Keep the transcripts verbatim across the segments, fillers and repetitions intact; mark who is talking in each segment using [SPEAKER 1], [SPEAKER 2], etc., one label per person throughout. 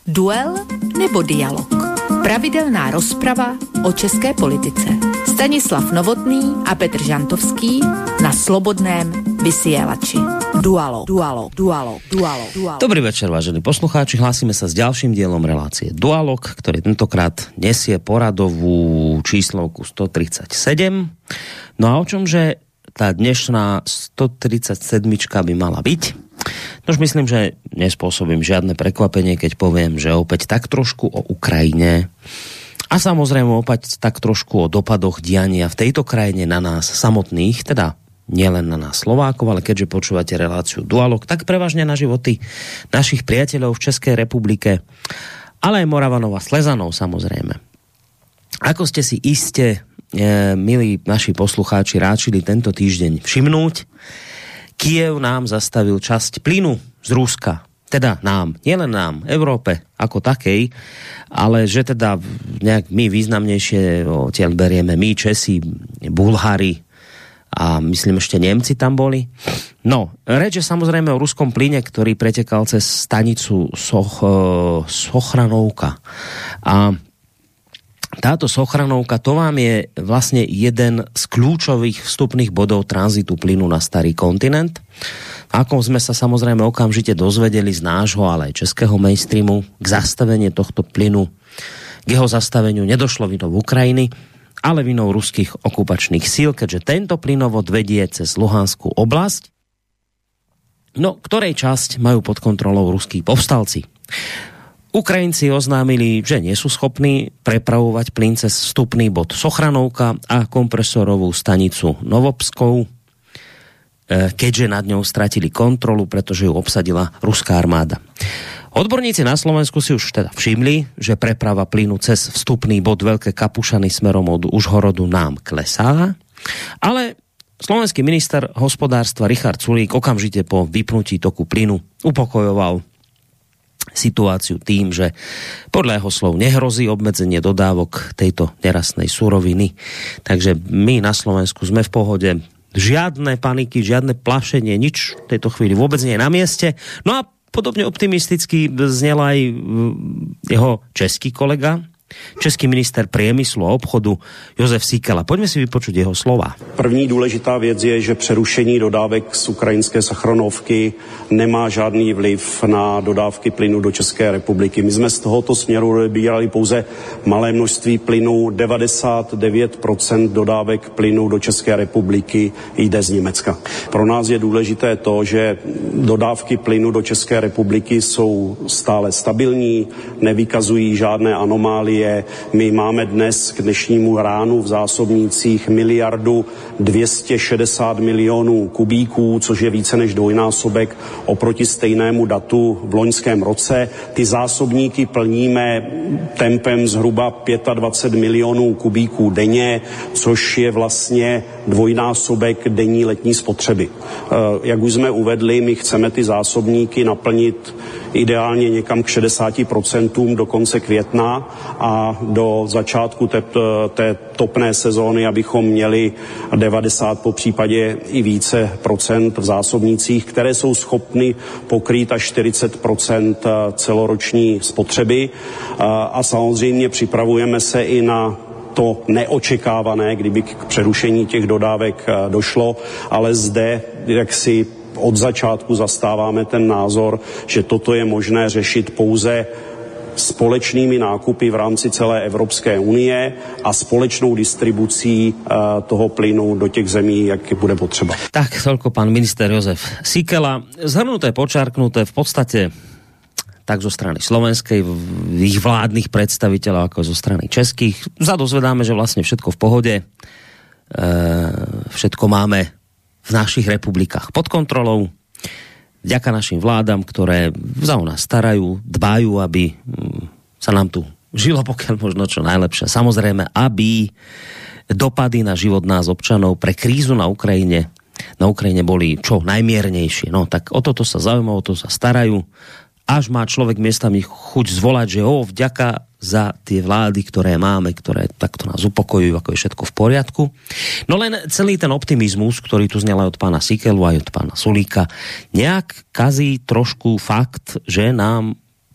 [SPEAKER 1] Duel nebo dialog? Pravidelná rozprava o české politice. Stanislav Novotný a Petr Žantovský na Slobodném vysielači. Dualo, dualo, dualo, dualo, dualo.
[SPEAKER 2] Dobrý večer, vážení poslucháči. Hlásime sa s ďalším dielom relácie Dualog, ktorý tentokrát nesie poradovú číslovku stotridsaťsedem. No a o čomže tá dnešná stotridsaťsedmička by mala byť? Nož myslím, že nespôsobím žiadne prekvapenie, keď poviem, že opäť tak trošku o Ukrajine a samozrejme opäť tak trošku o dopadoch diania v tejto krajine na nás samotných, teda nielen na nás Slovákov, ale keďže počúvate reláciu Dualog, tak prevažne na životy našich priateľov v Českej republike, ale aj Moravanov a Slezanov samozrejme. Ako ste si iste, e, milí naši poslucháči, ráčili tento týždeň všimnúť, Kyjev nám zastavil časť plynu z Ruska. Teda nám, nielen nám, Európe ako takej, ale že teda nejak my významnejšie odtiaľ berieme my, Česi, Bulhári a myslím ešte Nemci tam boli. No, reč je samozrejme o ruskom plyne, ktorý pretekal cez stanicu Soch, Sochranovka. A táto Sochranovka, to vám je vlastne jeden z kľúčových vstupných bodov tranzitu plynu na starý kontinent. Ako sme sa samozrejme okamžite dozvedeli z nášho, ale aj českého mainstreamu, k zastaveniu tohto plynu, k jeho zastaveniu nedošlo vinou Ukrajiny, ale vinou ruských okupačných síl, keďže tento plynovod vedie cez Luhanskú oblasť, no ktorej časť majú pod kontrolou ruskí povstalci. Ukrajinci oznámili, že nie sú schopní prepravovať plyn cez vstupný bod Sochranovka a kompresorovú stanicu Novopskou, keďže nad ňou stratili kontrolu, pretože ju obsadila ruská armáda. Odborníci na Slovensku si už teda všimli, že preprava plynu cez vstupný bod Veľké Kapušany smerom od Užhorodu nám klesá, ale slovenský minister hospodárstva Richard Sulík okamžite po vypnutí toku plynu upokojoval situáciu tým, že podľa jeho slov nehrozí obmedzenie dodávok tejto nerastnej suroviny. Takže my na Slovensku sme v pohode. Žiadne paniky, žiadne plašenie, nič v tejto chvíli vôbec nie je na mieste. No a podobne optimisticky znel aj jeho český kolega, český minister priemyslu a obchodu Jozef Síkela. Poďme si vypočuť jeho slova.
[SPEAKER 3] První důležitá věc je, že přerušení dodávek z ukrajinské Sacharonovky nemá žádný vliv na dodávky plynu do České republiky. My jsme z tohoto směru odebírali pouze malé množství plynu. devadesát devět procent dodávek plynu do České republiky jde z Německa. Pro nás je důležité to, že dodávky plynu do České republiky jsou stále stabilní, nevykazují žádné anomálie. My máme dnes k dnešnímu ránu v zásobnících miliardu dvě stě šedesát milionů kubíků, což je více než dvojnásobek oproti stejnému datu v loňském roce. Ty zásobníky plníme tempem zhruba dvacet pět milionů kubíků denně, což je vlastně dvojnásobek denní letní spotřeby. Jak už jsme uvedli, my chceme ty zásobníky naplnit ideálně někam k šedesáti procentům do konce května a do začátku té, té topné sezóny, abychom měli devadesát, po případě i více procent v zásobnících, které jsou schopny pokrýt až čtyřicet procent celoroční spotřeby. A samozřejmě připravujeme se i na to neočekávané, kdyby k přerušení těch dodávek došlo, ale zde jaksi od začátku zastáváme ten názor, že toto je možné řešit pouze společnými nákupy v rámci celé Evropské unie a společnou distribucí uh, toho plynu do těch zemí, jak bude potřeba.
[SPEAKER 2] Tak, toľko pán minister Jozef Síkela. Zhrnuté, počarknuté v podstate tak zo strany slovenskej, ich vládnych predstaviteľov, ako zo strany českých. Sa dozvedáme, že vlastne všetko v pohode, e, všetko máme v našich republikách pod kontrolou, vďaka našim vládam, ktoré za nás starajú, dbajú, aby sa nám tu žilo pokiaľ možno čo najlepšie. Samozrejme, aby dopady na život nás občanov pre krízu na Ukrajine, na Ukrajine boli čo najmiernejšie. No tak o toto sa zaujímajú, o to sa starajú. Až má človek miestami chuť zvolať, že o, vďaka za tie vlády, ktoré máme, ktoré takto nás upokojujú, ako je všetko v poriadku. No len celý ten optimizmus, ktorý tu znel aj od pána Síkelu, aj od pána Sulíka, nejak kazí trošku fakt, že nám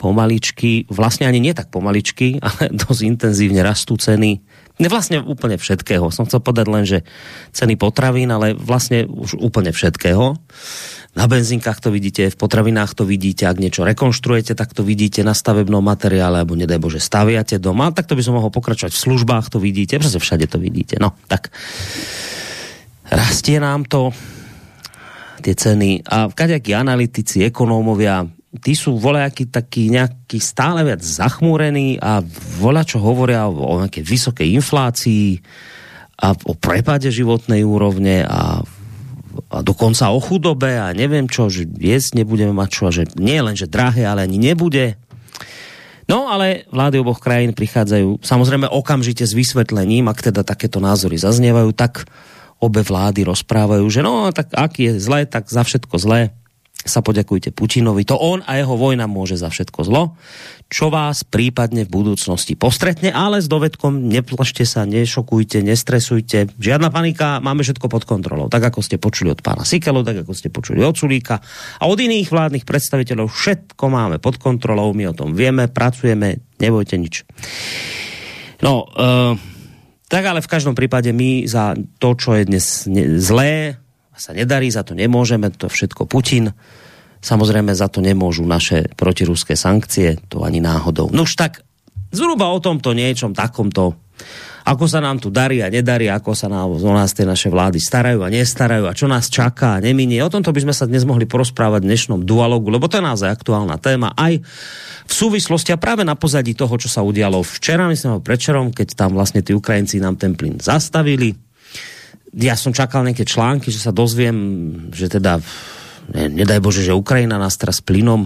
[SPEAKER 2] pomaličky, vlastne ani nie tak pomaličky, ale dosť intenzívne rastú ceny. Ne vlastne úplne všetkého. Som chcel povedať len, že ceny potravín, ale vlastne už úplne všetkého. Na benzínkach to vidíte, v potravinách to vidíte, ak niečo rekonštruujete, tak to vidíte na stavebnom materiále, alebo nedaj Bože, staviate doma, tak to by som mohol pokračovať v službách, to vidíte, pretože všade to vidíte. No, tak rastie nám to, tie ceny a kadejakí analytici, ekonómovia, tí sú voľajakí takí nejakí stále viac zachmúrení a voľa čo hovoria o, o nejakej vysokej inflácii a o prepade životnej úrovne a a dokonca o chudobe a neviem čo, že jesť nebudeme mať čo a že nie len, že drahé, ale ani nebude. No, ale vlády oboch krajín prichádzajú samozrejme okamžite s vysvetlením, ak teda takéto názory zaznievajú, tak obe vlády rozprávajú, že no, tak ak je zlé, tak za všetko zlé sa poďakujte Putinovi. To on a jeho vojna môže za všetko zlo, čo vás prípadne v budúcnosti postretne, ale s dovedkom neplašte sa, nešokujte, nestresujte. Žiadna panika, máme všetko pod kontrolou. Tak ako ste počuli od pána Sikelu, tak ako ste počuli od Sulíka a od iných vládnych predstaviteľov, všetko máme pod kontrolou, my o tom vieme, pracujeme, nebojte nič. No, e, tak ale v každom prípade my za to, čo je dnes zlé, sa nedarí, za to nemôžeme, to všetko Putin. Samozrejme, za to nemôžu naše protiruské sankcie, to ani náhodou. No už tak, zhruba o tomto niečom takomto, ako sa nám tu darí a nedarí, ako sa nám, o nás tie naše vlády starajú a nestarajú a čo nás čaká a neminie. O tomto by sme sa dnes mohli porozprávať v dnešnom dualogu, lebo to je naozaj aktuálna téma aj v súvislosti a práve na pozadí toho, čo sa udialo včera, myslím, predčerom, keď tam vlastne tí Ukrajinci nám ten plyn zastavili. Ja som čakal nejaké články, že sa dozviem, že teda, ne, nedaj Bože, že Ukrajina nás teraz plynom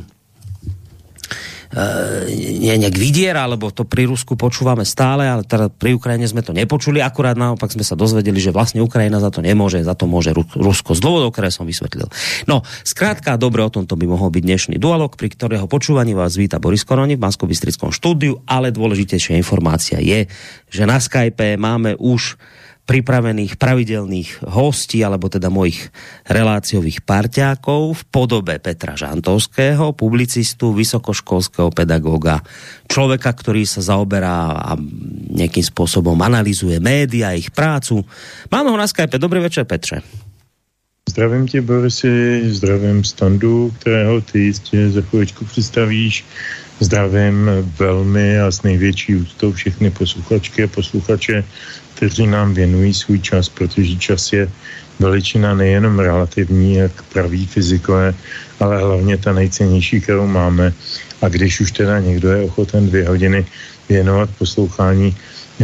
[SPEAKER 2] e, nejak vydiera, alebo to pri Rusku počúvame stále, ale teda pri Ukrajine sme to nepočuli, akurát naopak sme sa dozvedeli, že vlastne Ukrajina za to nemôže, za to môže Rusko z dôvodov, ktoré som vysvetlil. No, skrátka, dobre, o tomto by mohol byť dnešný dualog, pri ktorého počúvaní vás víta Boris Koroni v Banskobystrickom štúdiu, ale dôležitejšia informácia je, že na Skype máme už pripravených pravidelných hostí, alebo teda mojich reláciových parťákov v podobe Petra Žantovského, publicistu, vysokoškolského pedagóga, človeka, ktorý sa zaoberá a nejakým spôsobom analyzuje média, ich prácu. Máme ho na Skype. Dobrý večer, Petře.
[SPEAKER 4] Zdravím tě, Borisi, zdravím Standu, kterého ty jistě za chvíličku představíš. Zdravím velmi a s největší úctou všechny posluchačky a posluchače, kteří nám věnují svůj čas, protože čas je veličina nejenom relativní, jak praví fyzikové, ale hlavně ta nejcennější, kterou máme. A když už teda někdo je ochoten dvě hodiny věnovat poslouchání eh,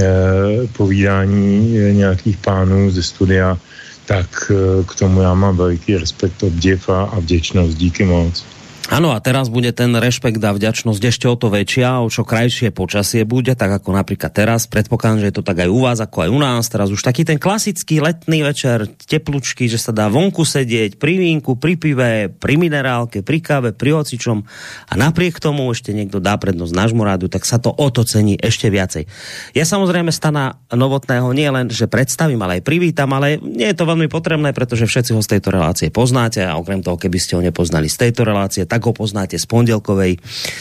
[SPEAKER 4] povídání eh, nějakých pánů ze studia, tak eh, k tomu já mám veliký respekt, obdiv a, a vděčnost. Díky moc.
[SPEAKER 2] Áno, a teraz bude ten rešpekt a vďačnosť ešte o to väčšia, o čo krajšie počasie bude, tak ako napríklad teraz. Predpokladám, že je to tak aj u vás, ako aj u nás. Teraz už taký ten klasický letný večer, teplučky, že sa dá vonku sedieť, pri vínku, pri pive, pri minerálke, pri káve, pri hocičom a napriek tomu ešte niekto dá prednosť nášmu rádu, tak sa to o to cení ešte viacej. Ja samozrejme Stana Novotného nie len, že predstavím, ale aj privítam, ale nie je to veľmi potrebné, pretože všetci ho z tejto relácie poznáte a okrem toho, keby ste ho nepoznali z tejto relácie, tak ho poznáte z pondelkovej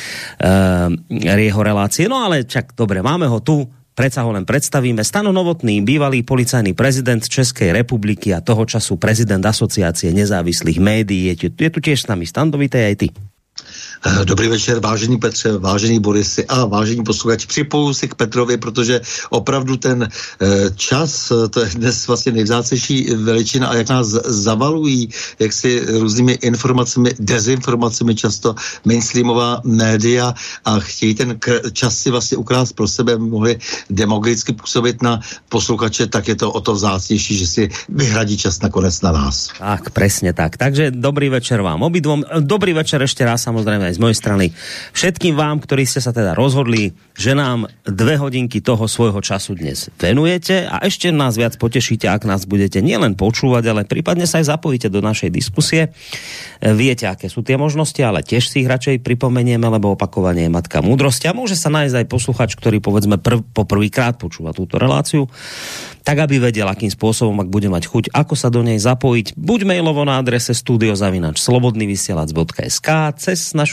[SPEAKER 2] uh, jeho relácie. No ale čak, dobre, máme ho tu, predsa ho len predstavíme. Stano Novotný, bývalý policajný prezident Českej republiky a toho času prezident Asociácie nezávislých médií. Je tu, je tu tiež s nami. Stando, vítaj aj ty.
[SPEAKER 5] Dobrý večer, vážený Petře, vážený Borisy a vážení posluchači. Připojuji si k Petrovi, protože opravdu ten čas, to je dnes vlastně nejvzácnější veličina a jak nás zavalují jaksi různými informacemi, dezinformacemi často mainstreamová média a chtějí ten čas si vlastně ukrást pro sebe, mohli demagogicky působit na posluchače, tak je to o to vzácnější, že si vyhradí čas nakonec na nás.
[SPEAKER 2] Tak, presne tak. Takže dobrý večer vám obidvom. Dobrý večer ešte raz samozrejme aj z mojej strany všetkým vám, ktorí ste sa teda rozhodli, že nám dve hodinky toho svojho času dnes venujete a ešte nás viac potešíte, ak nás budete nielen počúvať, ale prípadne sa aj zapojíte do našej diskusie. Viete, aké sú tie možnosti, ale tiež si ich radšej pripomenieme, lebo opakovanie je matka múdrosti a môže sa nájsť aj posluchač, ktorý povedzme prv, po prvýkrát počúva túto reláciu, tak aby vedel, akým spôsobom, ak bude mať chuť, ako sa do nej zapojiť, buď mailovo na adrese studio zavináč slobodnyvysielac bodka es ká, cez našu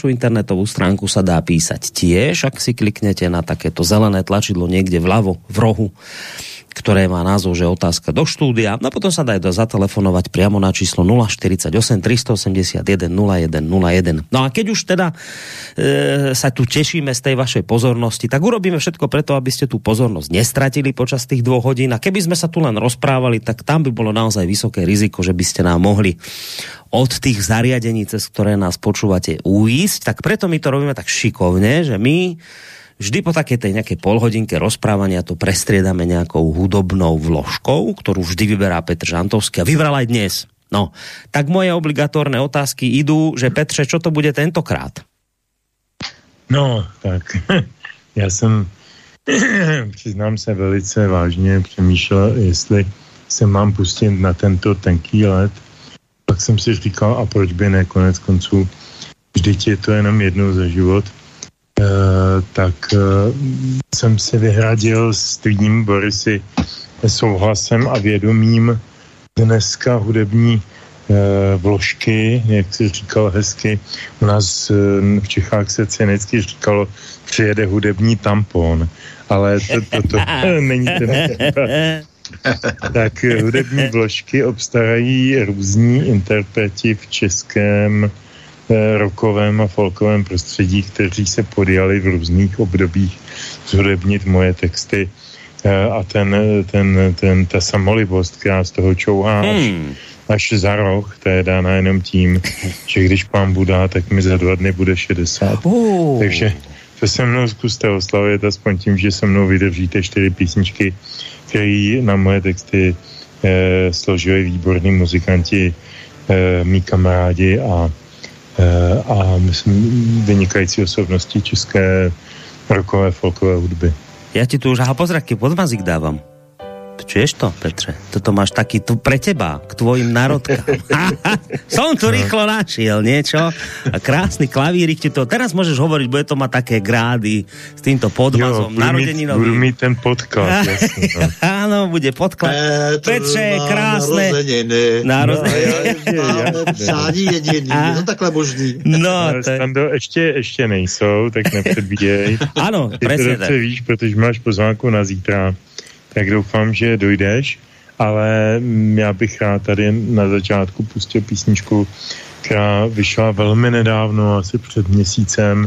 [SPEAKER 2] našu internetovú stránku sa dá písať tiež, ak si kliknete na takéto zelené tlačidlo niekde vľavo v rohu, ktoré má názov, že otázka do štúdia. No potom sa dá zatelefonovať priamo na číslo nula štyridsaťosem tristoosemdesiatjeden nula jeden nula jeden. No a keď už teda e, sa tu tešíme z tej vašej pozornosti, tak urobíme všetko preto, aby ste tú pozornosť nestratili počas tých dvoch hodín. A keby sme sa tu len rozprávali, tak tam by bolo naozaj vysoké riziko, že by ste nám mohli od tých zariadení, cez ktoré nás počúvate, uísť. Tak preto my to robíme tak šikovne, že my vždy po takej tej nejakej polhodinke rozprávania to prestriedame nejakou hudobnou vložkou, ktorú vždy vyberá Petr Žantovský a vybral aj dnes. No, tak moje obligatórne otázky idú, že Petře, čo to bude tentokrát?
[SPEAKER 4] No, tak já jsem, přiznám se, velice vážně přemýšlel, jestli se mám pustit na tento tenký let. Pak jsem si říkal, a proč by ne, konec konců, vždyť je to jenom jednou za život. Uh, tak uh, jsem si vyhradil s tvým, Borisy, souhlasem a vědomím dneska hudební uh, vložky, jak si říkal hezky. U nás uh, v Čechách se cynicky říkalo, přijede hudební tampon, ale to, to, to, to není ten tak hudební vložky obstarají různí interpreti v českém rockovém a folkovém prostředí, kteří se podjali v různých obdobích zhudebnit moje texty a ten, ten, ten, ta samolibost, která z toho čouhá až, hmm. až za roh, to je dána jenom tím, že když pán Buda, tak mi za dva dny bude šedesát. Uh. Takže to se mnou zkuste oslavit aspoň tím, že se mnou vydržíte čtyři písničky, které na moje texty eh, složili výborní muzikanti, eh, mý kamarádi a a myslím vynikající osobnosti české rockové, folkové hudby.
[SPEAKER 2] Ja ti tu už aha pozraky podmazík dávam. Čuješ to, Petře? Toto máš taký tu pre teba, k tvojim národkám. Som tu rýchlo našiel niečo a krásny klavírik ti to. Teraz môžeš hovoriť, bude to mať také grády s týmto podmazom narodeninovým.
[SPEAKER 4] Budu mít ten podklad, jasný. No.
[SPEAKER 2] Áno, bude podklad. Petře, krásne.
[SPEAKER 5] Narozeniny. Máme přání jediný. Je to takhle možný.
[SPEAKER 4] No, Stando, ještě, ještě nejsou, tak nepředbíjej.
[SPEAKER 2] Áno, presne tak.
[SPEAKER 4] Ty to víš, protože máš pozvánku na zítra. Tak doufám, že dojdeš, ale já bych rád tady na začátku pustil písničku, která vyšla velmi nedávno, asi před měsícem,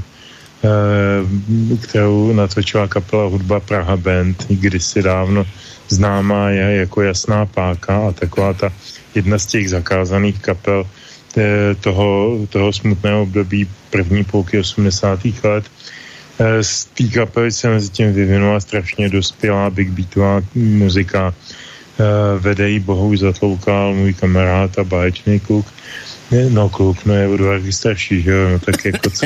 [SPEAKER 4] kterou natočila kapela Hudba Praha Band, kdysi dávno známá je jako Jasná páka a taková ta jedna z těch zakázaných kapel toho, toho smutného období první půlky osmdesátých let. Z té kapely se mezi tím vyvinula strašně dospělá big beatová muzika. Vede jí Bohuž Zatloukal, můj kamarád a báječný kluk. No kluk, no je o dva starší, že jo, no tak jako co.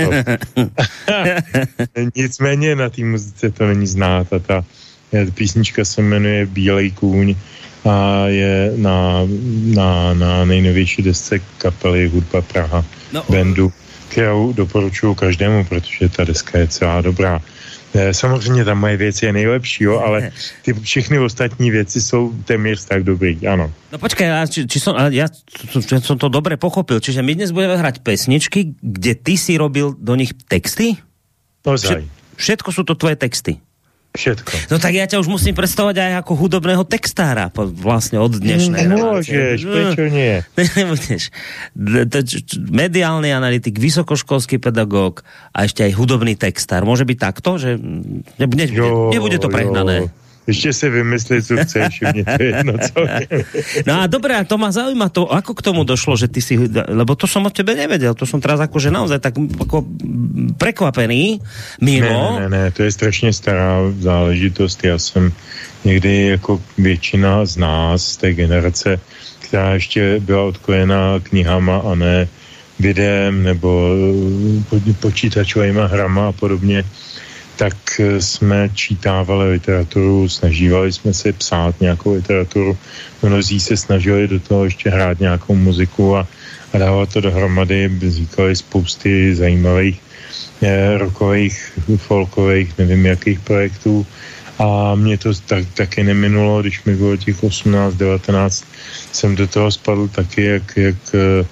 [SPEAKER 4] Nicméně na té muzice to není znát a ta písnička se jmenuje Bílej kůň a je na, na, na nejnovější desce kapely Hudba Praha no. Bandu, kterou doporučuji každému, protože ta deska je celá dobrá. Samozřejmě tam moje věci je nejlepší, jo, ale ty všechny ostatní věci jsou téměř tak dobrý, ano.
[SPEAKER 2] No počkaj, či, či som, ja či som to dobre pochopil, čiže my dnes budeme hrať pesničky, kde ty si robil do nich texty?
[SPEAKER 4] Ozaj.
[SPEAKER 2] Všetko sú to tvoje texty?
[SPEAKER 4] Všetko.
[SPEAKER 2] No tak ja ťa už musím predstavovať aj ako hudobného textára vlastne od dnešnej
[SPEAKER 4] Môžeš, prečo nie?
[SPEAKER 2] Nebudeš. Mediálny analytik, vysokoškolský pedagóg a ešte aj hudobný textár. Môže byť takto, že nebude, jo, nebude to prehnané?
[SPEAKER 4] Jo. Ešte si vymyslieť, co chceš, mne to jedno, co
[SPEAKER 2] No a dobré, a to ma zaujíma to, ako k tomu došlo, že ty si, lebo to som od tebe nevedel, to som teraz akože naozaj tak ako prekvapený, mimo.
[SPEAKER 4] Ne, ne, ne, to je strašně stará záležitost, já jsem někdy jako většina z nás, z té generace, která ještě byla odkojená knihama a ne videem nebo počítačovými hrama a podobně, tak jsme čítávali literaturu, snažívali jsme si psát nějakou literaturu, mnozí se snažili do toho ještě hrát nějakou muziku a, a dávat to dohromady, vznikali spousty zajímavých eh, rockových, folkových, nevím jakých projektů a mě to tak, taky neminulo, když mi bylo těch osmnáct devatenáct, jsem do toho spadl taky, jak, jak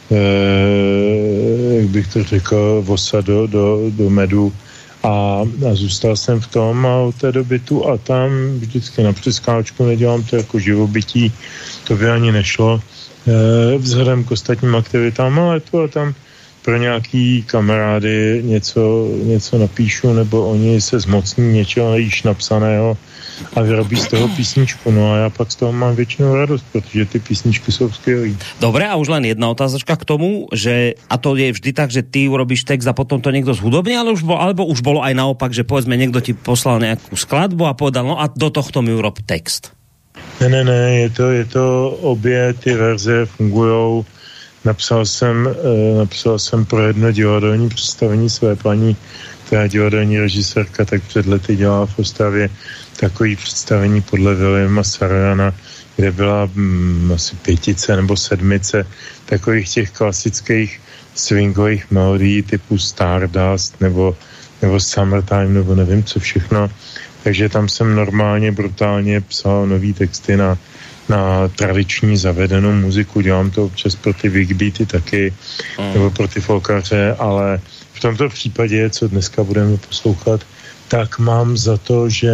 [SPEAKER 4] jak bych to řekl, vosa do, do, do medu a, a zůstal jsem v tom a od té doby tu a tam vždycky na přeskáčku, nedělám to jako živobytí, to by ani nešlo vzhledem k ostatním aktivitám, ale tu a tam pro nějaký kamarády něco, něco napíšu, nebo oni se zmocní něčeho již napsaného a vyrobí z toho písničku. No a já pak z toho mám většinou radost, protože ty písničky jsou skvělý.
[SPEAKER 2] Dobre, a už len jedna otázočka k tomu, že a to je vždy tak, že ty urobíš text a potom to niekto zhudobní, ale už bol, alebo už bolo aj naopak, že povedzme niekto ti poslal nejakú skladbu a povedal, no a do tohto mi urob text.
[SPEAKER 4] Ne, ne, ne, je to, je to obě ty verze fungujou. Napsal jsem, eh, napsal jsem pro jedno divadelní představení své paní, která je divadelní režisérka, tak před lety dělala v Ostravě takový představení podle Williama Sarojana, kde byla hm, asi pětice nebo sedmice takových těch klasických swingových melodií typu Stardust nebo, nebo Summertime nebo nevím co všechno. Takže tam jsem normálně, brutálně psal nový texty na, na tradiční zavedenou muziku. Dělám to občas pro ty big beaty taky, mm. nebo pro ty folkaře, ale v tomto případě, co dneska budeme poslouchat, tak mám za to, že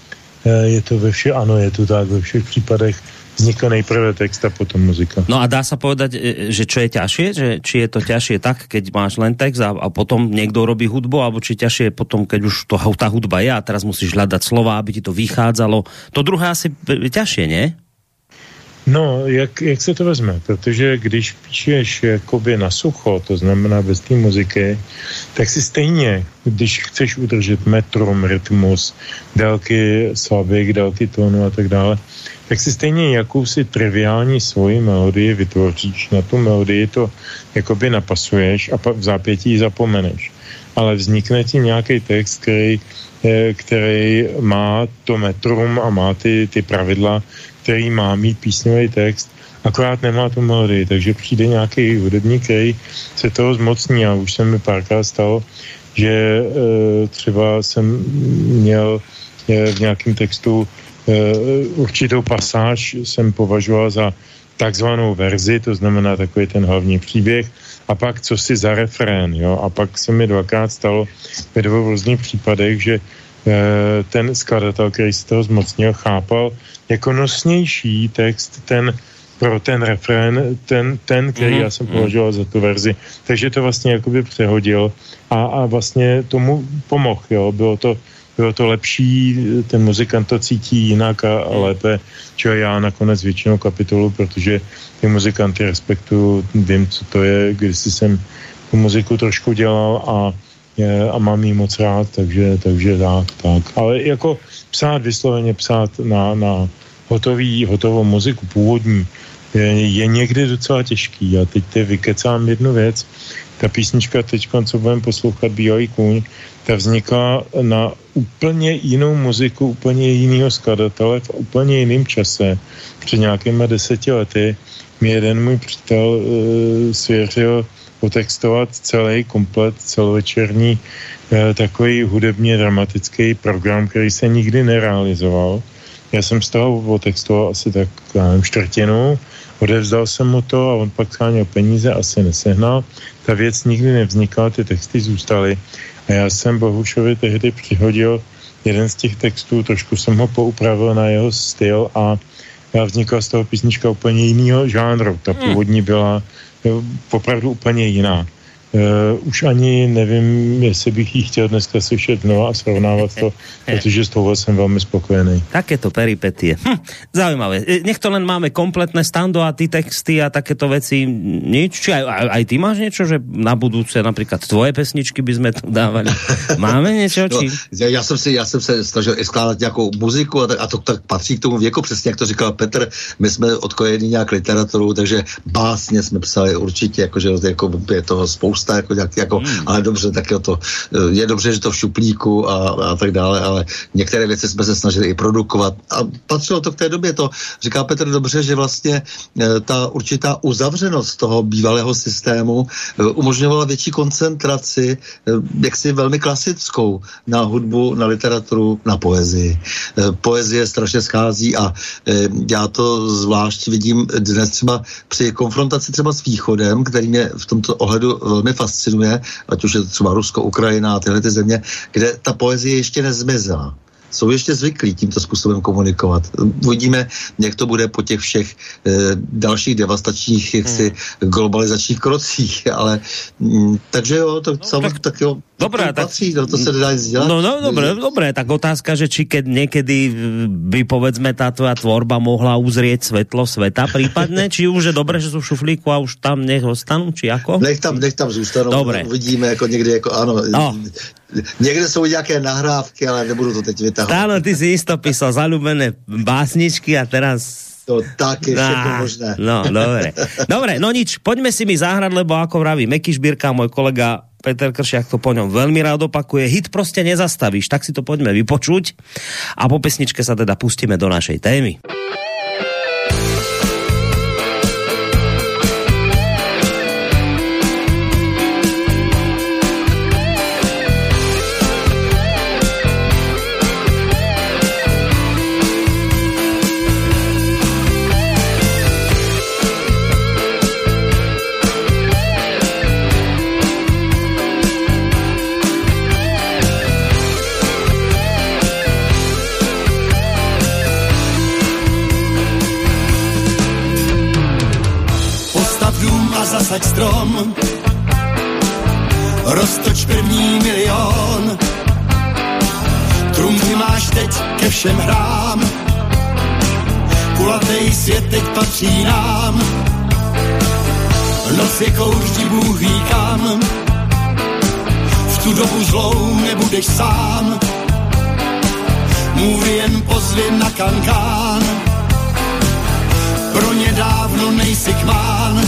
[SPEAKER 4] je to ve všech, ano, je to tak, ve všech případech vznikla nejprve text a potom muzika.
[SPEAKER 2] No a dá sa povedať, že čo je ťažšie? Že, či je to ťažšie tak, keď máš len text a, a potom niekto robí hudbu, alebo či ťažšie potom, keď už to, tá hudba je a teraz musíš hľadať slova, aby ti to vychádzalo. To druhé asi ťažšie, nie?
[SPEAKER 4] No, jak, jak se to vezme? Protože když píšeš jakoby na sucho, to znamená bez té muziky, tak si stejně, když chceš udržet metrum, rytmus, délky slabik, délky tónu a tak dále, tak si stejně jakousi triviální svoji melodii vytvoříš. Na tu melodii to jakoby napasuješ a v zápětí ji zapomeneš. Ale vznikne ti nějaký text, který, který má to metrum a má ty, ty pravidla, který má mít písňový text, akorát nemá tu melodii, takže přijde nějaký hudebník, který se toho zmocní a už se mi párkrát stalo, že e, třeba jsem měl e, v nějakém textu e, určitou pasáž jsem považoval za takzvanou verzi, to znamená takový ten hlavní příběh, a pak co si za refrén, jo, a pak se mi dvakrát stalo ve dvou různých případech, že ten skladatel, který se toho zmocnil, chápal jako nosnější text ten pro ten refrén, ten, ten který mm-hmm. já jsem považoval za tu verzi. Takže to vlastně jakoby přehodil a, a vlastně tomu pomohl, jo. Bylo to, bylo to lepší, ten muzikant to cítí jinak a, a lépe, čo já nakonec většinou kapitolu, protože ty muzikanty respektuju, vím, co to je, když jsem tu muziku trošku dělal a a mám jí moc rád, takže, takže tak, tak. Ale jako psát, vysloveně psát na, na hotový, hotovou muziku původní je, je někdy docela těžký. A teď te vykecám jednu věc. Ta písnička teď, co budeme poslouchat, Bílej kůň, ta vznikla na úplně jinou muziku, úplně jinýho skladatele v úplně jiném čase. Před nějakýma deseti lety mi jeden můj přítel uh, svěřil potextovat celý komplet celovečerní eh, takový hudebně dramatický program, který se nikdy nerealizoval. Já jsem z toho potextoval asi tak, já nevím, čtvrtinu, odevzdal jsem mu to a on pak scháněl peníze, asi nesehnal. Ta věc nikdy nevznikla, ty texty zůstaly a já jsem Bohušovi tehdy přihodil jeden z těch textů, trošku jsem ho poupravil na jeho styl a vznikla z toho písnička úplně jinýho žánru. Ta původní byla opravdu úplně jiná. Uh, už ani nevím, jestli bych jí chtěl dneska slyšet znova a srovnávat to, protože z toho jsem velmi spokojený.
[SPEAKER 2] Takéto peripetie. Hm, zaujímavé. Nech to len máme kompletné stando a ty texty a takéto veci nič. Či aj, aj, aj ty máš niečo, že na budúce napríklad tvoje pesničky by sme tu dávali? Máme niečo? Či...
[SPEAKER 5] No, já, jsem si, já jsem se snažil i skládat nějakou muziku a, tak, a to tak patří k tomu věku, přesně jak to říkal Petr. My jsme odkojeni nějak literaturou, takže básně jsme psali určitě, jakože jako je toho spousta spousta, jako, jako hmm. ale dobře, tak je to, je dobře, že to v šuplíku a, a tak dále, ale některé věci jsme se snažili i produkovat a patřilo to k té době, to říká Petr dobře, že vlastně ta určitá uzavřenost toho bývalého systému umožňovala větší koncentraci, jaksi velmi klasickou, na hudbu, na literaturu, na poezii. Poezie strašně schází a já to zvlášť vidím dnes třeba při konfrontaci třeba s Východem, který mě v tomto ohledu velmi fascinuje, ať už je to třeba Rusko, Ukrajina a tyhle ty země, kde ta poezie ještě nezmizela. Jsou ještě zvyklí tímto způsobem komunikovat. Uvidíme, jak to bude po těch všech e, dalších devastačních jaksi, hmm. globalizačních krocích, ale m, takže jo, to no, tak, tak jo,
[SPEAKER 2] dobré,
[SPEAKER 5] to patří, tak, no, to se nedá nic dělat.
[SPEAKER 2] No, no, dobré, dobré, tak otázka, že či keď niekedy by, povedzme, tá tvoja tvorba mohla uzrieť svetlo sveta prípadne, či už je dobré, že sú v šuflíku a už tam nech ostanú, či ako?
[SPEAKER 5] Nech tam, nech tam zůstanou, dobré. Uvidíme, jako někdy, jako ano, no. Niekde sú nejaké nahrávky, ale nebudú to teď vytahovať.
[SPEAKER 2] Áno, ty si isto písal zaľúbené básničky a teraz...
[SPEAKER 5] To tak je všetko možné.
[SPEAKER 2] No, dobre. Dobre, no nič, poďme si mi zahrať, lebo ako vraví Meky Šbírka, môj kolega Peter Kršiak to po ňom veľmi rád opakuje. Hit proste nezastavíš, tak si to poďme vypočuť a po pesničke sa teda pustíme do našej témy.
[SPEAKER 6] Zasaď strom, roztoč první milion, trumfy máš teď ke všem hrám, kulatej svět teď patří nám, noc je kouř, Bůh ví kam, v tu dobu zlou nebudeš sám, můj jen pozvím na kankán, pro ně dávno nejsi kmán.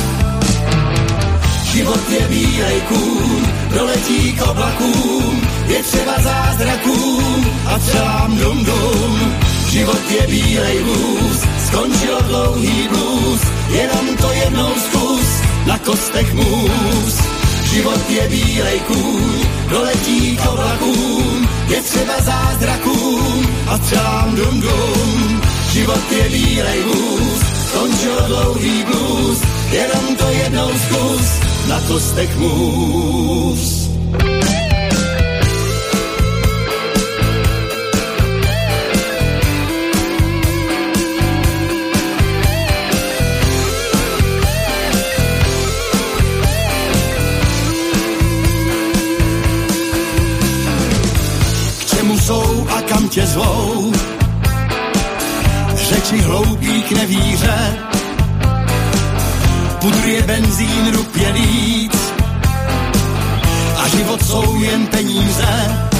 [SPEAKER 6] Život je bílej kůň, doletí k oblakům, je třeba zázrakům a třelám dum dum. Život je bílej vůz, skončil dlouhý blues, jenom to jednou zkus, na kostech můz. Život je bílej kůň, doletí k oblakům, je třeba zázrakům a třelám dum dum. Život je bílej vůz, skončil dlouhý blues, jenom to jednou zkus, na kostech můz. K čemu jsou a kam tě zvou? Řeči hloupí k nevíře, pudr je benzín, rup je víc a život jsou jen peníze.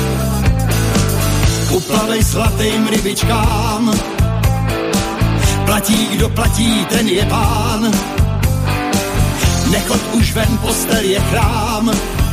[SPEAKER 6] Uplavej slatým rybičkám, platí, kdo platí, ten je pán. Nechod už ven, postel je chrám,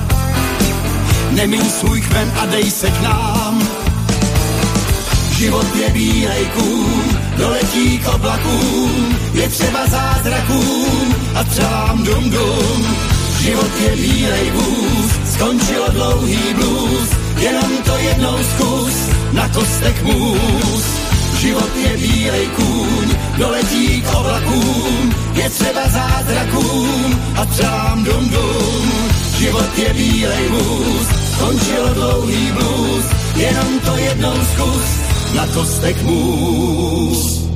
[SPEAKER 6] nemíň svůj kmen a dej se k nám. Život je bílej kůň, doletí k oblakům, je třeba zázrakům a třelám dum dum. Život je bílej vůz, skončilo dlouhý blues, jenom to jednou zkus, na kostech můz. Život je bílej kůň, doletí k oblakům, je třeba zázrakům a třelám dum dum. Život je bílej vůz, skončilo dlouhý blues, jenom to jednou zkus, na kostech můz.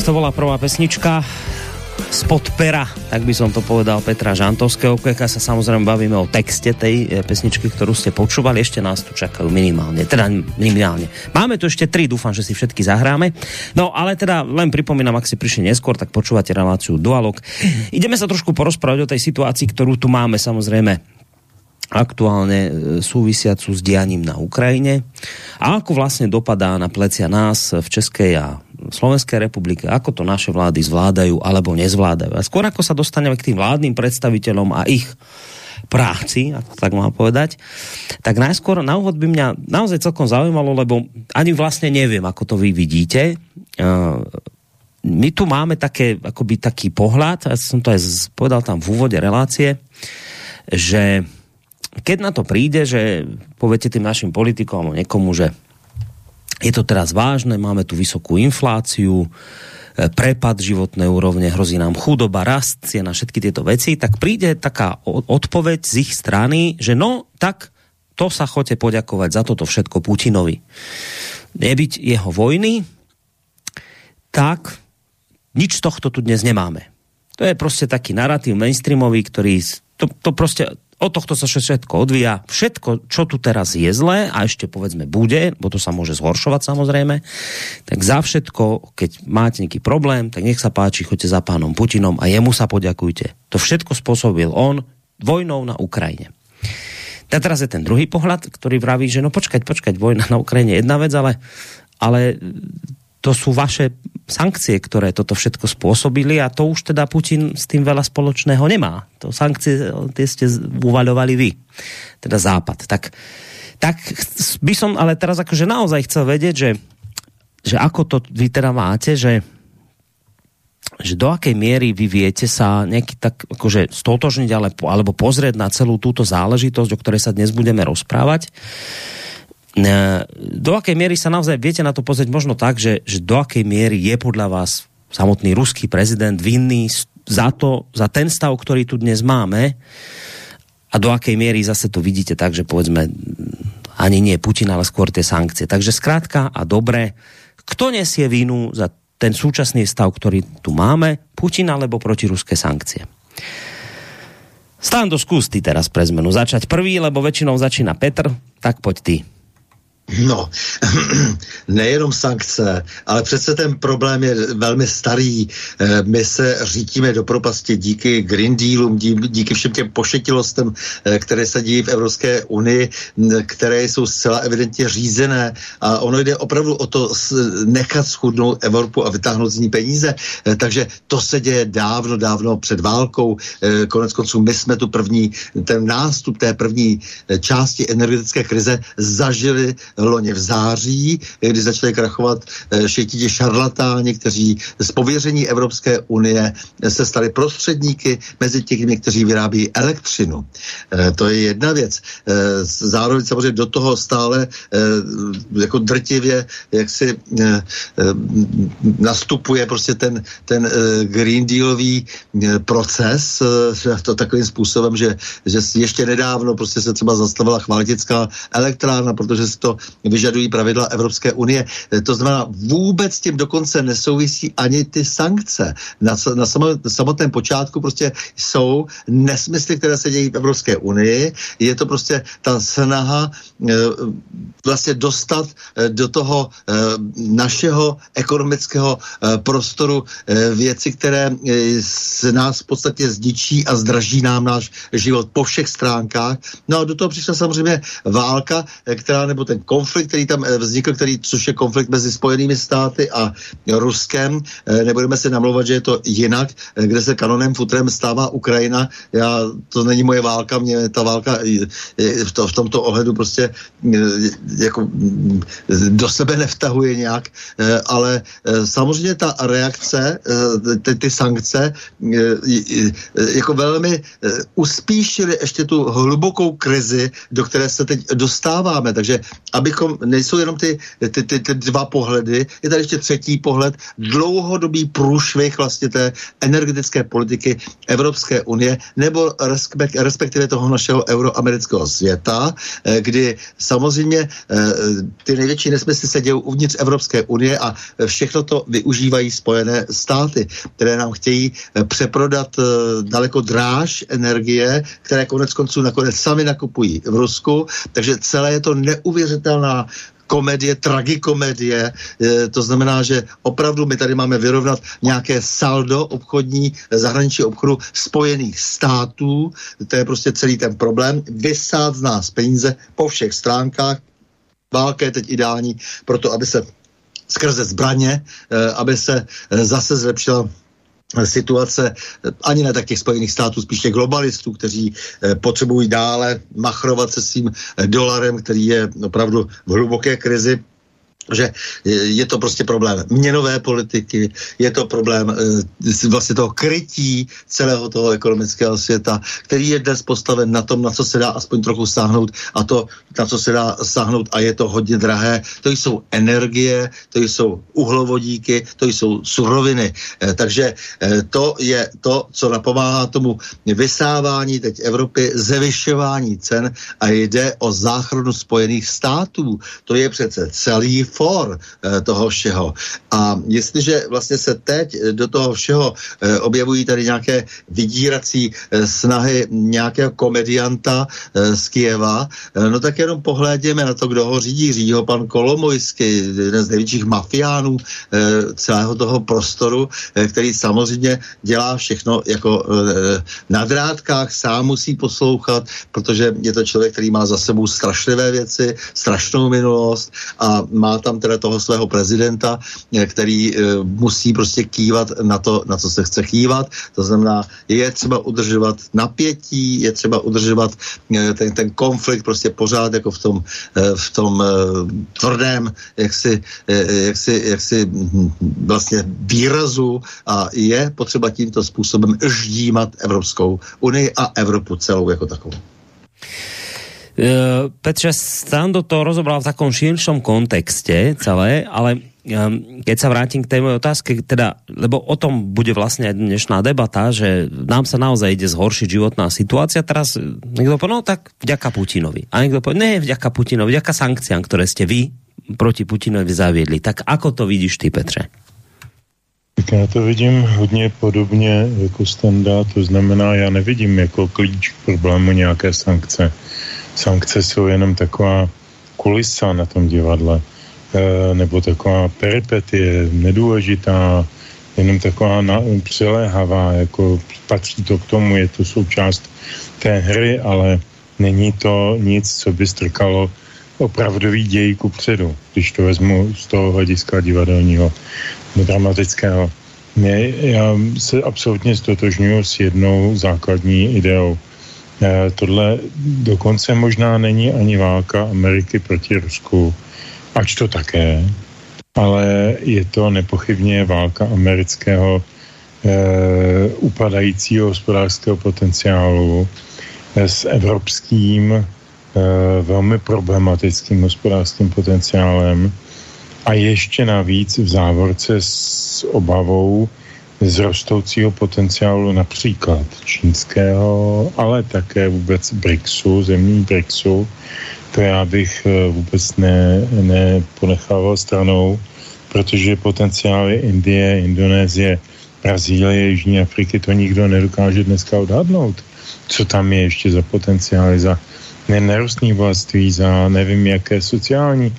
[SPEAKER 2] to bola prvá pesnička spod pera, tak by som to povedal, Petra Žantovského. Keď sa samozrejme bavíme o texte tej pesničky, ktorú ste počúvali, ešte nás tu čakajú minimálne, teda minimálne. Máme tu ešte tri, dúfam, že si všetky zahráme. No, ale teda len pripomínam, ak si prišli neskôr, tak počúvate reláciu Dualog. Ideme sa trošku porozprávať o tej situácii, ktorú tu máme, samozrejme aktuálne súvisiacu s dianím na Ukrajine a ako vlastne dopadá na plecia nás v Českej a Slovenskej republike, ako to naše vlády zvládajú alebo nezvládajú. A skôr ako sa dostaneme k tým vládnym predstaviteľom a ich práci, ako tak mám povedať, tak najskôr na úvod by mňa naozaj celkom zaujímalo, lebo ani vlastne neviem, ako to vy vidíte. My tu máme také, akoby taký pohľad, ja som to aj povedal tam v úvode relácie, že keď na to príde, že poviete tým našim politikom alebo niekomu, že je to teraz vážne, máme tu vysokú infláciu, prepad životnej úrovne, hrozí nám chudoba, rast cien a všetky tieto veci, tak príde taká odpoveď z ich strany, že no, tak to sa choďte poďakovať za toto všetko Putinovi. Nebyť jeho vojny, tak nič z tohto tu dnes nemáme. To je proste taký narratív mainstreamový, ktorý to, to proste od tohto sa všetko odvíja. Všetko, čo tu teraz je zlé a ešte povedzme bude, bo to sa môže zhoršovať samozrejme, tak za všetko, keď máte nejaký problém, tak nech sa páči, choďte za pánom Putinom a jemu sa poďakujte. To všetko spôsobil on vojnou na Ukrajine. A teraz je ten druhý pohľad, ktorý vraví, že no počkať, počkať, vojna na Ukrajine je jedna vec, ale, ale to sú vaše sankcie, ktoré toto všetko spôsobili a to už teda Putin s tým veľa spoločného nemá. To sankcie, tie ste uvaľovali vy, teda Západ. Tak, tak by som ale teraz akože naozaj chcel vedieť, že, že ako to vy teda máte, že, že do akej miery vy viete sa nejaký tak akože stotožniť alebo, alebo pozrieť na celú túto záležitosť, o ktorej sa dnes budeme rozprávať. Do akej miery sa naozaj viete na to pozrieť možno tak, že, že do akej miery je podľa vás samotný ruský prezident vinný za to, za ten stav, ktorý tu dnes máme a do akej miery zase to vidíte tak, že povedzme ani nie Putin, ale skôr tie sankcie. Takže skrátka a dobre, kto nesie vinu za ten súčasný stav, ktorý tu máme, Putin alebo protiruské sankcie? Stando, skús ty teraz pre zmenu začať prvý, lebo väčšinou začína Petr, tak poď ty.
[SPEAKER 5] No, nejenom sankce, ale přece ten problém je velmi starý. My se řítíme do propasti díky Green Dealům, díky všem těm pošetilostem, které se dějí v Evropské unii, které jsou zcela evidentně řízené. A ono jde opravdu o to nechat schudnout Evropu a vytáhnout z ní peníze. Takže to se děje dávno, dávno před válkou. Konec konců my jsme tu první, ten nástup té první části energetické krize zažili loni v září, kdy začaly krachovat šejtí šarlatáni, kteří z pověření Evropské unie se stali prostředníky mezi těmi, kteří vyrábí elektřinu. To je jedna věc. Zároveň samozřejmě do toho stále jako drtivě jak si nastupuje prostě ten, ten Green Dealový proces to takovým způsobem, že, že ještě nedávno prostě se třeba zastavila chvaltická elektrárna, protože si to vyžadují pravidla Evropské unie. To znamená, vůbec tím dokonce nesouvisí ani ty sankce. Na, na samotném počátku prostě jsou nesmysly, které se dějí v Evropské unii. Je to prostě ta snaha e, vlastně dostat e, do toho e, našeho ekonomického e, prostoru e, věci, které e, z nás v podstatě zničí a zdraží nám náš život po všech stránkách. No a do toho přišla samozřejmě válka, e, která nebo ten konflikt, který tam vznikl, který, což je konflikt mezi Spojenými státy a Ruskem. Nebudeme si namlouvat, že je to jinak, kde se kanonem futrem stává Ukrajina. Já, to není moje válka, mě ta válka v, to, v tomto ohledu prostě jako do sebe nevtahuje nějak, ale samozřejmě ta reakce, ty, ty sankce jako velmi uspíšily ještě tu hlubokou krizi, do které se teď dostáváme. Takže aby abychom, nejsou jenom ty, ty, ty, ty dva pohledy, je tady ještě třetí pohled, dlouhodobý průšvih vlastně té energetické politiky Evropské unie, nebo respekt, respektive toho našeho euroamerického světa, kdy samozřejmě ty největší nesmysly se dějí uvnitř Evropské unie a všechno to využívají Spojené státy, které nám chtějí přeprodat daleko dráž energie, které konec konců nakonec sami nakupují v Rusku, takže celé je to neuvěřitelná komedie, tragikomedie, to znamená, že opravdu my tady máme vyrovnat nějaké saldo obchodní, zahraničí obchodu Spojených států, to je prostě celý ten problém, vysát z nás peníze po všech stránkách, válka je teď ideální pro to, aby se skrze zbraně, aby se zase zlepšila situace ani ne tak těch Spojených států, spíš těch globalistů, kteří potřebují dále machrovat se svým dolarem, který je opravdu v hluboké krizi. Že je to prostě problém měnové politiky, je to problém e, vlastně toho krytí celého toho ekonomického světa, který je dnes postaven na tom, na co se dá aspoň trochu sáhnout a to, na co se dá sáhnout a je to hodně drahé. To jsou energie, to jsou uhlovodíky, to jsou suroviny. E, takže e, to je to, co napomáhá tomu vysávání teď Evropy, zvyšování cen a jde o záchranu Spojených států. To je přece celý for toho všeho. A jestliže vlastně se teď do toho všeho objevují tady nějaké vydírací snahy nějakého komedianta z Kyjeva, no tak jenom pohlédněme na to, kdo ho řídí. Řídí ho pan Kolomojský, jeden z největších mafiánů celého toho prostoru, který samozřejmě dělá všechno jako na drátkách, sám musí poslouchat, protože je to člověk, který má za sebou strašlivé věci, strašnou minulost a má tam teda toho svého prezidenta, který e, musí prostě kývat na to, na co se chce kývat. To znamená, je třeba udržovat napětí, je třeba udržovat e, ten, ten konflikt prostě pořád jako v tom, e, v tom e, tvrdém jaksi, e, jaksi, jaksi vlastně výrazu a je potřeba tímto způsobem ždímat Evropskou unii a Evropu celou jako takovou.
[SPEAKER 2] Uh, Petře, Stando to rozobral v takom širšom kontexte celé, ale um, keď sa vrátim k tej mojej otázke, teda, lebo o tom bude vlastne aj dnešná debata, že nám sa naozaj ide zhoršiť životná situácia. Teraz niekto povie, no tak vďaka Putinovi. A niekto povie, ne vďaka Putinovi, vďaka sankciám, ktoré ste vy proti Putinovi zaviedli. Tak ako to vidíš ty, Petře?
[SPEAKER 4] Tak já to vidím hodně podobně jako Standa, to znamená, já nevidím jako klíč k problému nějaké sankce. Sankce jsou jenom taková kulisa na tom divadle, e, nebo taková peripetie, nedůležitá, jenom taková na, přiléhavá, jako patří to k tomu, je to součást té hry, ale není to nic, co by strkalo opravdový děj kupředu, když to vezmu z toho hlediska divadelního, dramatického. Já se absolutně stotožňuji s jednou základní ideou. E, tohle dokonce možná není ani válka Ameriky proti Rusku, ač to také, ale je to nepochybně válka amerického e, upadajícího hospodářského potenciálu e, s evropským e, velmi problematickým hospodářským potenciálem a ještě navíc v závorce s obavou z rostoucího potenciálu například čínského, ale také vůbec BRICSu, zemí BRICSu. To já bych vůbec ne, neponechával stranou, protože potenciály Indie, Indonésie, Brazílie, Jižní Afriky, to nikdo nedokáže dneska odhadnout. Co tam je ještě za potenciály, za nerostné bohatství, za nevím jaké sociální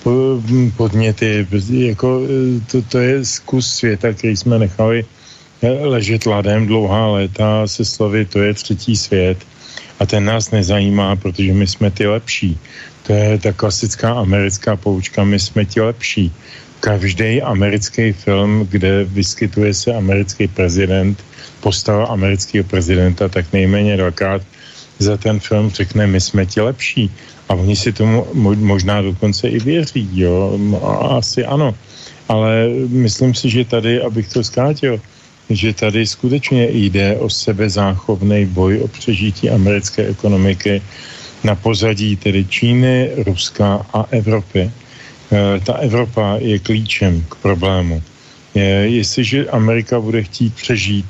[SPEAKER 4] podněty, jako to, to je zkus světa, který jsme nechali ležet ladem dlouhá léta se slovy, to je třetí svět a ten nás nezajímá, protože my jsme ty lepší. To je ta klasická americká poučka, my jsme ti lepší. Každý americký film, kde vyskytuje se americký prezident, postava amerického prezidenta, tak nejméně dvakrát za ten film řekne, my jsme ti lepší. A oni si tomu možná dokonce i věří, jo, asi ano. Ale myslím si, že tady, abych to zkrátil, že tady skutečně jde o sebezáchovný boj o přežití americké ekonomiky na pozadí tedy Číny, Ruska a Evropy. Ta Evropa je klíčem k problému. Jestliže Amerika bude chtít přežít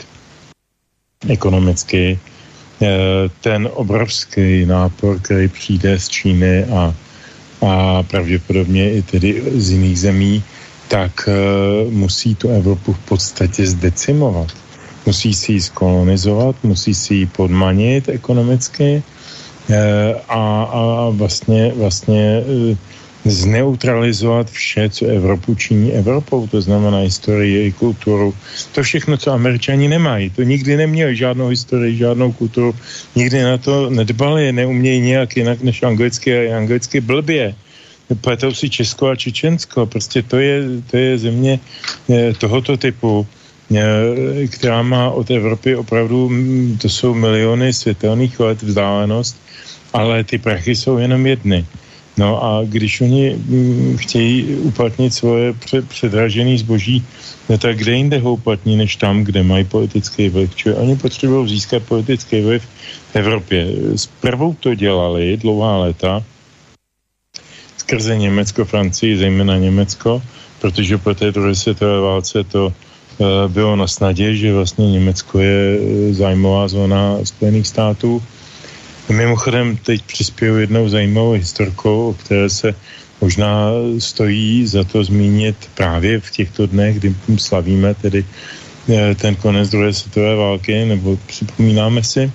[SPEAKER 4] ekonomicky ten obrovský nápor, který přijde z Číny a, a pravděpodobně i tedy z jiných zemí, tak musí tu Evropu v podstatě zdecimovat. Musí si ji skolonizovat, musí si ji podmanit ekonomicky a, a vlastně, vlastně zneutralizovat vše, co Evropu činí Evropou, to znamená historii, kulturu. To všechno, co Američani nemají. To nikdy neměli žádnou historii, žádnou kulturu, nikdy na to nedbali, neumějí nějak jinak než anglicky a anglicky blbě. Pletou si Česko a Čečensko. Prostě to je, to je země tohoto typu, která má od Evropy opravdu, to jsou miliony světelných let vzdálenost, ale ty prachy jsou jenom jedny. No a když oni chtějí uplatnit svoje předražené zboží, no tak kde jinde ho uplatní, než tam, kde mají politický vliv. Čili oni potřebují získat politický vliv v Evropě. Zprvu to dělali dlouhá léta, skrze Německo, Francii, zejména Německo, protože po té druhé světové válce to uh, bylo na snadě, že vlastně Německo je zájmová zóna Spojených států. Mimochodem teď přispěju jednou zajímavou historkou, o které se možná stojí za to zmínit právě v těchto dnech, kdy slavíme tedy uh, ten konec druhé světové války, nebo připomínáme si.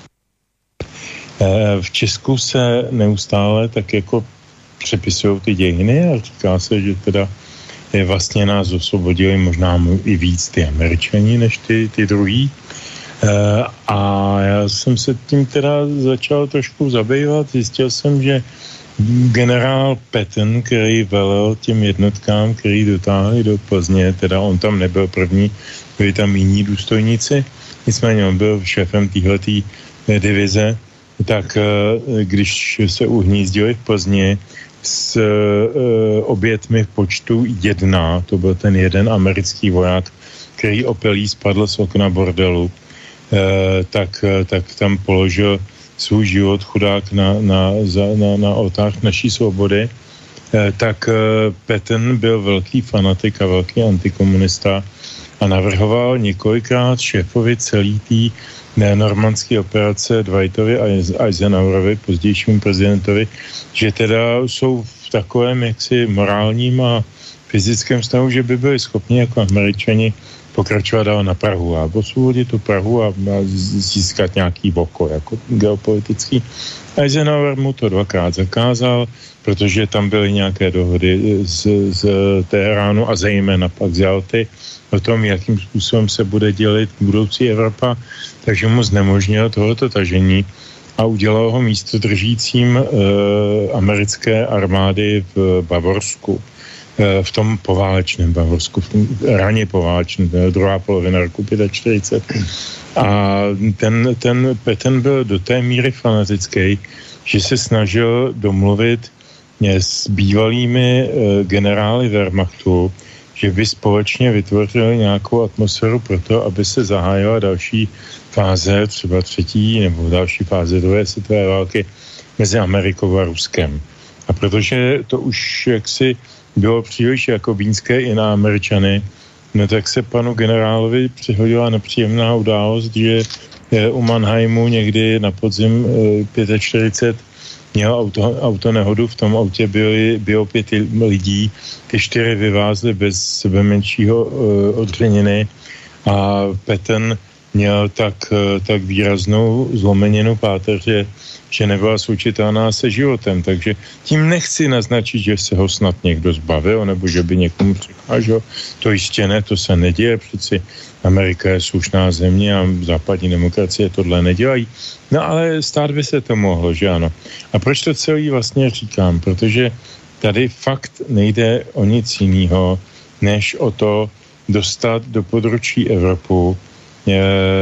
[SPEAKER 4] Uh, v Česku se neustále tak jako přepisují ty dějiny a říká se, že teda je vlastně nás osvobodili možná i víc ty Američani než ty, ty druhý. E, a já jsem se tím teda začal trošku zabývat. Zjistil jsem, že generál Patton, který velel těm jednotkám, který dotáhli do Plzně, teda on tam nebyl první, byli tam jiní důstojníci, nicméně on byl šéfem téhletý divize, tak když se uhnízdili v Plzni s e, obětmi v počtu jedna, to byl ten jeden americký voják, který opelí spadl z okna bordelu, e, tak, tak tam položil svůj život chudák na, na, na, na oltář naší svobody, e, tak e, Patton byl velký fanatik a velký antikomunista a navrhoval několikrát šéfovi celý tý normandské operace Dwightovi a Eisenhowerovi, pozdějšímu prezidentovi, že teda jsou v takovém jaksi morálním a fyzickém stavu, že by byli schopni jako Američani pokračovat dál na Prahu a osvobodit tu Prahu a, a získat nějaký boko jako geopolitický. Eisenhower mu to dvakrát zakázal, protože tam byly nějaké dohody z, z Teheránu a zejména pak z Jalty o tom, jakým způsobem se bude dělit budoucí Evropa, takže mu znemožnil tohoto tažení a udělal ho místo držícím e, americké armády v Bavorsku, e, v tom poválečném Bavorsku, v tom raně poválečném, druhá polovina roku čtyřicet pět. A ten, ten Patton byl do té míry fanatický, že se snažil domluvit s bývalými e, generály Wehrmachtu, že by společně vytvořili nějakou atmosféru pro to, aby se zahájila další fáze, třeba třetí nebo další fáze druhé světové války mezi Amerikou a Ruskem. A protože to už jaksi bylo příliš jako vínské i na Američany, no tak se panu generálovi přihodila nepříjemná událost, že u Mannheimu někdy na podzim čtyřicet pět měl auto, auto nehodu, v tom autě byly, bylo pět lidí, ty čtyři vyvázly bez sebe menšího uh, odřeniny a Patton měl tak, uh, tak výraznou zlomeninu páteře, že nebyla slučitelná se životem, takže tím nechci naznačit, že se ho snad někdo zbavil, nebo že by někomu překážel, to jistě ne, to se neděje, přeci Amerika je slušná země a západní demokracie tohle nedělají. No ale stát by se to mohlo, že ano. A proč to celý vlastně říkám? Protože tady fakt nejde o nic jiného, než o to dostat do područí Evropu, e, e,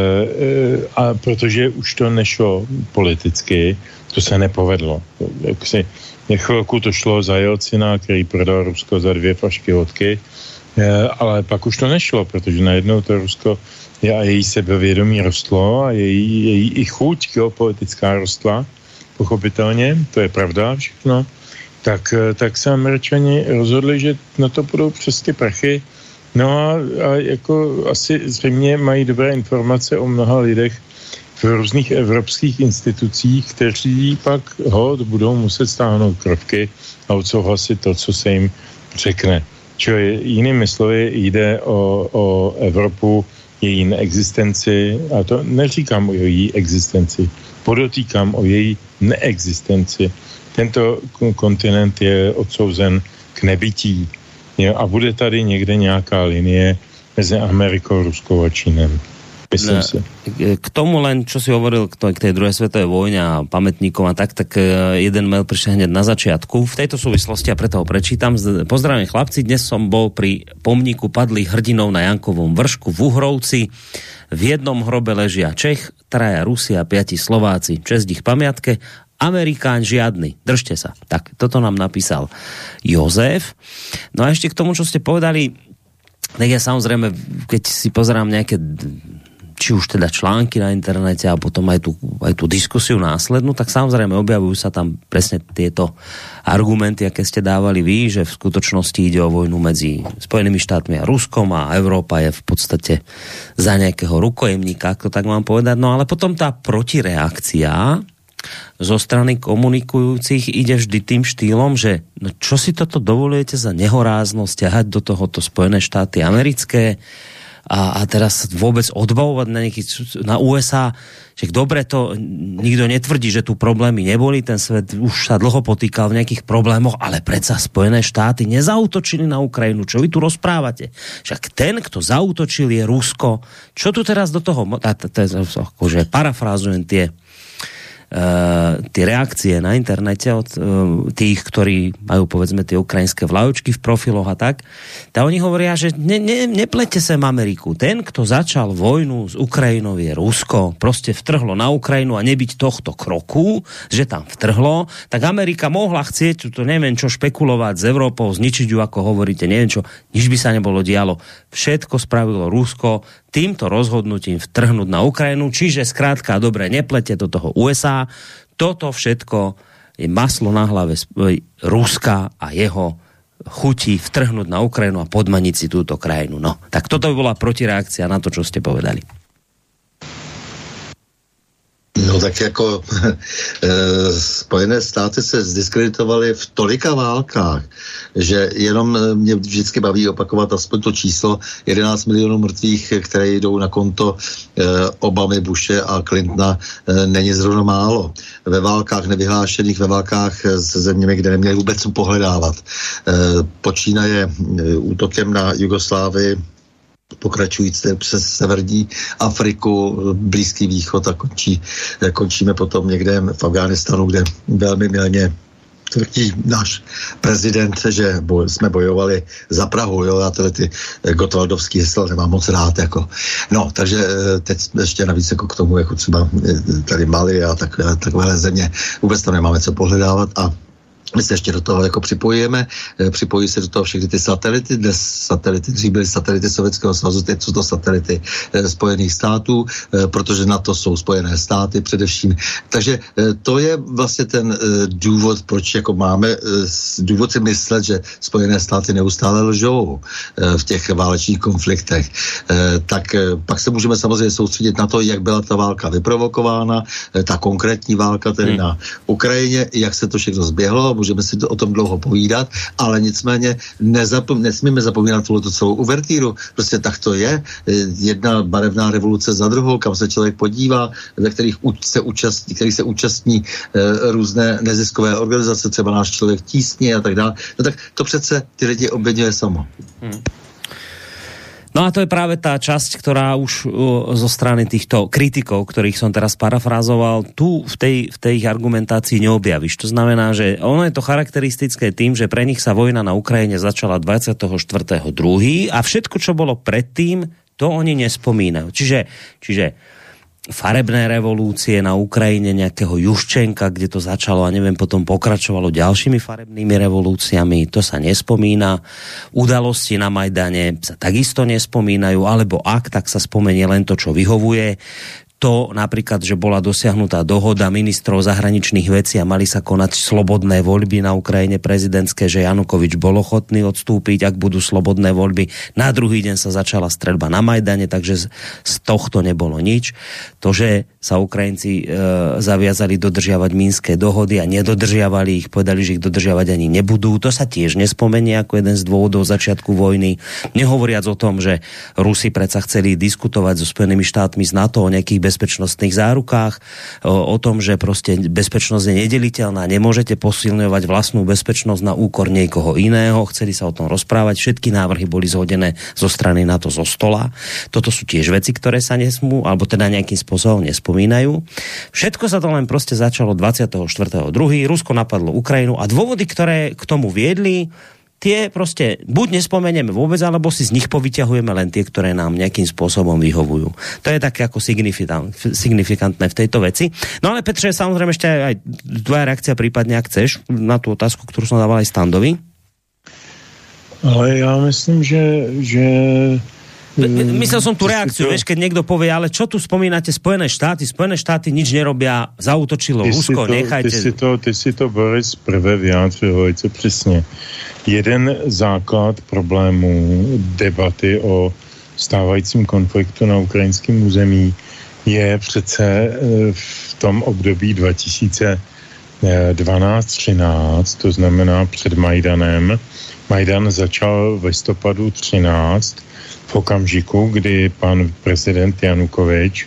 [SPEAKER 4] a protože už to nešlo politicky, to se nepovedlo. Jak si, chvilku to šlo za Jelcina, který prodal Rusko za dvě flašky vodky, ale pak už to nešlo, protože najednou to Rusko a její sebevědomí rostlo a její, její i chuť geopolitická rostla, pochopitelně, to je pravda všechno, tak, tak se Američani rozhodli, že na to půjdou přes ty prachy. No a, a jako asi zřejmě mají dobré informace o mnoha lidech v různých evropských institucích, kteří pak ho budou muset stáhnout kroky a odsouhlasit to, co se jim řekne. Čili jinými slovy jde o, o Evropu, její neexistenci, a to neříkám o její existenci, podotýkám o její neexistenci. Tento kontinent je odsouzen k nebytí. Jo, a bude tady někde nějaká linie mezi Amerikou, Ruskou a Čínem. Myslím si.
[SPEAKER 2] K tomu len, čo si hovoril k tej druhej svetovej vojne a pamätníkom a tak, tak jeden mail prišiel hneď na začiatku. V tejto súvislosti, a preto ho prečítam. Pozdravím chlapci, dnes som bol pri pomníku padlých hrdinov na Jankovom vršku v Uhrovci. V jednom hrobe ležia Čech, traja Rusi a piati Slováci. Česť ich pamiatke. Amerikán žiadny. Držte sa. Tak, toto nám napísal Jozef. No a ešte k tomu, čo ste povedali, tak ja samozrejme, keď si pozerám nejaké či už teda články na internete a potom aj tú, aj tú diskusiu následnú, tak samozrejme objavujú sa tam presne tieto argumenty, aké ste dávali vy, že v skutočnosti ide o vojnu medzi Spojenými štátmi a Ruskom a Európa je v podstate za nejakého rukojemníka, ako tak mám povedať. No ale potom tá protireakcia zo strany komunikujúcich ide vždy tým štýlom, že no čo si toto dovolujete za nehoráznosť ťahať do tohoto Spojené štáty americké a, a teraz vôbec odbavovať na nejaký, na ú es á, že dobre to nikto netvrdí, že tu problémy neboli, ten svet už sa dlho potýkal v nejakých problémoch, ale predsa Spojené štáty nezautočili na Ukrajinu, čo vy tu rozprávate? Však ten, kto zautočil, je Rusko. Čo tu teraz do toho, akože parafrázujem tie Uh, tie reakcie na internete od uh, tých, ktorí majú povedzme tie ukrajinské vlajočky v profiloch a tak, tak oni hovoria, že ne, ne, neplete sem Ameriku. Ten, kto začal vojnu s Ukrajinou, je Rusko. Proste vtrhlo na Ukrajinu a nebyť tohto kroku, že tam vtrhlo, tak Amerika mohla chcieť, to neviem čo, špekulovať s Európou, zničiť ju, ako hovoríte, neviem čo, nič by sa nebolo dialo. Všetko spravilo Rusko týmto rozhodnutím vtrhnúť na Ukrajinu, čiže skrátka, dobre, neplete do toho ú es á. Toto všetko je maslo na hlave Ruska a jeho chutí vtrhnúť na Ukrajinu a podmaniť si túto krajinu. No, tak toto by bola protireakcia na to, čo ste povedali.
[SPEAKER 5] No tak jako e, Spojené státy se zdiskreditovaly v tolika válkách, že jenom mě vždycky baví opakovat aspoň to číslo jedenáct milionů mrtvých, které jdou na konto e, Obamy, Bushe a Clintona, e, není zrovna málo. Ve válkách nevyhlášených, ve válkách se zeměmi, kde neměli vůbec co pohledávat. E, počínaje e, útokem na Jugoslávii, pokračující přes severní Afriku, Blízký východ a končí, končíme potom někde v Afghánistánu, kde velmi milně tvrdí náš prezident, že boj, jsme bojovali za Prahu, jo, já tyhle ty gotwaldovský hesla nemám moc rád, jako. No, takže teď ještě navíc jako k tomu, jako třeba tady Mali a tak, takové země, vůbec tam nemáme co pohledávat a my se ještě do toho jako připojíme, připojí se do toho všechny ty satelity, dnes satelity, dřív byly satelity Sovětského svazu, teď jsou to satelity Spojených států, protože na to jsou Spojené státy především. Takže to je vlastně ten důvod, proč jako máme důvod si myslet, že Spojené státy neustále lžou v těch válečných konfliktech. Tak pak se můžeme samozřejmě soustředit na to, jak byla ta válka vyprovokována, ta konkrétní válka tedy hmm. na Ukrajině, jak se to všechno zběhlo, můžeme si to o tom dlouho povídat, ale nicméně nezapom- nesmíme zapomínat tuto celou uvertíru. Prostě tak to je. Jedna barevná revoluce za druhou, kam se člověk podívá, ve kterých se účastní, který se účastní e, různé neziskové organizace, třeba náš člověk tísně a tak dále. No tak to přece ty lidi oběňuje samo. Hmm.
[SPEAKER 2] No a to je práve tá časť, ktorá už uh, zo strany týchto kritikov, ktorých som teraz parafrázoval, tu v tej, v tej ich argumentácii neobjavíš. To znamená, že ono je to charakteristické tým, že pre nich sa vojna na Ukrajine začala dvadsiateho štvrtého druhého a všetko, čo bolo predtým, to oni nespomínajú. Čiže, čiže farebné revolúcie na Ukrajine, nejakého Juščenka, kde to začalo a neviem, potom pokračovalo ďalšími farebnými revolúciami, to sa nespomína. Udalosti na Majdane sa takisto nespomínajú, alebo ak, tak sa spomenie len to, čo vyhovuje. to napríklad, že bola dosiahnutá dohoda ministrov zahraničných vecí a mali sa konať slobodné voľby na Ukrajine prezidentské, že Janukovič bol ochotný odstúpiť, ak budú slobodné voľby. Na druhý deň sa začala streľba na Majdane, takže z, z tohto nebolo nič. To, že sa Ukrajinci e, zaviazali dodržiavať mínske dohody a nedodržiavali ich, povedali, že ich dodržiavať ani nebudú, to sa tiež nespomenie ako jeden z dôvodov začiatku vojny. Nehovoriac o tom, že Rusi predsa chceli diskutovať so Spojenými štátmi z NATO o nejakých bezpečnostných zárukách, o, o tom, že proste bezpečnosť je nedeliteľná, nemôžete posilňovať vlastnú bezpečnosť na úkor niekoho iného, chceli sa o tom rozprávať, všetky návrhy boli zhodené zo strany NATO zo stola. Toto sú tiež veci, ktoré sa nesmú, alebo teda nejakým spôsobom nespomínajú. Všetko sa to len proste začalo dvadsiateho štvrtého druhého Rusko napadlo Ukrajinu a dôvody, ktoré k tomu viedli, tie proste buď nespomenieme vôbec, alebo si z nich povyťahujeme len tie, ktoré nám nejakým spôsobom vyhovujú. To je také ako signifikantné v tejto veci. No ale Petře, samozrejme ešte aj tvoja reakcia prípadne, ak chceš, na tú otázku, ktorú som dával aj Standovi.
[SPEAKER 4] Ale ja myslím, že... že...
[SPEAKER 2] Myslel som tú reakciu, to... vieš, keď niekto povie, ale čo tu spomínate Spojené štáty? Spojené štáty nič nerobia, zaútočilo Rusko,
[SPEAKER 4] to,
[SPEAKER 2] nechajte...
[SPEAKER 4] Ty si to, ty si to Boris, prvé vyjádřil velice přesně. Jeden základ problémů debaty o stávajícím konfliktu na ukrajinském území je přece v tom období dva tisíce dvanáct třináct, to znamená před Majdanem. Majdan začal v listopadu třináct, v okamžiku, kdy pan prezident Janukovič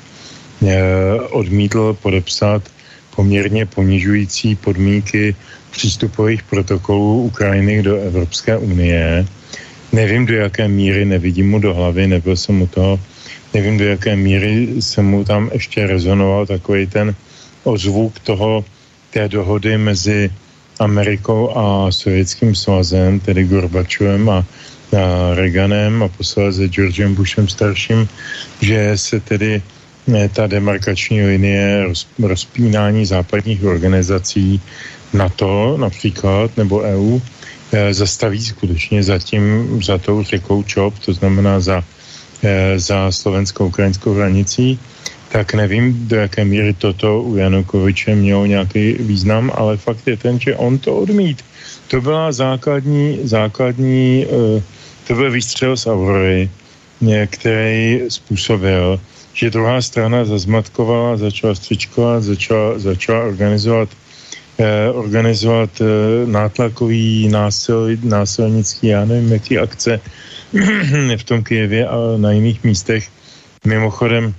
[SPEAKER 4] odmítl podepsat poměrně ponižující podmínky přístupových protokolů Ukrajiny do Evropské unie. Nevím, do jaké míry, nevidím mu do hlavy, nebyl jsem u toho, nevím, do jaké míry se mu tam ještě rezonoval takový ten ozvuk toho, té dohody mezi Amerikou a Sovětským svazem, tedy Gorbačovem a, a Reaganem a posléze Georgem Bushem starším, že se tedy ta demarkační linie roz, rozpínání západních organizací NATO například, nebo E U, e, zastaví skutečně za tím, za tou řekou ČOP, to znamená za, e, za slovensko-ukrajinskou hranicí, tak nevím, do jaké míry toto u Janukoviče mělo nějaký význam, ale fakt je ten, že on to odmít. To byla základní, základní e, to byl výstřel z Aurory, který způsobil, že druhá strana zazmatkovala, začala střičkovat, začala, začala organizovat Eh, organizovat eh, nátlakový násil, násilnický, já nevím, jaký akce v tom Kyjevě a na jiných místech. Mimochodem,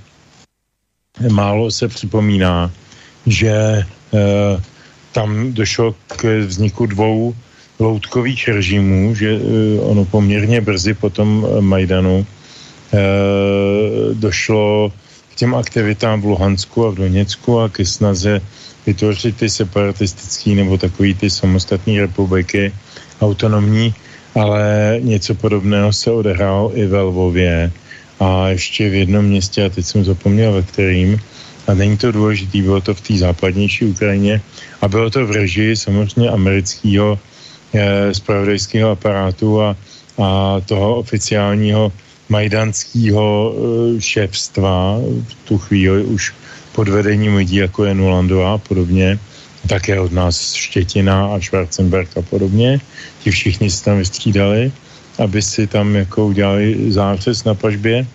[SPEAKER 4] málo se připomíná, že eh, tam došlo k vzniku dvou loutkových režimů, že eh, ono poměrně brzy po tom Majdanu eh, došlo k těm aktivitám v Luhansku a v Doněcku a ke snaze vytvořit ty separatistický nebo takový ty samostatné republiky autonomní, ale něco podobného se odehrálo i ve Lvově a ještě v jednom městě, a teď jsem zapomněl ve kterým, a není to důležitý, bylo to v té západnější Ukrajině a bylo to v režii samozřejmě amerického eh, zpravodajského aparátu a, a toho oficiálního majdanského eh, šéfstva v tu chvíli už pod vedením lidí, jako je Nulandová a podobně, také od nás Štětina a Schwarzenberg a podobně. Ti všichni se tam vystřídali, aby si tam jako udělali zářez na pažbě.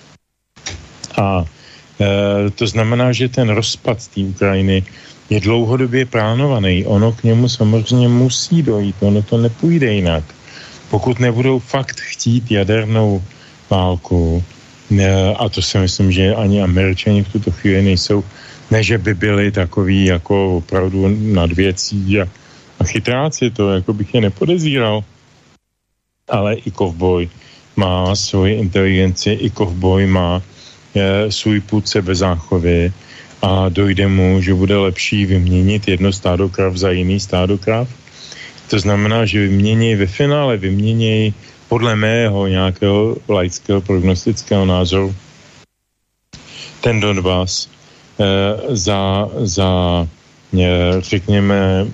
[SPEAKER 4] A e, to znamená, že ten rozpad z té Ukrajiny je dlouhodobě plánovaný. Ono k němu samozřejmě musí dojít, ono to nepůjde jinak. Pokud nebudou fakt chtít jadernou válku, a to si myslím, že ani Američani v tuto chvíli nejsou, ne, že by byli takový jako opravdu nad věcí a, a chytráci, to jako bych je nepodezíral. Ale i kovboj má svoji inteligenci, i kovboj má je, svůj pud sebezáchovy a dojde mu, že bude lepší vyměnit jedno stádo krav za jiný stádo krav. To znamená, že vymění ve finále, vymění podle mého nějakého laického prognostického názoru ten Donbas eh, za, za eh, řekněme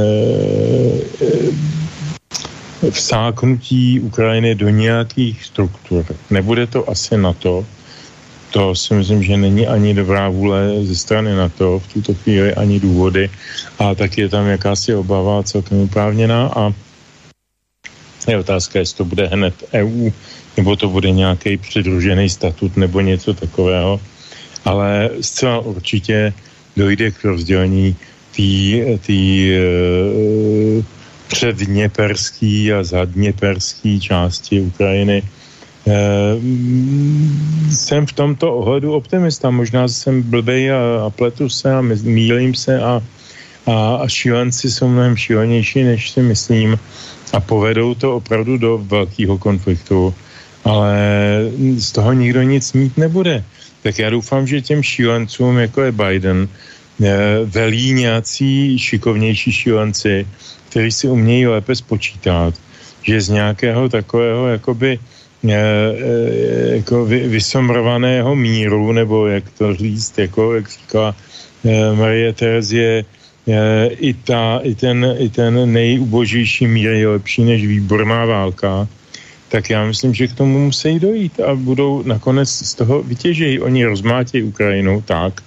[SPEAKER 4] eh, vsáknutí Ukrajiny do nějakých struktur. Nebude to asi NATO, to si myslím, že není ani dobrá vůle ze strany NATO v tuto chvíli, ani důvody. A tak je tam jakási obava celkem oprávněná a je otázka, jestli to bude hned E U, nebo to bude nějaký přidružený statut, nebo něco takového. Ale zcela určitě dojde k rozdělení té e, předdněperský a zadněperský části Ukrajiny. E, jsem v tomto ohledu optimista. Možná jsem blbej a, a pletu se a mýlím se a, a, a šílenci jsou mnohem šílenější, než si myslím a povedou to opravdu do velkého konfliktu. Ale z toho nikdo nic mít nebude. Tak já doufám, že těm šílencům, jako je Biden, velí nějací šikovnější šílenci, kteří si umějí lépe spočítat, že z nějakého takového jakoby jako vysomrovaného míru, nebo jak to říct, jako jak říkala Marie Terezie, i, ta, i, ten, i ten nejubožejší mír je lepší než výborná válka, tak já myslím, že k tomu musí dojít a budou nakonec z toho vytěžejí. Oni rozmátějí Ukrajinu tak,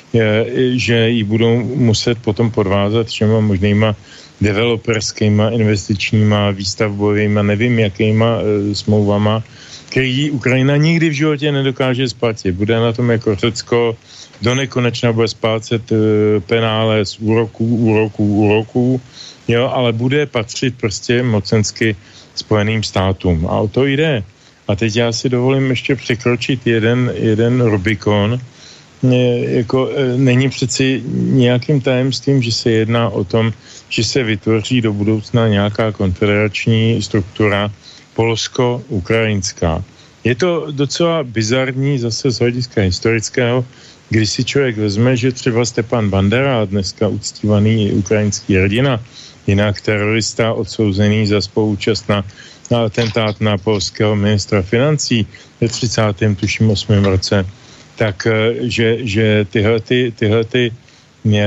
[SPEAKER 4] že ji budou muset potom podvázat všema možnýma developerskýma, investičníma, výstavbovýma, nevím jakýma e, smlouvama, který Ukrajina nikdy v životě nedokáže splatit. Bude na tom jako Řecko, do nekonečna bude splácet e, penále z úroků, úroků, úroků, jo, ale bude patřit prostě mocensky Spojeným státům. A o to jde. A teď já si dovolím ještě překročit jeden, jeden Rubikon. Jako, není přeci nějakým tajemstvím, že se jedná o tom, že se vytvoří do budoucna nějaká konfederační struktura polsko-ukrajinská. Je to docela bizarní zase z hlediska historického, když si člověk vezme, že třeba Stepan Bandera, dneska uctívaný ukrajinský hrdina, jinak terorista odsouzený za spoluúčast na, na atentát na polského ministra financí ve třicátém tuším osmém roce, tak že, že tyhle, ty, tyhle ty, e,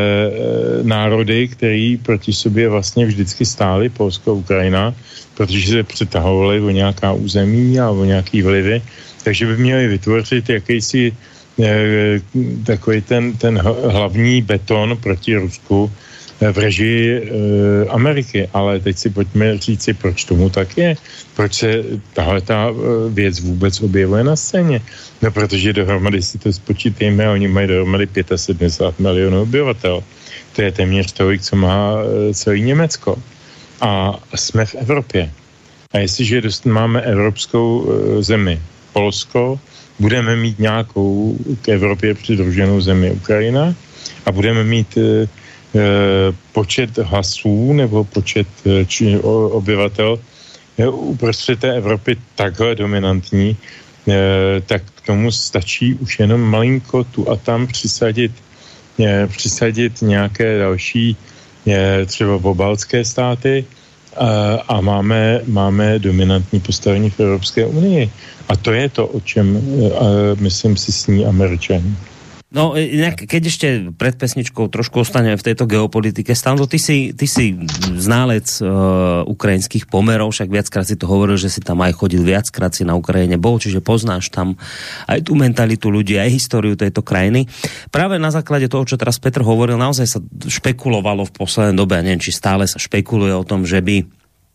[SPEAKER 4] národy, který proti sobě vlastně vždycky stály, Polsko a Ukrajina, protože se přetahovali o nějaká území a o nějaký vlivy, takže by měli vytvořit jakýsi e, takový ten, ten hlavní beton proti Rusku v režii e, Ameriky. Ale teď si pojďme říci, proč tomu tak je. Proč se tahle ta věc vůbec objevuje na scéně. No, protože dohromady si to spočítejme, oni mají dohromady sedmdesát pět milionů obyvatel. To je téměř tolik, co má celý Německo. A jsme v Evropě. A jestliže dost máme evropskou zemi, Polsko, budeme mít nějakou k Evropě přidruženou zemi Ukrajina a budeme mít počet hlasů nebo počet či, o, obyvatel uprostřed té Evropy takhle dominantní, tak k tomu stačí už jenom malinko tu a tam přisadit, přisadit nějaké další třeba pobaltské státy a, a máme, máme dominantní postavení v Evropské unii. A to je to, o čem myslím si sní Američani.
[SPEAKER 2] No, inak, keď ešte pred pesničkou trošku ostaneme v tejto geopolitike, Stando, ty si, ty si ználec uh, ukrajinských pomerov, však viackrát si to hovoril, že si tam aj chodil, viackrát si na Ukrajine bol, čiže poznáš tam aj tú mentalitu ľudí, aj históriu tejto krajiny. Práve na základe toho, čo teraz Petr hovoril, naozaj sa špekulovalo v poslednej dobe, a neviem, či stále sa špekuluje o tom, že by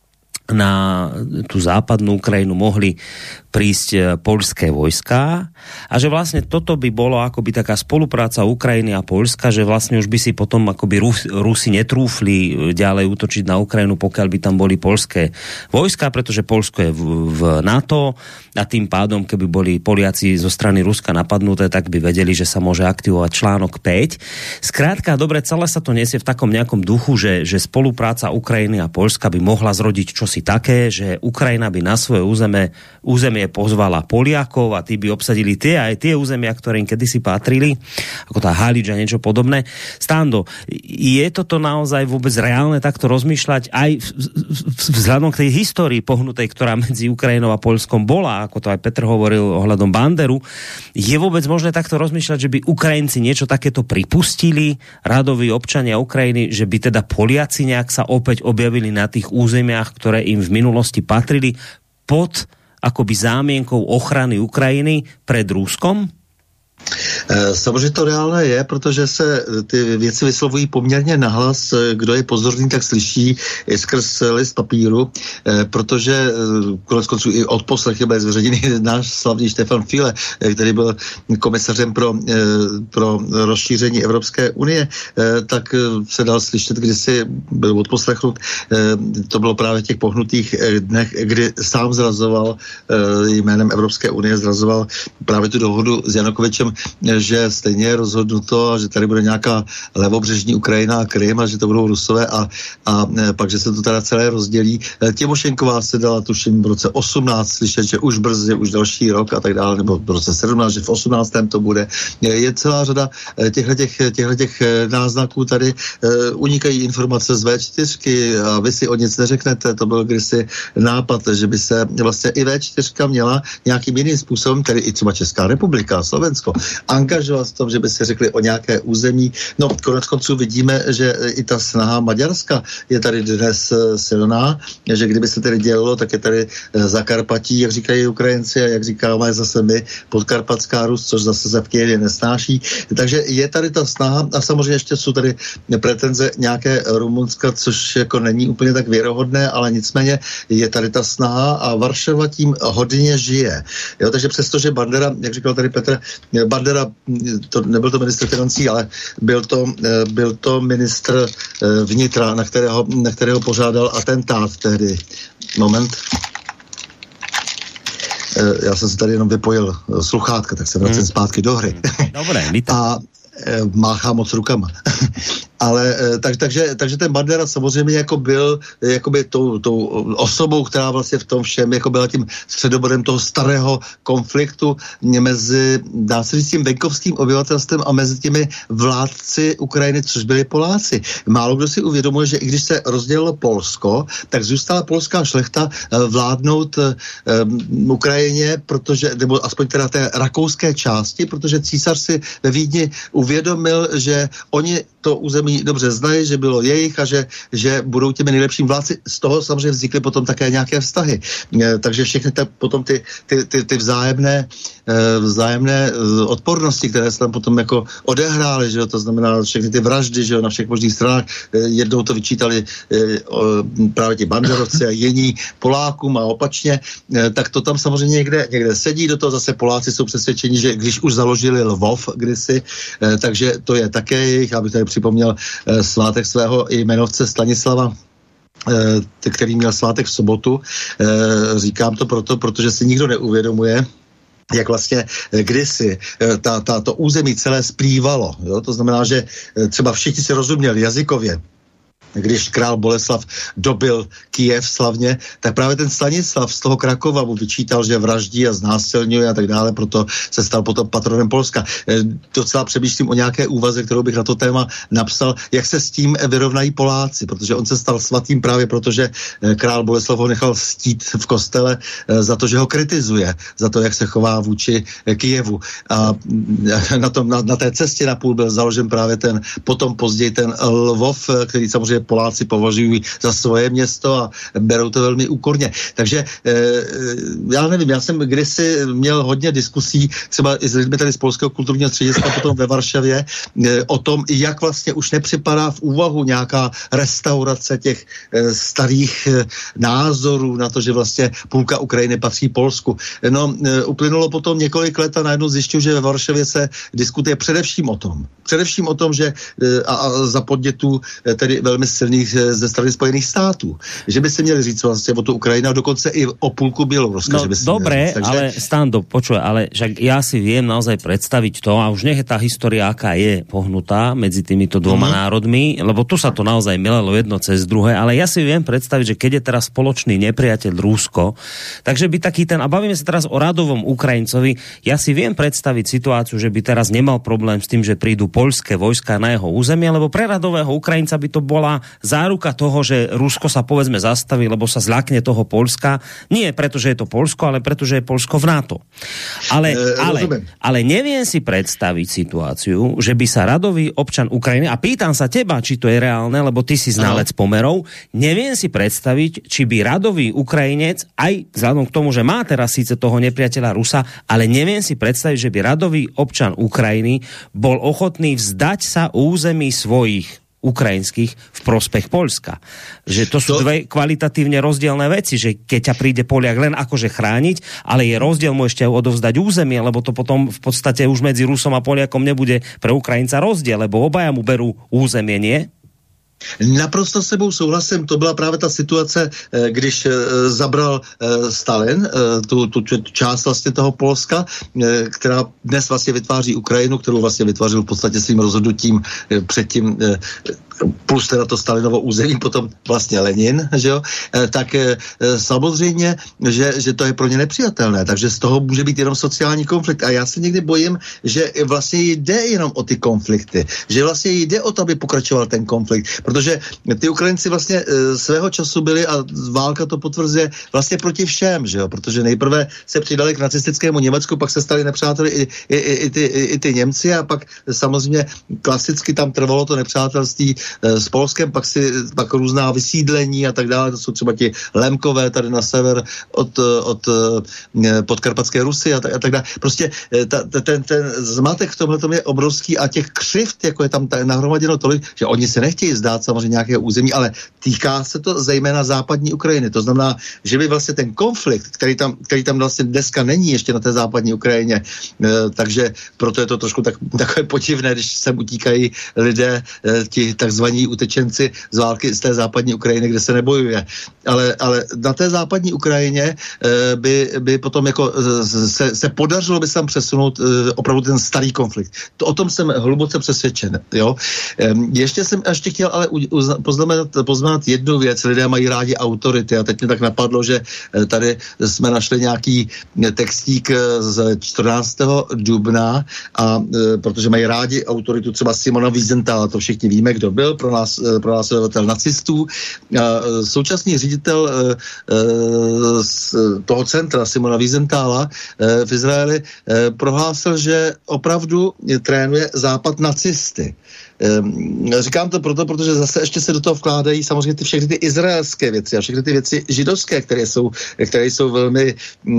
[SPEAKER 2] na tú západnú Ukrajinu mohli prísť poľské vojská a že vlastne toto by bolo akoby taká spolupráca Ukrajiny a Poľska, že vlastne už by si potom akoby Rus, Rusi netrúfli ďalej útočiť na Ukrajinu, pokiaľ by tam boli poľské vojská, pretože Poľsko je v, v NATO a tým pádom, keby boli Poliaci zo strany Ruska napadnuté, tak by vedeli, že sa môže aktivovať článok päť. Skrátka, dobre, celé sa to nesie v takom nejakom duchu, že, že spolupráca Ukrajiny a Poľska by mohla zrodiť čosi také, že Ukrajina by na svoje územie, územie pozvala Poliakov a tí by obsadili tie aj tie územia, ktoré im kedysi patrili, ako tá Halič a niečo podobné. Stando, je toto naozaj vôbec reálne takto rozmýšľať aj vzhľadom k tej histórii pohnutej, ktorá medzi Ukrajinou a Poľskom bola, ako to aj Petr hovoril ohľadom Banderu, je vôbec možné takto rozmýšľať, že by Ukrajinci niečo takéto pripustili, radoví občania Ukrajiny, že by teda Poliaci nejak sa opäť objavili na tých územiach, ktoré im v minulosti patrili pod akoby zámienkou ochrany Ukrajiny pred Ruskom?
[SPEAKER 5] Samozřejmě to reálné je, protože se ty věci vyslovují poměrně nahlas. Kdo je pozorný, tak slyší i skrz list papíru, protože konec konců i odposlechy byl zveřejněný náš slavný Štefan File, který byl komisařem pro, pro rozšíření Evropské unie, tak se dal slyšet, kdy si byl odposlechnut. To bylo právě v těch pohnutých dnech, kdy sám zrazoval jménem Evropské unie, zrazoval právě tu dohodu s Janukovyčem, že stejně je rozhodnuto, že tady bude nějaká levobřežní Ukrajina a Krym a že to budou Rusové a, a pak, že se to teda celé rozdělí. Těmošenková se dala tuším v roce osmnáct slyšet, že už brzy, už další rok a tak dále, nebo v roce sedmnáct, že v osmnáctém to bude. Je celá řada těchto náznaků tady. Unikají informace z vé čtyřky a vy si o nic neřeknete. To byl kdysi nápad, že by se vlastně i vé čtyřka měla nějakým jiným způsobem, tedy i třeba Česká republika, Slovensko, angažovat v tom, že by si řekli o nějaké území. No, konec konců vidíme, že i ta snaha Maďarska je tady dnes silná, že kdyby se tedy dělalo, tak je tady Zakarpatí, jak říkají Ukrajinci a jak říkáme zase my, Podkarpatská Rus, což zase se v Kyjevě nesnáší. Takže je tady ta snaha a samozřejmě ještě jsou tady pretenze nějaké Rumunska, což jako není úplně tak věrohodné, ale nicméně je tady ta snaha a Varšava tím hodně žije. Jo, takže přestože Bandera, jak říkal tady Petr, Bandera, to nebyl to ministr financí, ale byl to, byl to ministr vnitra, na kterého, na kterého pořádal atentát tehdy. Moment. Já jsem se tady jenom vypojil sluchátka, tak se vracím hmm. zpátky do hry.
[SPEAKER 2] Dobré,
[SPEAKER 5] a máchá moc rukama. Ale tak, takže, takže ten Bandera samozřejmě jako byl jakoby tou, tou osobou, která vlastně v tom všem jako byla tím středobodem toho starého konfliktu mezi, dá se říct, tím venkovským obyvatelstvem a mezi těmi vládci Ukrajiny, což byli Poláci. Málo kdo si uvědomuje, že i když se rozdělilo Polsko, tak zůstala polská šlechta vládnout um, Ukrajině, protože, nebo aspoň teda té rakouské části, protože císař si ve Vídni uvědomil, že oni to území dobře znají, že bylo jejich a že, že budou těmi nejlepším vládci. Z toho samozřejmě vznikly potom také nějaké vztahy. E, takže všechny ta, potom ty, ty, ty, ty vzájemné, e, vzájemné odpornosti, které se tam potom jako odehrály, že jo, to znamená všechny ty vraždy, že jo, na všech možných stranách. E, jednou to vyčítali e, o, právě ti banderovci a jiní Polákům a opačně, e, tak to tam samozřejmě někde, někde sedí. Do toho zase Poláci jsou přesvědčeni, že když už založili Lvov kdysi, e, takže to je také jejich, aby tady připomněl e, svátek svého jmenovce Stanislava, e, který měl svátek v sobotu. E, říkám to proto, protože si nikdo neuvědomuje, jak vlastně kdysi ta, ta, to území celé splývalo. Jo? To znamená, že třeba všichni si rozuměli jazykově. Když král Boleslav dobil Kyjev slavně, tak právě ten Stanislav z toho Krakova mu vyčítal, že vraždí a znásilňuje a tak dále, proto se stal potom patronem Polska. E, docela přemýšlím o nějaké úvaze, kterou bych na to téma napsal, jak se s tím vyrovnají Poláci, protože on se stal svatým právě proto, že král Boleslav ho nechal stít v kostele e, za to, že ho kritizuje, za to, jak se chová vůči Kyjevu. A na, tom, na, na té cestě na půl byl založen právě ten, potom později ten Lvov, který samozřejmě Poláci považují za svoje město a berou to velmi úkorně. Takže e, já nevím, já jsem kdysi měl hodně diskusí třeba i s lidmi tady z Polského kulturního střediska potom ve Varšavě e, o tom, jak vlastně už nepřipadá v úvahu nějaká restaurace těch e, starých e, názorů na to, že vlastně půlka Ukrajiny patří Polsku. No, e, uplynulo potom několik let a najednou zjišťuji, že ve Varšavě se diskutuje především o tom. Především o tom, že e, a, a za podnětů e, tedy velmi silných ze strany Spojených států. Že by se měli říct vlastně o tu Ukrajinu a dokonce i o půlku Bieloruska.
[SPEAKER 2] No
[SPEAKER 5] že by si
[SPEAKER 2] dobre,
[SPEAKER 5] Takže...
[SPEAKER 2] ale Stando, počuj, ale však ja si viem naozaj predstaviť to a už nech je tá história, aká je pohnutá medzi týmito dvoma mm-hmm. národmi, lebo tu sa to naozaj milelo jedno cez druhé, ale ja si viem predstaviť, že keď je teraz spoločný nepriateľ Rusko, takže by taký ten, a bavíme sa teraz o radovom Ukrajincovi, ja si viem predstaviť situáciu, že by teraz nemal problém s tým, že prídu poľské vojska na jeho územie, lebo pre radového Ukrajinca by to bola jediná záruka toho, že Rusko sa povedzme zastaví, lebo sa zľakne toho Poľska. Nie preto, že je to Poľsko, ale preto, že je Poľsko v NATO. Ale, e, ale, ale neviem si predstaviť situáciu, že by sa radový občan Ukrajiny, a pýtam sa teba, či to je reálne, lebo ty si znalec pomerov, neviem si predstaviť, či by radový Ukrajinec, aj vzhľadom k tomu, že má teraz síce toho nepriateľa Rusa, ale neviem si predstaviť, že by radový občan Ukrajiny bol ochotný vzdať sa území svojich ukrajinských v prospech Poľska. Že to sú to... dve kvalitatívne rozdielne veci, že keď ťa príde Poliak len akože chrániť, ale je rozdiel mu ešte odovzdať územie, lebo to potom v podstate už medzi Rusom a Poliakom nebude pre Ukrajinca rozdiel, lebo obaja mu berú územie, nie?
[SPEAKER 5] Naprosto s sebou souhlasím, to byla právě ta situace, když zabral Stalin tu, tu část vlastně toho Polska, která dnes vlastně vytváří Ukrajinu, kterou vlastně vytvářil v podstatě svým rozhodnutím předtím, plus teda to Stalinovo území, potom vlastně Lenin, že jo, tak samozřejmě, že, že to je pro ně nepřijatelné, takže z toho může být jenom sociální konflikt. A já se někdy bojím, že vlastně jde jenom o ty konflikty, že vlastně jde o to, aby pokračoval ten konflikt, protože ty Ukrajinci vlastně svého času byli, a válka to potvrzuje, vlastně proti všem, že jo, protože nejprve se přidali k nacistickému Německu, pak se stali nepřáteli i, i, i, i, ty, i, i ty Němci, a pak samozřejmě klasicky tam trvalo to nepřátelství s Polskem, pak si pak různá vysídlení a tak dále, to jsou třeba ti Lemkové tady na sever od, od podkarpatské Rusy a tak, a tak dále. Prostě ta, ten, ten zmatek v tomhletom je obrovský a těch křivt, jako je tam nahromaděno tolik, že oni se nechtějí zdát samozřejmě nějakého území, ale týká se to zejména západní Ukrajiny. To znamená, že by vlastně ten konflikt, který tam, který tam vlastně dneska není ještě na té západní Ukrajině, takže proto je to trošku tak, takové podivné, když sem utíkají lidé, ti takzvaní utečenci z války z té západní Ukrajiny, kde se nebojuje. Ale, ale na té západní Ukrajině by, by potom jako se, se podařilo by se tam přesunout opravdu ten starý konflikt. To, o tom jsem hluboce přesvědčen. Jo? Ještě jsem ještě chtěl ale poznamenat, poznamenat jednu věc. Lidé mají rádi autority a teď mě tak napadlo, že tady jsme našli nějaký textík z čtrnáctého dubna, a protože mají rádi autoritu třeba Simona Wiesenthala, to všichni víme, kdo byl, pro nás, pro následovatel nacistů. A současný ředitel z toho centra Simona Wiesenthala v Izraeli prohlásil, že opravdu trénuje západ nacisty. Říkám to proto, protože zase ještě se do toho vkládají samozřejmě ty všechny ty izraelské věci a všechny ty věci židovské, které jsou, které jsou velmi,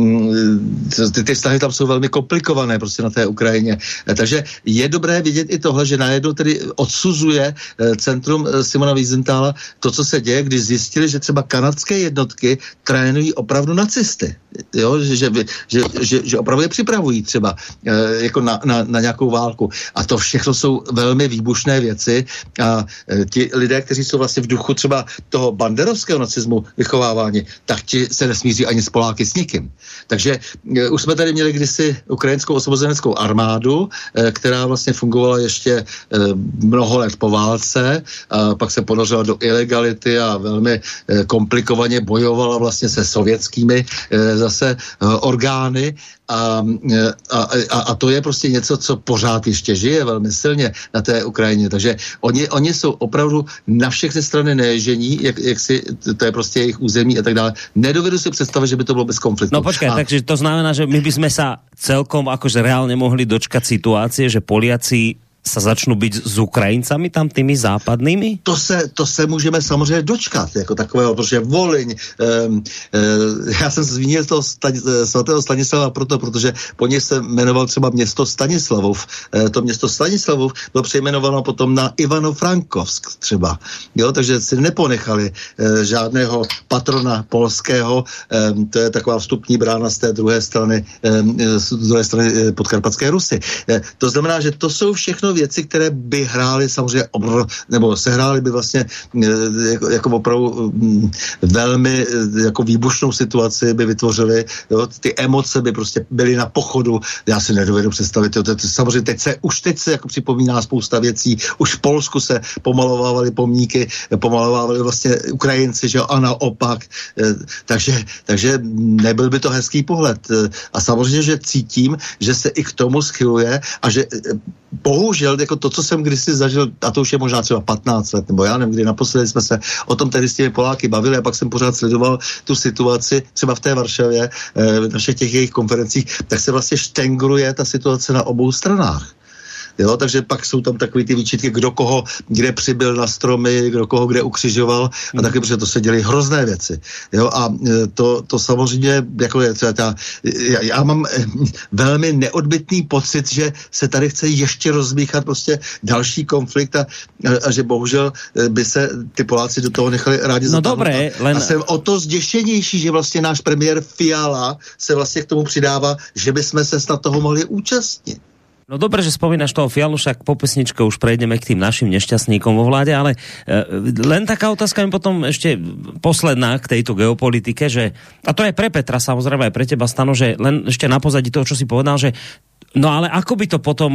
[SPEAKER 5] ty, ty vztahy tam jsou velmi komplikované prostě na té Ukrajině. Takže je dobré vidět i tohle, že najednou tedy odsuzuje centrum Simona Wiesenthala to, co se děje, když zjistili, že třeba kanadské jednotky trénují opravdu nacisty. Jo? Že, že, že, že, že opravdu je připravují třeba jako na, na, na nějakou válku. A to všechno jsou velmi výbušné věci a ti lidé, kteří jsou vlastně v duchu třeba toho banderovského nacismu vychovávání, tak ti se nesmíří ani s Poláky s nikým. Takže už jsme tady měli kdysi ukrajinskou osvobozeneckou armádu, která vlastně fungovala ještě mnoho let po válce, a pak se ponořila do ilegality a velmi komplikovaně bojovala vlastně se sovětskými zase orgány. A, a, a to je prostě něco, co pořád ještě žije velmi silně na té Ukrajině. Takže oni, oni jsou opravdu na všechny strany neježení, jak, jak si, to je prostě jejich území a tak dále. Nedovedu si představit, že by to bylo bez konfliktu.
[SPEAKER 2] No počkaj, a... takže to znamená, že my by sme sa celkom akože reálne mohli dočkať situácie, že Poliaci sa začnou být s Ukrajincami tam tými západnými?
[SPEAKER 5] To se, to se můžeme samozřejmě dočkat jako takového, protože Volyň, um, uh, já jsem zmínil toho Stani, svatého Stanislava proto, protože po něj se jmenoval třeba město Stanislavov. Uh, to město Stanislavov bylo přejmenováno potom na Ivano-Frankovsk třeba. Jo, takže si neponechali uh, žádného patrona polského, um, to je taková vstupní brána z té druhé strany, um, z druhé strany uh, podkarpatské Rusy. Uh, to znamená, že to jsou všechno věci, které by hrály samozřejmě obr, nebo sehrály by vlastně jako, jako opravdu velmi jako výbušnou situaci by vytvořily, jo, ty emoce by prostě byly na pochodu, já si nedovedu představit, jo, to, to, samozřejmě teď se, už teď se jako připomíná spousta věcí, už v Polsku se pomalovávaly pomníky, pomalovávaly vlastně Ukrajinci, že jo, a naopak, takže, takže nebyl by to hezký pohled a samozřejmě, že cítím, že se i k tomu schyluje a že bohužel bohužel jako to, co jsem kdysi zažil, a to už je možná třeba patnáct let, nebo já nevím, kdy naposledy jsme se o tom tehdy s těmi Poláky bavili a pak jsem pořád sledoval tu situaci, třeba v té Varšavě, v našich těch jejich konferencích, tak se vlastně štengruje ta situace na obou stranách. Jo, takže pak jsou tam takový ty výčitky, kdo koho kde přibyl na stromy, kdo koho kde ukřižoval a taky, protože to se děly hrozné věci. Jo, a to, to samozřejmě, jako je třeba ta, já, já mám velmi neodbytný pocit, že se tady chce ještě rozmíchat prostě další konflikt a, a že bohužel by se ty Poláci do toho nechali rádi
[SPEAKER 2] no
[SPEAKER 5] zatáhnout.
[SPEAKER 2] Dobré, len...
[SPEAKER 5] A jsem o to zděšenější, že vlastně náš premiér Fiala se vlastně k tomu přidává, že bychom se snad toho mohli účastnit.
[SPEAKER 2] No dobre, že spomínaš toho Fialu, však po pesničke už prejdeme k tým našim nešťastníkom vo vláde, ale e, len taká otázka mi potom ešte posledná k tejto geopolitike, že, a to je pre Petra, samozrejme aj pre teba, Stano, že len ešte na pozadí toho, čo si povedal, že no ale ako by to potom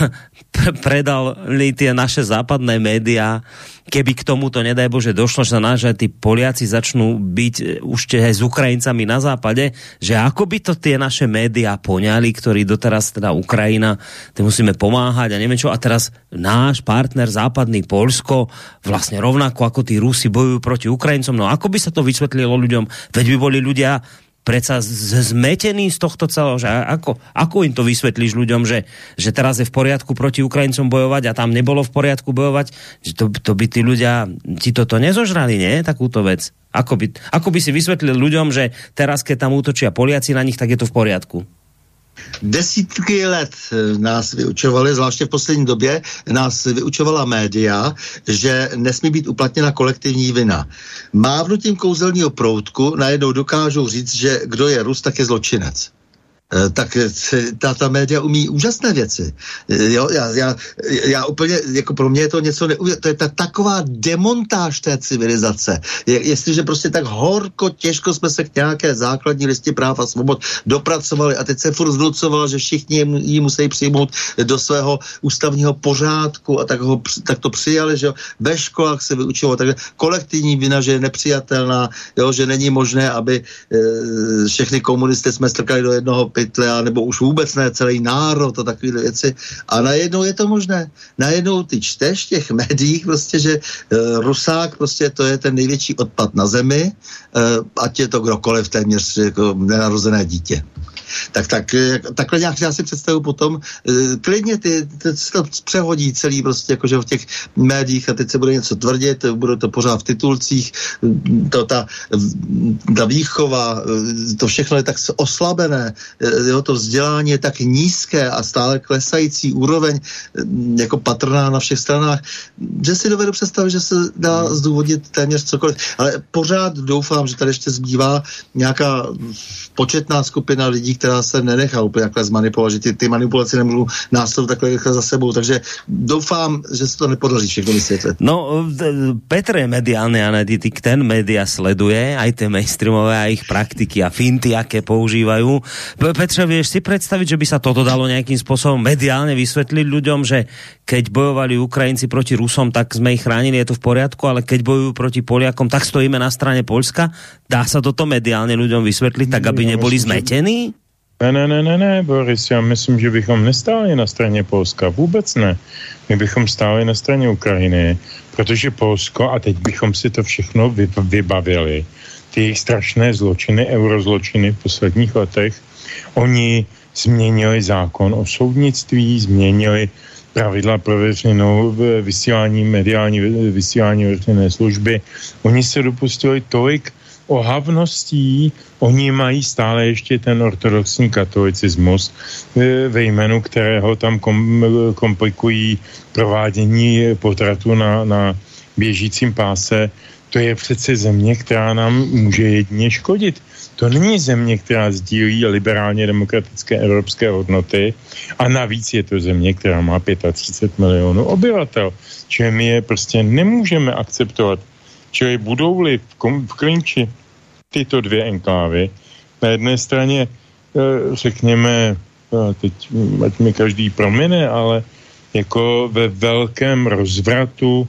[SPEAKER 2] predali tie naše západné médiá, keby k tomuto, nedaj Bože, došlo, že sa nás, že tí Poliaci začnú byť už aj s Ukrajincami na západe, že ako by to tie naše médiá poňali, ktorí doteraz teda Ukrajina, tým musíme pomáhať a neviem čo, a teraz náš partner západný Poľsko vlastne rovnako ako tí Rusi bojujú proti Ukrajincom, no ako by sa to vysvetlilo ľuďom, veď by boli ľudia predsa zmetený z tohto celého, že ako, ako im to vysvetlíš ľuďom, že, že teraz je v poriadku proti Ukrajincom bojovať a tam nebolo v poriadku bojovať, že to, to by tí ľudia ti toto nezožrali, nie? Takúto vec. Ako by, ako by si vysvetlil ľuďom, že teraz, keď tam útočia Poliaci na nich, tak je to v poriadku?
[SPEAKER 5] Desítky let nás vyučovali, zvláště v poslední době, nás vyučovala média, že nesmí být uplatněna kolektivní vina. Mávnutím kouzelního proutku najednou dokážou říct, že kdo je Rus, tak je zločinec. Tak ta, ta média umí úžasné věci. Jo, já, já, já úplně, jako pro mě je to něco neuvěřitelného. To je ta taková demontáž té civilizace. Je, jestliže prostě tak horko, těžko jsme se k nějaké základní listě práv a svobod dopracovali a teď se furt zvnucovalo, že všichni ji musí přijmout do svého ústavního pořádku a tak, ho, tak to přijali, že jo. Ve školách se vyučovalo tak kolektivní vina, že je nepřijatelná, jo, že není možné, aby e, všechny komunisty jsme strkali do jednoho pytle, nebo už vůbec ne celý národ a takové věci. A najednou je to možné. Najednou ty čteš v těch médiích prostě, že uh, Rusák prostě to je ten největší odpad na zemi, uh, ať je to kdokoliv, téměř jako nenarozené dítě. Tak, tak takhle nějak já si představuji potom, klidně ty, ty to přehodí celý prostě jakože v těch médiích a teď se bude něco tvrdit, bude to pořád v titulcích, to, ta, ta výchova, to všechno je tak oslabené, jo, to vzdělání je tak nízké a stále klesající úroveň jako patrná na všech stranách, že si dovedu představit, že se dá zdůvodnit téměř cokoliv. Ale pořád doufám, že tady ještě zbývá nějaká početná skupina lidí, která se nenechá úplně takhle zmanipulovat, že ty, ty manipulace nemůžou následovat takhle rychle za sebou, takže doufám, že se to nepodaří všechno vysvětlit.
[SPEAKER 2] No, Petr je mediálny analytik, ten média sleduje, aj tie mainstreamové a ich praktiky a finty, aké používajú. Petře, vieš si predstaviť, že by sa toto dalo nejakým spôsobom mediálne vysvetliť ľuďom, že keď bojovali Ukrajinci proti Rusom, tak sme ich chránili, je to v poriadku, ale keď bojujú proti Poliakom, tak stojíme na strane Poľska. Dá sa toto mediálne ľuďom vysvetliť, tak aby neboli zmetení?
[SPEAKER 4] Ne, ne, ne, ne, ne, Boris, já myslím, že bychom nestáli na straně Polska, vůbec ne. My bychom stáli na straně Ukrajiny, protože Polsko, a teď bychom si to všechno vybavili, ty jejich strašné zločiny, eurozločiny v posledních letech, oni změnili zákon o soudnictví, změnili pravidla pro veřejnou vysílání, mediální vysílání veřejné služby. Oni se dopustili tolik ohavností, oni mají stále ještě ten ortodoxní katolicismus, ve jménu kterého tam kom, komplikují provádění potratu na, na běžícím páse. To je přece země, která nám může jedině škodit. To není země, která sdílí liberálně demokratické evropské hodnoty a navíc je to země, která má třicet pět milionů obyvatel. Čili my je prostě nemůžeme akceptovat. Čili budou-li v, kom, v klinči tyto dvě enklávy, na jedné straně, řekněme, teď ať mi každý promine, ale jako ve velkém rozvratu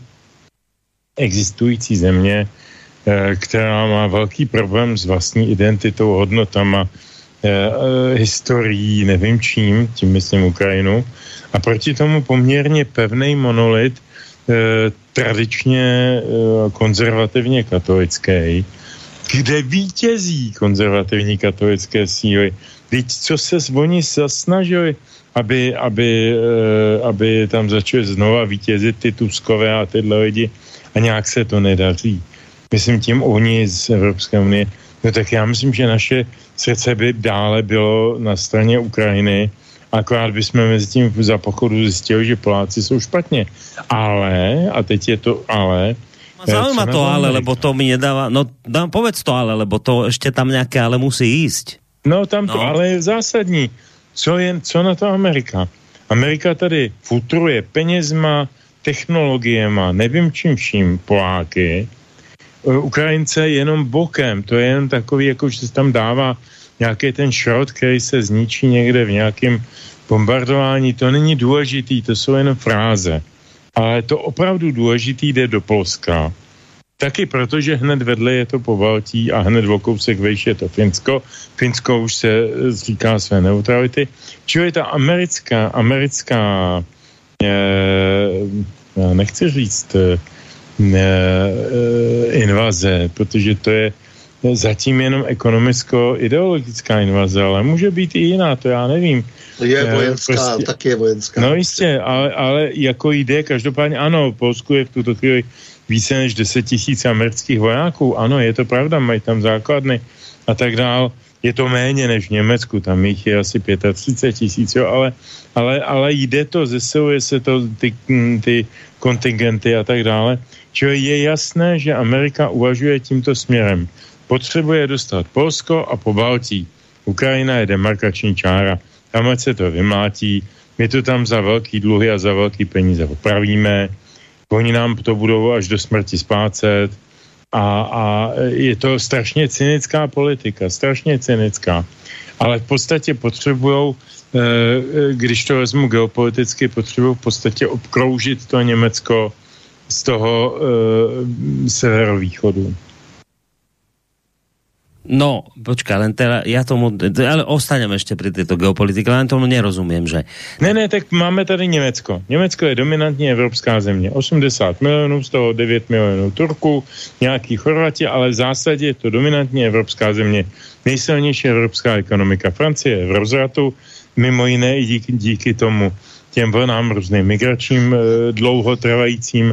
[SPEAKER 4] existující země, která má velký problém s vlastní identitou, hodnotama, historií, nevím čím, tím myslím Ukrajinu, a proti tomu poměrně pevný monolit, eh, tradičně eh, konzervativně katolický, kde vítězí konzervativní katolické síly. Víc, co se oni zasnažili, aby, aby, eh, aby tam začali znova vítězit ty Tuskové a tyhle lidi, a nějak se to nedaří. Myslím tím oni z Evropské unie. No tak já myslím, že naše srdce by dále bylo na straně Ukrajiny, akorát bychom mezi tím za pochodu zjistili, že Poláci jsou špatně. Ale, a teď je to ale...
[SPEAKER 2] Zaujíma to ale, lebo to mi nedáva... No dám, povedz to ale, lebo to ešte tam nejaké ale musí ísť.
[SPEAKER 4] No tam to
[SPEAKER 2] no.
[SPEAKER 4] ale je zásadní. Co, je, co na to Amerika? Amerika tady futruje penězma, technologiema, nevím čím vším, Poláky. Ukrajince jenom bokem, to je jen takový, jako že se tam dává nějaký ten šrot, který se zničí někde v nějakém bombardování, to není důležitý, to jsou jen fráze. Ale to opravdu důležitý jde do Polska. Taky proto, že hned vedle je to Pobaltí a hned o kousek vejš je to Finsko. Finsko už se říká své neutrality. Čili ta americká, americká eh, já nechci říct eh, invaze, protože to je zatím jenom ekonomicko-ideologická invaze, ale může být i jiná, to já nevím.
[SPEAKER 5] Je vojenská, prostě, taky je vojenská.
[SPEAKER 4] No jistě, ale, ale jako jde, každopádně ano, v Polsku je v tuto chvíli více než deset tisíc amerických vojáků, ano, je to pravda, mají tam základny a tak dál. Je to méně než v Německu, tam jich je asi třicet pět tisíc, jo, ale, ale, ale jde to, zesiluje se to, ty, ty kontingenty a tak dále. Čili je jasné, že Amerika uvažuje tímto směrem. Potřebuje dostat Polsko a Pobaltí. Ukrajina je demarkační čára. Tam se to vymlátí, my to tam za velký dluhy a za velký peníze opravíme, oni nám to budou až do smrti splácet a, a je to strašně cynická politika, strašně cynická. Ale v podstatě potřebujou, když to vezmu geopoliticky, potřebují v podstatě obkroužit to Německo z toho severovýchodu.
[SPEAKER 2] No, počkaj, len teda, ja tomu, ale ostanem ešte pri tejto geopolitike, len tomu nerozumiem, že...
[SPEAKER 4] Ne, ne, tak máme tady Německo. Německo je dominantně evropská země. osmdesát milionů, z toho devět milionů Turků, nějaký Chorvati, ale v zásadě je to dominantně evropská země. Nejsilnější evropská ekonomika. Francie je v rozvratu, mimo jiné i díky, díky tomu těm vlnám různým migračním, dlouhotrvajícím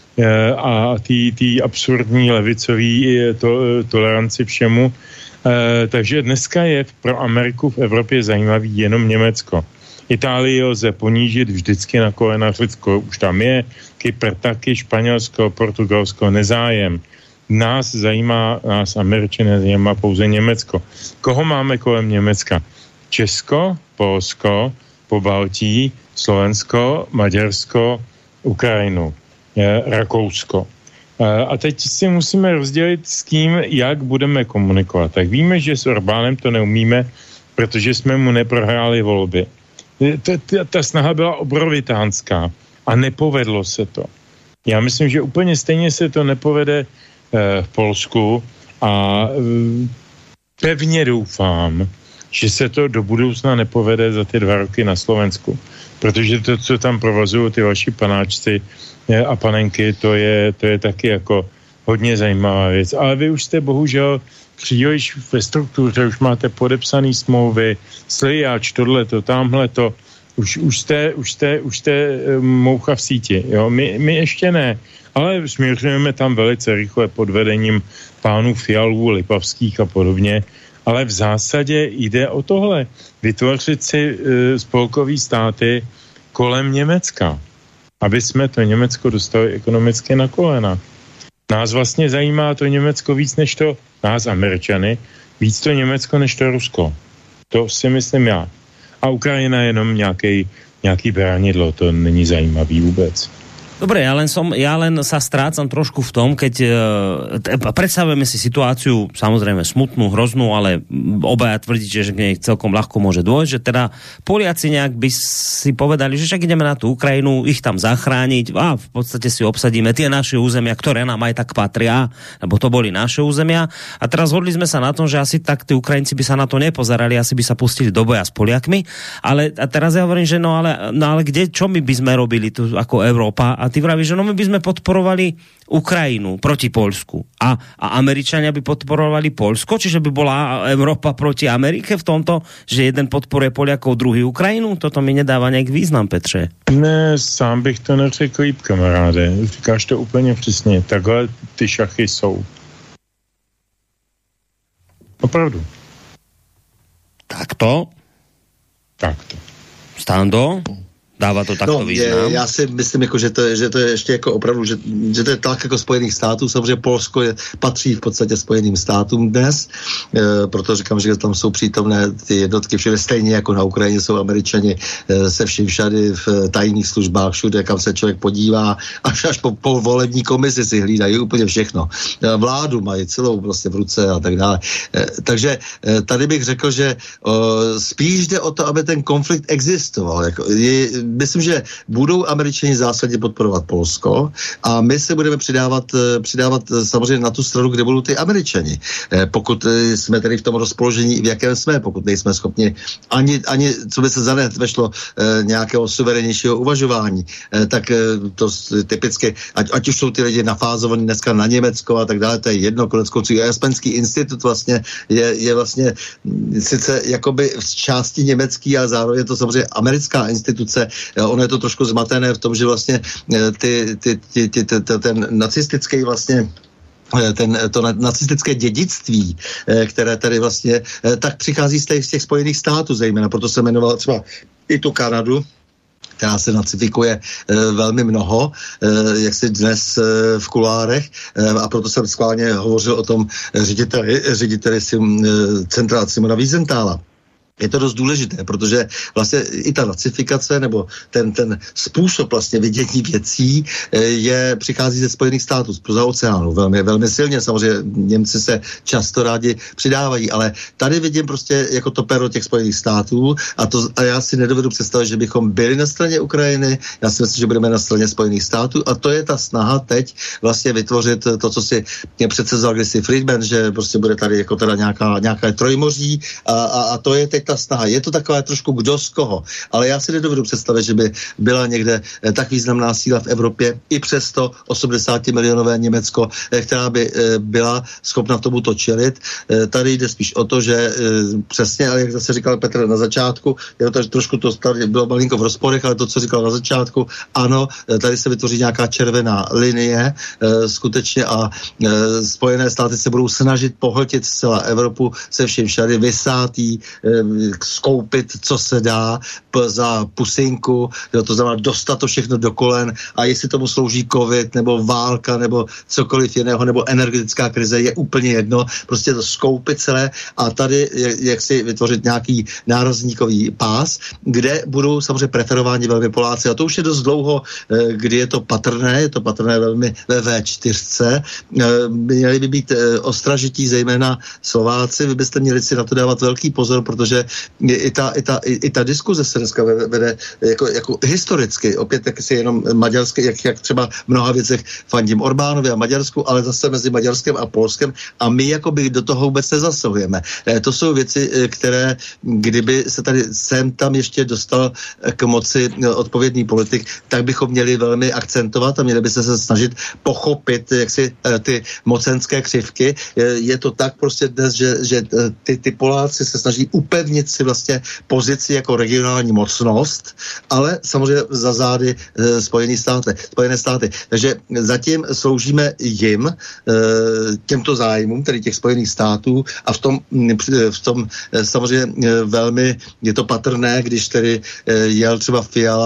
[SPEAKER 4] a ty, ty absurdní levicový to, toleranci všemu. E, takže dneska je pro Ameriku v Evropě zajímavý jenom Německo. Itálii lze ponížit vždycky na kolena, Řecko už tam je, Kypr taky, Španělsko, Portugalsko, nezájem. Nás zajímá, nás Američané zajímá pouze Německo. Koho máme kolem Německa? Česko, Polsko, Pobaltí, Slovensko, Maďarsko, Ukrajinu. Rakousko. A teď si musíme rozdělit s kým, jak budeme komunikovat. Tak víme, že s Orbánem to neumíme, protože jsme mu neprohráli volby. Ta, ta, ta snaha byla obrovitánská a nepovedlo se to. Já myslím, že úplně stejně se to nepovede v Polsku a pevně doufám, že se to do budoucna nepovede za ty dva roky na Slovensku. Protože to, co tam provozují ty vaši panáčci a panenky, to je, to je taky jako hodně zajímavá věc. Ale vy už jste bohužel příliš ve struktuře, už máte podepsaný smlouvy, slijač, tohleto, tamhleto, už, už, jste, už, jste, už jste moucha v síti. Jo? My, my ještě ne, ale směřujeme tam velice rychle pod vedením pánů Fialů, Lipavských a podobně. Ale v zásadě jde o tohle. Vytvořit si e, spolkový státy kolem Německa, aby jsme to Německo dostali ekonomicky na kolena. Nás vlastně zajímá to Německo víc než to, nás Američany, víc to Německo než to Rusko. To si myslím já. A Ukrajina je jenom nějaký, nějaký bránidlo, to není zajímavý vůbec.
[SPEAKER 2] Dobre, ja len, som, ja len sa strácam trošku v tom, keď e, predstavujeme si situáciu, samozrejme smutnú, hroznú, ale obaja tvrdíte, že k nej celkom ľahko môže dôjsť, že teda Poliaci nejak by si povedali, že však ideme na tú Ukrajinu, ich tam zachrániť a v podstate si obsadíme tie naše územia, ktoré nám aj tak patria, lebo to boli naše územia. A teraz hodli sme sa na tom, že asi tak tí Ukrajinci by sa na to nepozerali, asi by sa pustili do boja s Poliakmi, ale a teraz ja hovorím, že no ale, no ale kde, čo my by sme robili tu ako Európa? A ty vravíš, že no my by sme podporovali Ukrajinu proti Poľsku a, a Američania by podporovali Poľsko, čiže by bola Európa proti Amerike v tomto, že jeden podporuje Poliakov, druhý Ukrajinu? Toto mi nedáva nějak význam, Petře.
[SPEAKER 4] Ne, sám bych to neřekl, líp, kamaráde. Říkáš to úplně přesně. Takhle ty šachy jsou. Opravdu.
[SPEAKER 2] Takto?
[SPEAKER 4] Takto.
[SPEAKER 2] Stando? Dává to takto
[SPEAKER 5] no,
[SPEAKER 2] význam?
[SPEAKER 5] Je, já si myslím, jako, že, to je, že to je ještě jako opravdu, že, že to je tak jako Spojených států. Samozřejmě Polsko je, patří v podstatě Spojeným státům dnes, e, proto říkám, že tam jsou přítomné ty jednotky všude, stejně jako na Ukrajině jsou Američani e, se vším všady v tajných službách, všude, kam se člověk podívá, až až po, po volební komisi si hlídají úplně všechno. E, vládu mají celou vlastně v ruce a tak dále. E, takže e, tady bych řekl, že e, spíš jde o to, aby ten konflikt existoval. Jako, je, myslím, že budou Američani zásadně podporovat Polsko a my se budeme přidávat, přidávat samozřejmě na tu stranu, kde budou ty Američani. Pokud jsme tedy v tom rozpoložení, v jakém jsme, pokud nejsme schopni ani, ani co by se zanet vešlo nějakého suverenějšího uvažování, tak to typicky, ať, ať už jsou ty lidi nafázovaní dneska na Německo a tak dále, to je jedno, koneckonců Jaspenský institut vlastně je, je vlastně sice jakoby v části německý, ale zároveň je to samozřejmě americká instituce. Ono je to trošku zmatené v tom, že vlastně ty, ty, ty, ty, ty, ten nacistický vlastně ten, to nacistické dědictví, které tady vlastně tak přichází z těch, z těch Spojených států zejména, proto se jmenoval třeba i tu Kanadu, která se nacifikuje e, velmi mnoho, e, jak si dnes e, v kulárech, e, a proto jsem schválně hovořil o tom řediteli, řediteli sim, e, centra Simona Wiesenthala. Je to dost důležité, protože vlastně i ta nacifikace nebo ten, ten způsob vlastně vidění věcí je, přichází ze Spojených států, z oceánu, velmi, velmi silně. Samozřejmě Němci se často rádi přidávají, ale tady vidím prostě jako to pero těch Spojených států a, to, a já si nedovedu představit, že bychom byli na straně Ukrajiny, já si myslím, že budeme na straně Spojených států a to je ta snaha teď vlastně vytvořit to, co si mě předsevzal kdysi Friedman, že prostě bude tady jako teda nějaká, nějaká trojmoří a, a, a to je teď ta snaha. Je to taková trošku kdo z koho, ale já si nedovedu představit, že by byla někde tak významná síla v Evropě i přes to osmdesátimilionové Německo, která by byla schopna tomuto čelit. Tady jde spíš o to, že přesně, ale jak zase říkal Petr na začátku, je to trošku to tady bylo malinko v rozporech, ale to, co říkal na začátku, ano, tady se vytvoří nějaká červená linie skutečně a Spojené státy se budou snažit pohltit zcela Evropu se vším všady, vysátí, skoupit, co se dá p- za pusinku, jo, to znamená dostat to všechno do kolen a jestli tomu slouží covid, nebo válka, nebo cokoliv jiného, nebo energetická krize, je úplně jedno, prostě to skoupit celé a tady jak si vytvořit nějaký nárazníkový pás, kde budou samozřejmě preferováni velmi Poláci a to už je dost dlouho, kdy je to patrné, je to patrné velmi ve vé čtyři. Měli by být ostražití zejména Slováci, vy byste měli si na to dávat velký pozor, protože i ta, i ta, i ta diskuze se dneska vede jako, jako historicky, opět jak si jenom maďarské, jak, jak třeba v mnoha věcech fandím Orbánovi a Maďarsku, ale zase mezi Maďarskem a Polskem a my jakoby do toho vůbec nezasahujeme. To jsou věci, které kdyby se tady sem tam ještě dostal k moci odpovědný politik, tak bychom měli velmi akcentovat a měli by se, se snažit pochopit jak si ty mocenské křivky. Je to tak prostě dnes, že, že ty, ty Poláci se snaží upevnit si vlastně pozici jako regionální mocnost, ale samozřejmě za zády e, Spojené státy. Spojené státy. Takže zatím sloužíme jim, e, těmto zájmům, tedy těch Spojených států a v tom, v tom e, samozřejmě e, velmi je to patrné, když tedy e, jel třeba Fiala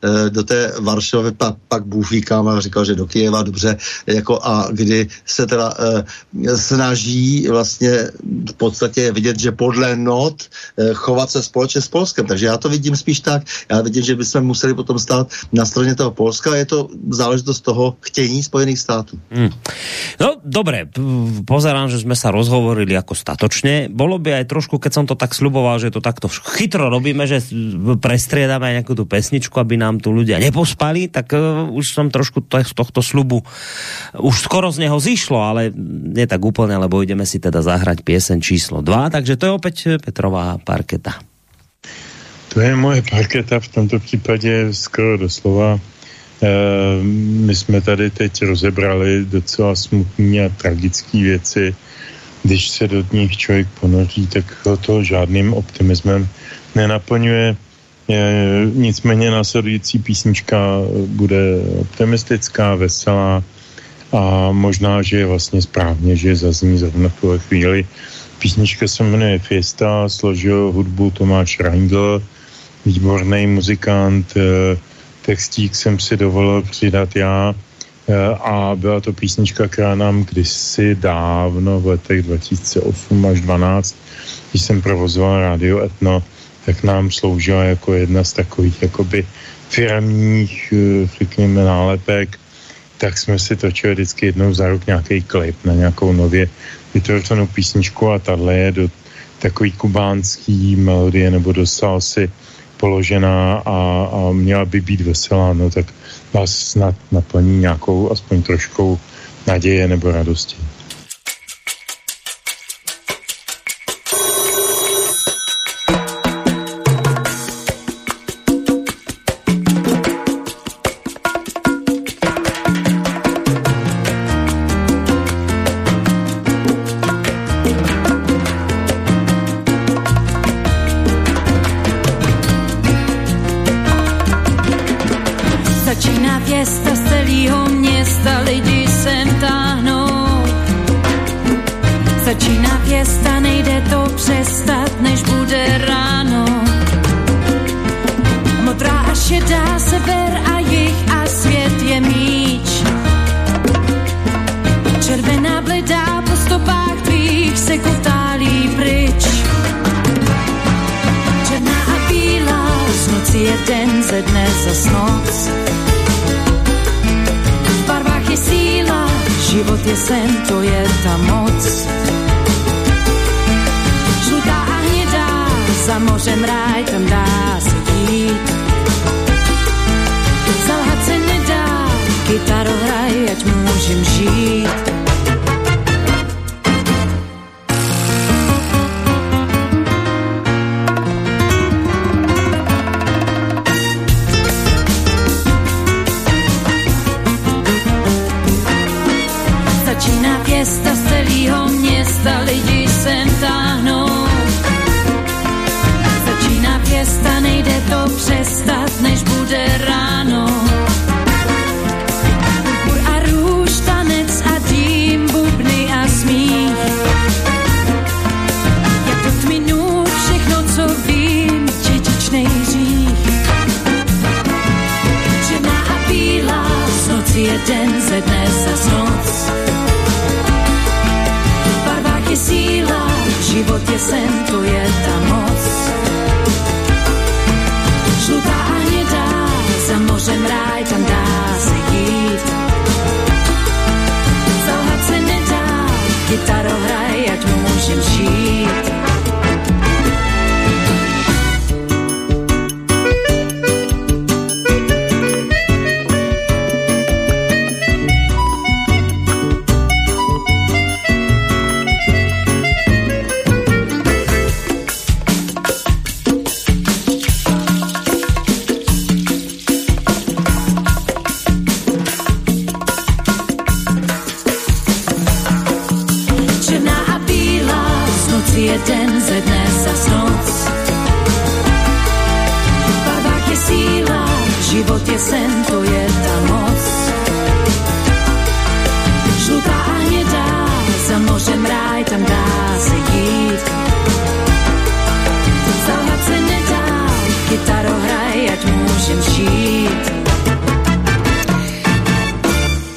[SPEAKER 5] do té Varšavy, pak, pak Bůh ví kam, a říkal, že do Kyjeva, dobře, jako a kdy se teda e, snaží vlastně v podstatě vidět, že podle not e, chovat se společně s Polskem. Takže já to vidím spíš tak, já vidím, že bychom museli potom stát na straně toho Polska, je to záležitost toho chtění Spojených států. Hmm.
[SPEAKER 2] No, dobre, pozerám, že sme sa rozhovorili ako statočne. Bolo by aj trošku, keď som to tak sľuboval, že to takto chytro robíme, že prestriedame aj nejakú tú pesničku, aby nám tu ľudia nepospali, tak uh, už som trošku z tohto sľubu už skoro z neho zišlo, ale nie tak úplne, lebo ideme si teda zahrať pieseň číslo dva, takže to je opäť Petrová parketa.
[SPEAKER 4] To je moje parketa, v tomto případě skoro doslova. E, my jsme tady teď rozebrali docela smutné a tragické věci. Když se do nich člověk ponoří, tak ho to žádným optimismem nenaplňuje. E, nicméně následující písnička bude optimistická, veselá a možná, že je vlastně správně, že zazní zrovna v tuhle chvíli. Písnička se jmenuje Fiesta, složil hudbu Tomáš Reindl, výborný muzikant, textík jsem si dovolil přidat já a byla to písnička, která nám kdysi dávno v letech dva tisíce osm až dvanáct, když jsem provozoval rádio Etno, tak nám sloužila jako jedna z takových jakoby firemních, řekněme, nálepek. Tak jsme si točili vždycky jednou za rok nějaký klip na nějakou nově vytvořenou písničku a tahle je do takový kubánský melodie nebo do salsy položená a, a měla by být veselá, no tak vás snad naplní nějakou aspoň troškou naděje nebo radosti.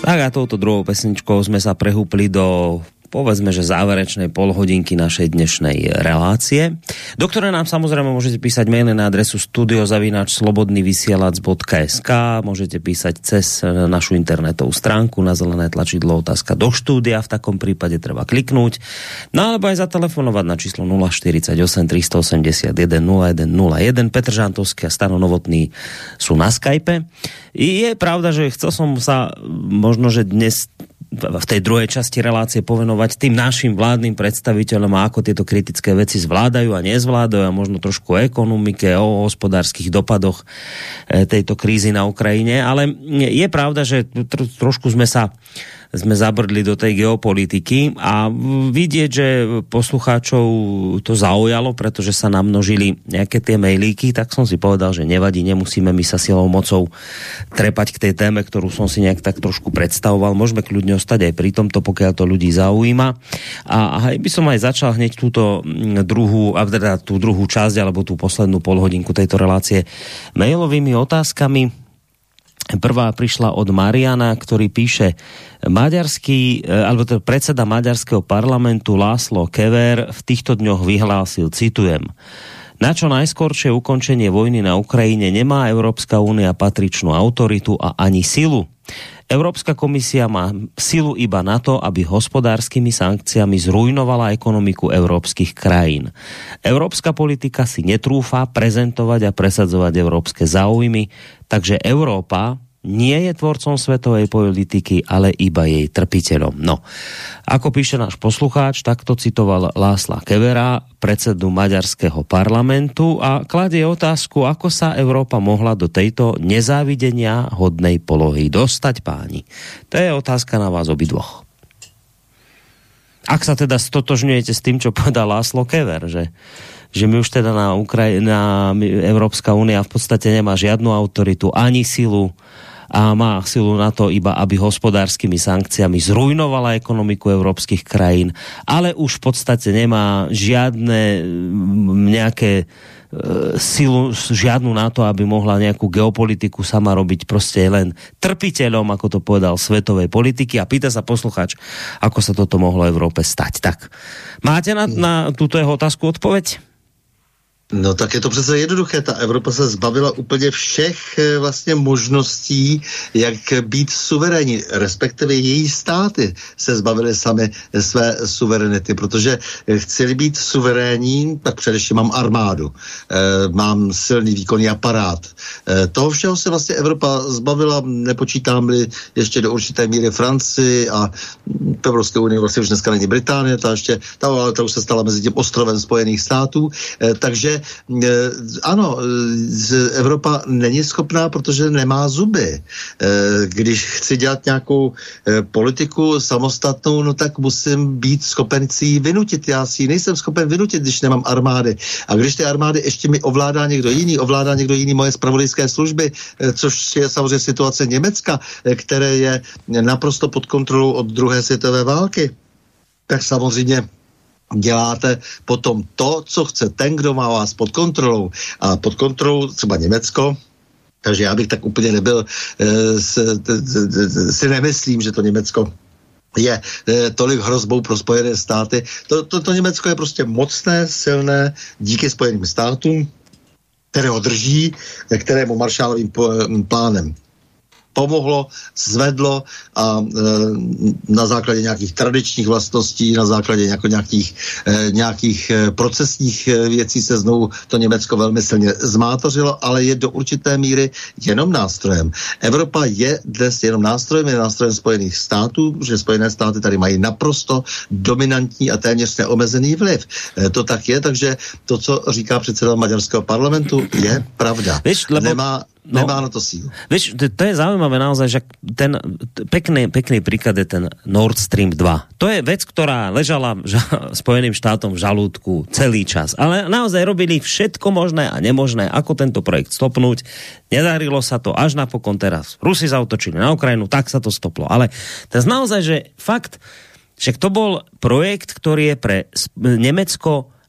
[SPEAKER 2] Tak a touto druhou pesničkou sme sa prehúpli do, povedzme, že záverečnej polhodinky našej dnešnej relácie, do ktorej nám samozrejme môžete písať maily na adresu studio zavináč slobodný vysielač bodka es ká, môžete písať cez našu internetovú stránku na zelené tlačidlo otázka do štúdia, v takom prípade treba kliknúť, no alebo aj zatelefonovať na číslo nula štyridsaťosem tristoosemdesiatjeden nula jeden nula jeden. Petr Žantovský a Stano Novotný sú na Skype. Je pravda, že chcel som sa možno, že dnes v tej druhej časti relácie povenovať tým našim vládnym predstaviteľom a ako tieto kritické veci zvládajú a nezvládajú a možno trošku o ekonomike, o hospodárskych dopadoch tejto krízy na Ukrajine, ale je pravda, že trošku sme sa sme zabrdli do tej geopolitiky a vidieť, že poslucháčov to zaujalo, pretože sa namnožili nejaké tie mailíky, tak som si povedal, že nevadí, nemusíme my sa silou mocou trepať k tej téme, ktorú som si nejak tak trošku predstavoval. Môžeme kľudne ostať aj pri tomto, pokiaľ to ľudí zaujíma. A aj by som aj začal hneď túto druhú, a teda tú druhú časť, alebo tú poslednú polhodinku tejto relácie mailovými otázkami. Prvá prišla od Mariana, ktorý píše: maďarský, alebo teda predseda maďarského parlamentu László Kövér v týchto dňoch vyhlásil, citujem: na čo najskoršie ukončenie vojny na Ukrajine nemá Európska únia patričnú autoritu a ani silu. Európska komisia má silu iba na to, aby hospodárskymi sankciami zrujnovala ekonomiku európskych krajín. Európska politika si netrúfa prezentovať a presadzovať európske záujmy, takže Európa nie je tvorcom svetovej politiky, ale iba jej trpiteľom. No, ako píše náš poslucháč, takto citoval László Kövéra, predsedu maďarského parlamentu, a kladie otázku, ako sa Európa mohla do tejto nezávidenia hodnej polohy dostať, páni. To je otázka na vás obidvoch. Ak sa teda stotožňujete s tým, čo povedal László Kövér, že že my už teda na Ukrajina, Európska únia v podstate nemá žiadnu autoritu ani silu a má silu na to iba, aby hospodárskymi sankciami zrujnovala ekonomiku európskych krajín, ale už v podstate nemá žiadne nejaké silu, žiadnu na to, aby mohla nejakú geopolitiku sama robiť, proste len trpiteľom, ako to povedal, svetovej politiky. A pýta sa poslucháč, ako sa toto mohlo Európe stať. Tak, máte na, na túto jeho otázku odpoveď?
[SPEAKER 5] No tak je to přece jednoduché. Ta Evropa se zbavila úplně všech vlastně možností, jak být suverénní, respektive její státy se zbavily sami své suverenity, protože chceli být suverénní, tak především mám armádu, e, mám silný výkonný aparát. E, toho všeho se vlastně Evropa zbavila, nepočítám-li ještě do určité míry Francii a v Evropské unii vlastně už dneska není Británie, ta ještě, ta, ta už se stala mezi tím ostrovem Spojených států, e, takže ano, Evropa není schopná, protože nemá zuby. Když chci dělat nějakou politiku samostatnou, no tak musím být schopen si ji vynutit. Já si ji nejsem schopen vynutit, když nemám armády. A když ty armády ještě mi ovládá někdo jiný, ovládá někdo jiný moje zpravodajské služby, což je samozřejmě situace Německa, které je naprosto pod kontrolou od druhé světové války, tak samozřejmě děláte potom to, co chce ten, kdo má vás pod kontrolou. A pod kontrolou třeba Německo, takže já bych tak úplně nebyl, e, s, t, t, t, si nemyslím, že to Německo je e, tolik hrozbou pro Spojené státy. To, to, to Německo je prostě mocné, silné, díky Spojeným státům, které ho drží, kterému Marshallovým plánem pomohlo, zvedlo a e, na základě nějakých tradičních vlastností, na základě jako nějakých, e, nějakých e, procesních e, věcí se znovu to Německo velmi silně zmátořilo, ale je do určité míry jenom nástrojem. Evropa je dnes jenom nástrojem, je nástrojem Spojených států, že Spojené státy tady mají naprosto dominantní a téměř neomezený vliv. E, to tak je, takže to, co říká předseda maďarského parlamentu, je pravda.
[SPEAKER 2] Víš, lebo...
[SPEAKER 5] Nemá
[SPEAKER 2] No,
[SPEAKER 5] nemá na to sílu.
[SPEAKER 2] Vieš, to, to je zaujímavé naozaj, že ten pekný, pekný príklad je ten Nord Stream dva. To je vec, ktorá ležala ža, Spojeným štátom v žalúdku celý čas. Ale naozaj robili všetko možné a nemožné, ako tento projekt stopnúť. Nedarilo sa to až napokon teraz. Rusi zaútočili na Ukrajinu, tak sa to stoplo. Ale teraz naozaj, že fakt, že to bol projekt, ktorý je pre Nemecko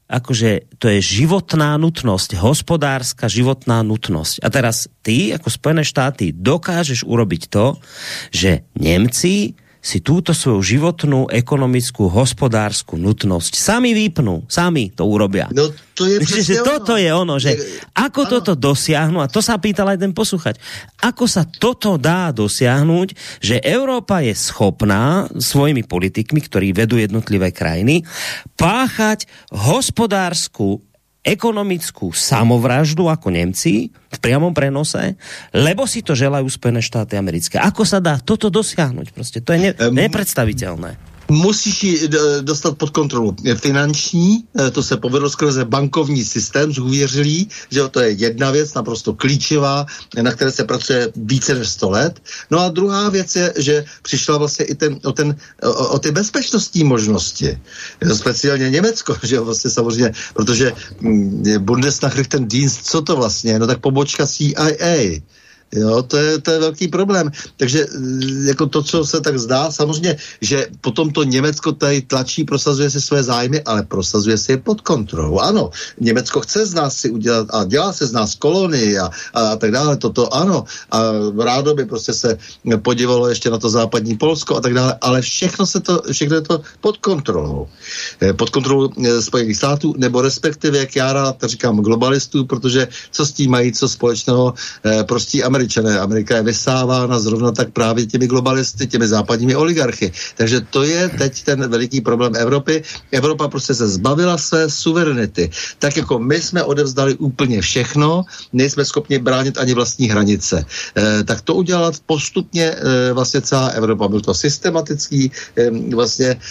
[SPEAKER 2] akože to je životná nutnosť, hospodárska životná nutnosť. A teraz ty, ako Spojené štáty, dokážeš urobiť to, že Nemci si túto svoju životnú, ekonomickú, hospodársku nutnosť sami vypnú, sami to urobia.
[SPEAKER 5] No to je
[SPEAKER 2] Čiže toto je ono, že ako ano. toto dosiahnu, a to sa pýtal aj ten poslúchať, ako sa toto dá dosiahnuť, že Európa je schopná svojimi politikmi, ktorí vedú jednotlivé krajiny, páchať hospodársku, ekonomickú samovraždu ako Nemci v priamom prenose, lebo si to želajú Spojené štáty americké. Ako sa dá toto dosiahnuť? Proste to je ne- nepredstaviteľné.
[SPEAKER 5] Musíš ji dostat pod kontrolu finanční, to se povedlo skrze bankovní systém zhůvěřilý, že to je jedna věc, naprosto klíčová, na které se pracuje více než sto let. No a druhá věc je, že přišla vlastně i ten, o, ten, o, o ty bezpečnostní možnosti. Speciálně Německo, že jo, vlastně samozřejmě, protože Bundesnachrichtendienst, co to vlastně? No tak pobočka C I A. Jo, to je, to je velký problém. Takže jako to, co se tak zdá, samozřejmě, že potom to Německo tady tlačí, prosazuje si své zájmy, ale prosazuje si je pod kontrolou. Ano, Německo chce z nás si udělat a dělá se z nás kolonii a, a tak dále, toto ano. A rádo by prostě se podívalo ještě na to západní Polsko a tak dále, ale všechno se to, všechno je to pod kontrolou. Pod kontrolou Spojených států, nebo respektive, jak já rád říkám, globalistů, protože co s tím mají co společného prostí Američané. Amerika je vysávána zrovna tak právě těmi globalisty, těmi západními oligarchy. Takže to je teď ten veliký problém Evropy. Evropa prostě se zbavila své suverenity. Tak jako my jsme odevzdali úplně všechno, nejsme schopni bránit ani vlastní hranice. E, tak to udělat postupně e, vlastně celá Evropa. Byl to systematický e, vlastně e,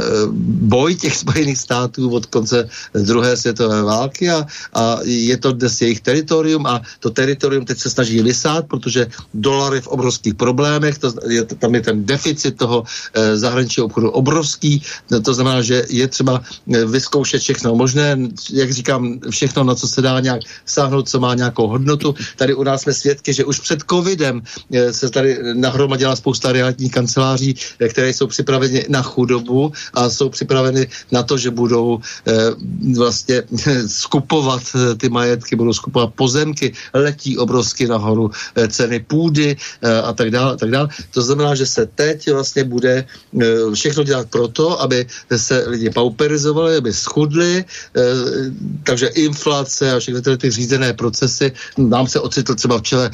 [SPEAKER 5] boj těch Spojených států od konce druhé světové války a, a je to dnes jejich teritorium a to teritorium teď se snaží vysát, protože dolar je v obrovských problémech, to je, tam je ten deficit toho e, zahraničního obchodu obrovský, to znamená, že je třeba e, vyzkoušet všechno možné, jak říkám, všechno, na co se dá nějak sáhnout, co má nějakou hodnotu. Tady u nás jsme svědky, že už před covidem e, se tady nahromadila spousta realitních kanceláří, e, které jsou připraveny na chudobu a jsou připraveny na to, že budou e, vlastně e, skupovat e, ty majetky, budou skupovat pozemky, letí obrovsky nahoru ceny půdy a tak dále, a tak dále. To znamená, že se teď vlastně bude všechno dělat proto, aby se lidi pauperizovali, aby schudli, takže inflace a všechny ty, ty řízené procesy. Nám se ocitl třeba v čele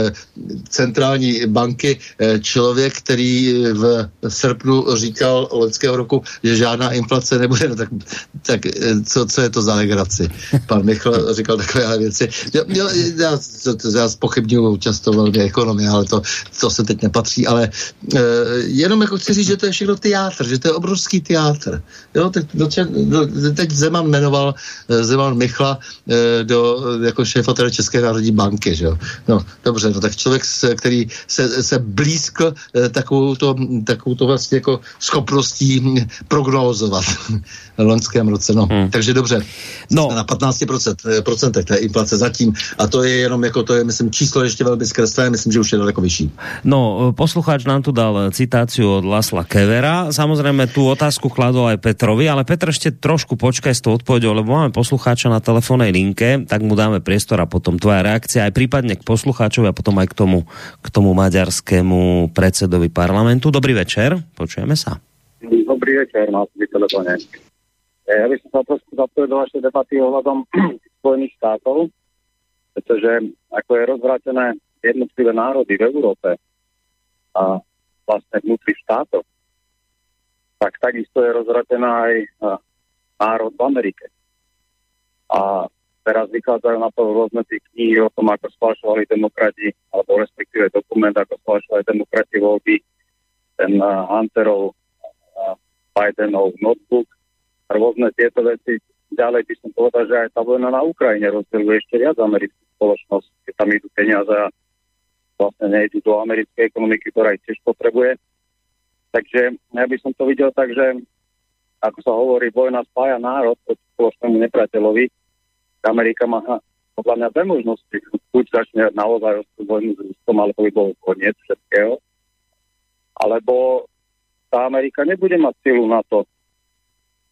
[SPEAKER 5] centrální banky člověk, který v srpnu říkal loňského roku, že žádná inflace nebude. No tak, tak co, co je to za legraci? Pan Michl říkal takové věci. Já, já, já, já zpochybňuji často velmi ekonomie, ale to, to se teď nepatří, ale e, jenom jako chci říct, že to je všechno teátr, že to je obrovský teátr. Jo, teď, do, do, teď Zeman jmenoval Zeman Michla e, do, jako šéfa teda České národní banky, že jo. No, dobře, no tak člověk, který se, se blízkl e, takovou to, takovou to vlastně jako schopností prognózovat v loňském roce, no. Hmm. Takže dobře, no. Jsme na patnáct procent té inflace zatím a to je jenom jako, to je, myslím, číslo ještě velmi skreslené, myslím, že už je daleko vyšší.
[SPEAKER 2] No, poslucháč nám tu dal citáciu od Lasla Kevera. Samozrejme, tú otázku kladol aj Petrovi, ale Petr ešte trošku počkaj s tou odpoveďou, lebo máme poslucháča na telefónnej linke, tak mu dáme priestor a potom tvoja reakcia aj prípadne k poslucháčovi a potom aj k tomu, k tomu maďarskému predsedovi parlamentu. Dobrý večer, počujeme sa.
[SPEAKER 7] Dobrý večer, na telefóne. Ja by som sa trošku zapojil do vašej debaty ohľadom Spojených štátov, pretože ako je rozvrátené jednotlivé národy v Európe a vlastne vnútri štátov, tak takisto je rozvrátená aj národ v Amerike. A teraz vychádzajú na to rôzne tie knihy o tom, ako sfalšovali demokrati, alebo respektíve dokument, ako sfalšovali demokrati voľby, ten Hunterov, Bidenov notebook, rôzne tieto veci. Ďalej by som povedal, že aj tá vojna na Ukrajine rozdeľuje ešte viac americkú spoločnosť, keď tam idú peniaze a vlastne nejdu do americkej ekonomiky, ktorá ich tiež potrebuje. Takže ja by som to videl tak, že ako sa hovorí, vojna spája národ proti spoločnému nepriateľovi. Amerika má podľa mňa dve možnosti. Buď začne naozaj vojnu s Ruskom, alebo by bol koniec všetkého. Alebo tá Amerika nebude mať silu na to,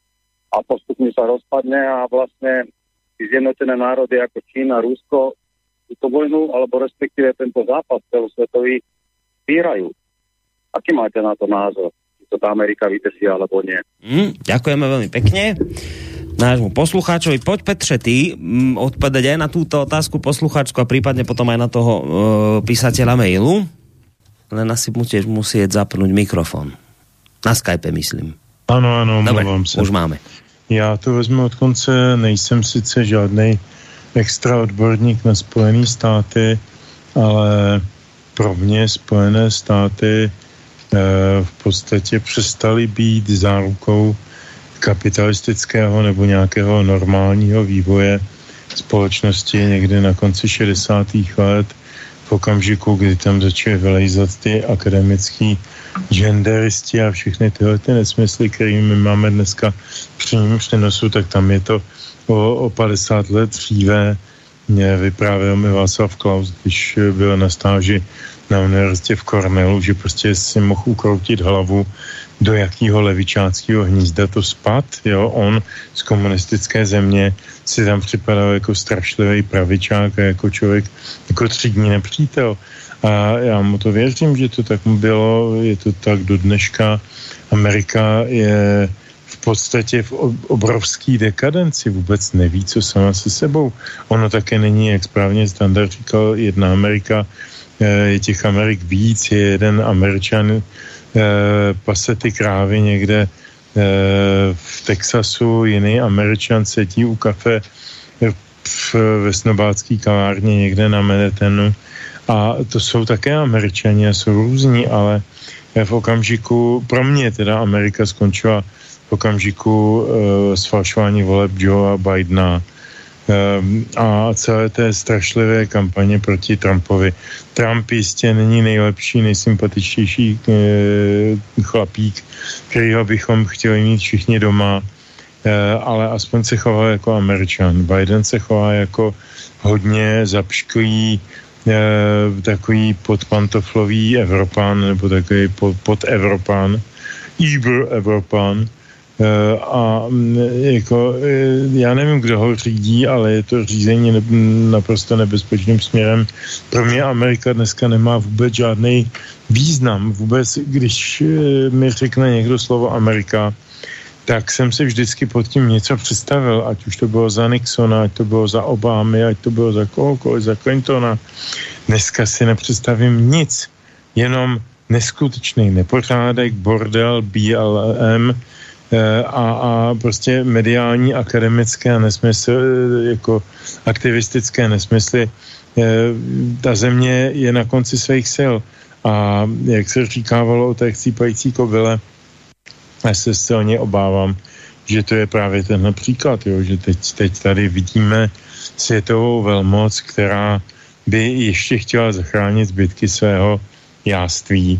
[SPEAKER 7] a postupne sa rozpadne a vlastne zjednotené národy ako Čína, Rusko túto vojnu, alebo respektíve tento zápas celosvetový vyhrajú. Aký máte na to názor? Či to tá Amerika vytesí, alebo nie?
[SPEAKER 2] Mm, ďakujeme veľmi pekne nášmu poslucháčovi. Poď, Petře, ty m, odpovedať aj na túto otázku poslucháčku a prípadne potom aj na toho e, písateľa mailu. Len asi musíš musieť zapnúť mikrofon. Na Skype, myslím.
[SPEAKER 4] Ano, ano,
[SPEAKER 2] dobre,
[SPEAKER 4] mluvám se.
[SPEAKER 2] už máme.
[SPEAKER 4] Já to vezmu od konce, nejsem sice žádnej extra odborník na Spojené státy, ale pro mě Spojené státy e, v podstatě přestaly být zárukou kapitalistického nebo nějakého normálního vývoje společnosti někdy na konci šedesátých let, v okamžiku, kdy tam začaly vylejzat ty akademický genderisti a všechny tyhle ty nesmysly, které my máme dneska v přímém přenosu, tak tam je to o, o padesát let dříve. Mě vyprávěl mi Václav Klaus, když byl na stáži na univerzitě v Cornellu, že prostě si mohl ukroutit hlavu, do jakého levičáckého hnízda to spad. Jo? On z komunistické země si tam připadal jako strašlivý pravičák a jako člověk, jako třídní nepřítel. A já mu to věřím, že to tak bylo, je to tak do dneška. Amerika je v podstatě v obrovský dekadenci, vůbec neví, co sama se sebou. Ono také není, jak správně Standard říkal, jedna Amerika, je těch Amerik víc, je jeden Američan, pase ty krávy někde v Texasu, jiný Američan sedí u kafe v, ve snobácký kavárně někde na Manhattanu. A to jsou také Američani a jsou různí, ale v okamžiku, pro mě teda Amerika skončila v okamžiku uh, sfalšování voleb Joea Bidena um, a celé té strašlivé kampaně proti Trumpovi. Trump jistě není nejlepší, nejsympatičtější uh, chlapík, kterýho bychom chtěli mít všichni doma, uh, ale aspoň se chová jako Američan. Biden se chová jako hodně zapšklý, E, takový podpantoflový Evropan, nebo takový pod, podevropan, Iber Evropan. E, a jako, e, já nevím, kdo ho řídí, ale je to řízení ne, naprosto nebezpečným směrem. Pro mě Amerika dneska nemá vůbec žádný význam. Vůbec, když e, mi řekne někdo slovo Amerika, tak jsem si vždycky pod tím něco představil, ať už to bylo za Nixona, ať to bylo za Obamy, ať to bylo za kohokoliv, za Clintona. Dneska si nepředstavím nic, jenom neskutečný nepořádek, bordel, B L M a, a prostě mediální, akademické nesmysly, jako aktivistické nesmysly. Ta země je na konci svých sil a jak se říkávalo o té chcípající kobyle, já se silně obávám, že to je právě tenhle příklad, jo? Že teď, teď tady vidíme světovou velmoc, která by ještě chtěla zachránit zbytky svého jáství,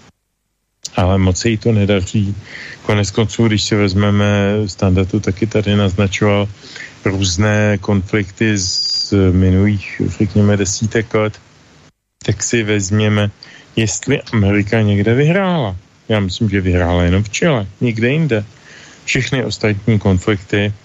[SPEAKER 4] ale moc se jí to nedaří. Konec konců, když si vezmeme, Standardu taky tady naznačoval různé konflikty z minulých, řekněme, desítek let, tak si vezměme, jestli Amerika někde vyhrála. Já myslím, že vyhrála jenom v Chile, nikde jinde. Všechny ostatní konflikty e,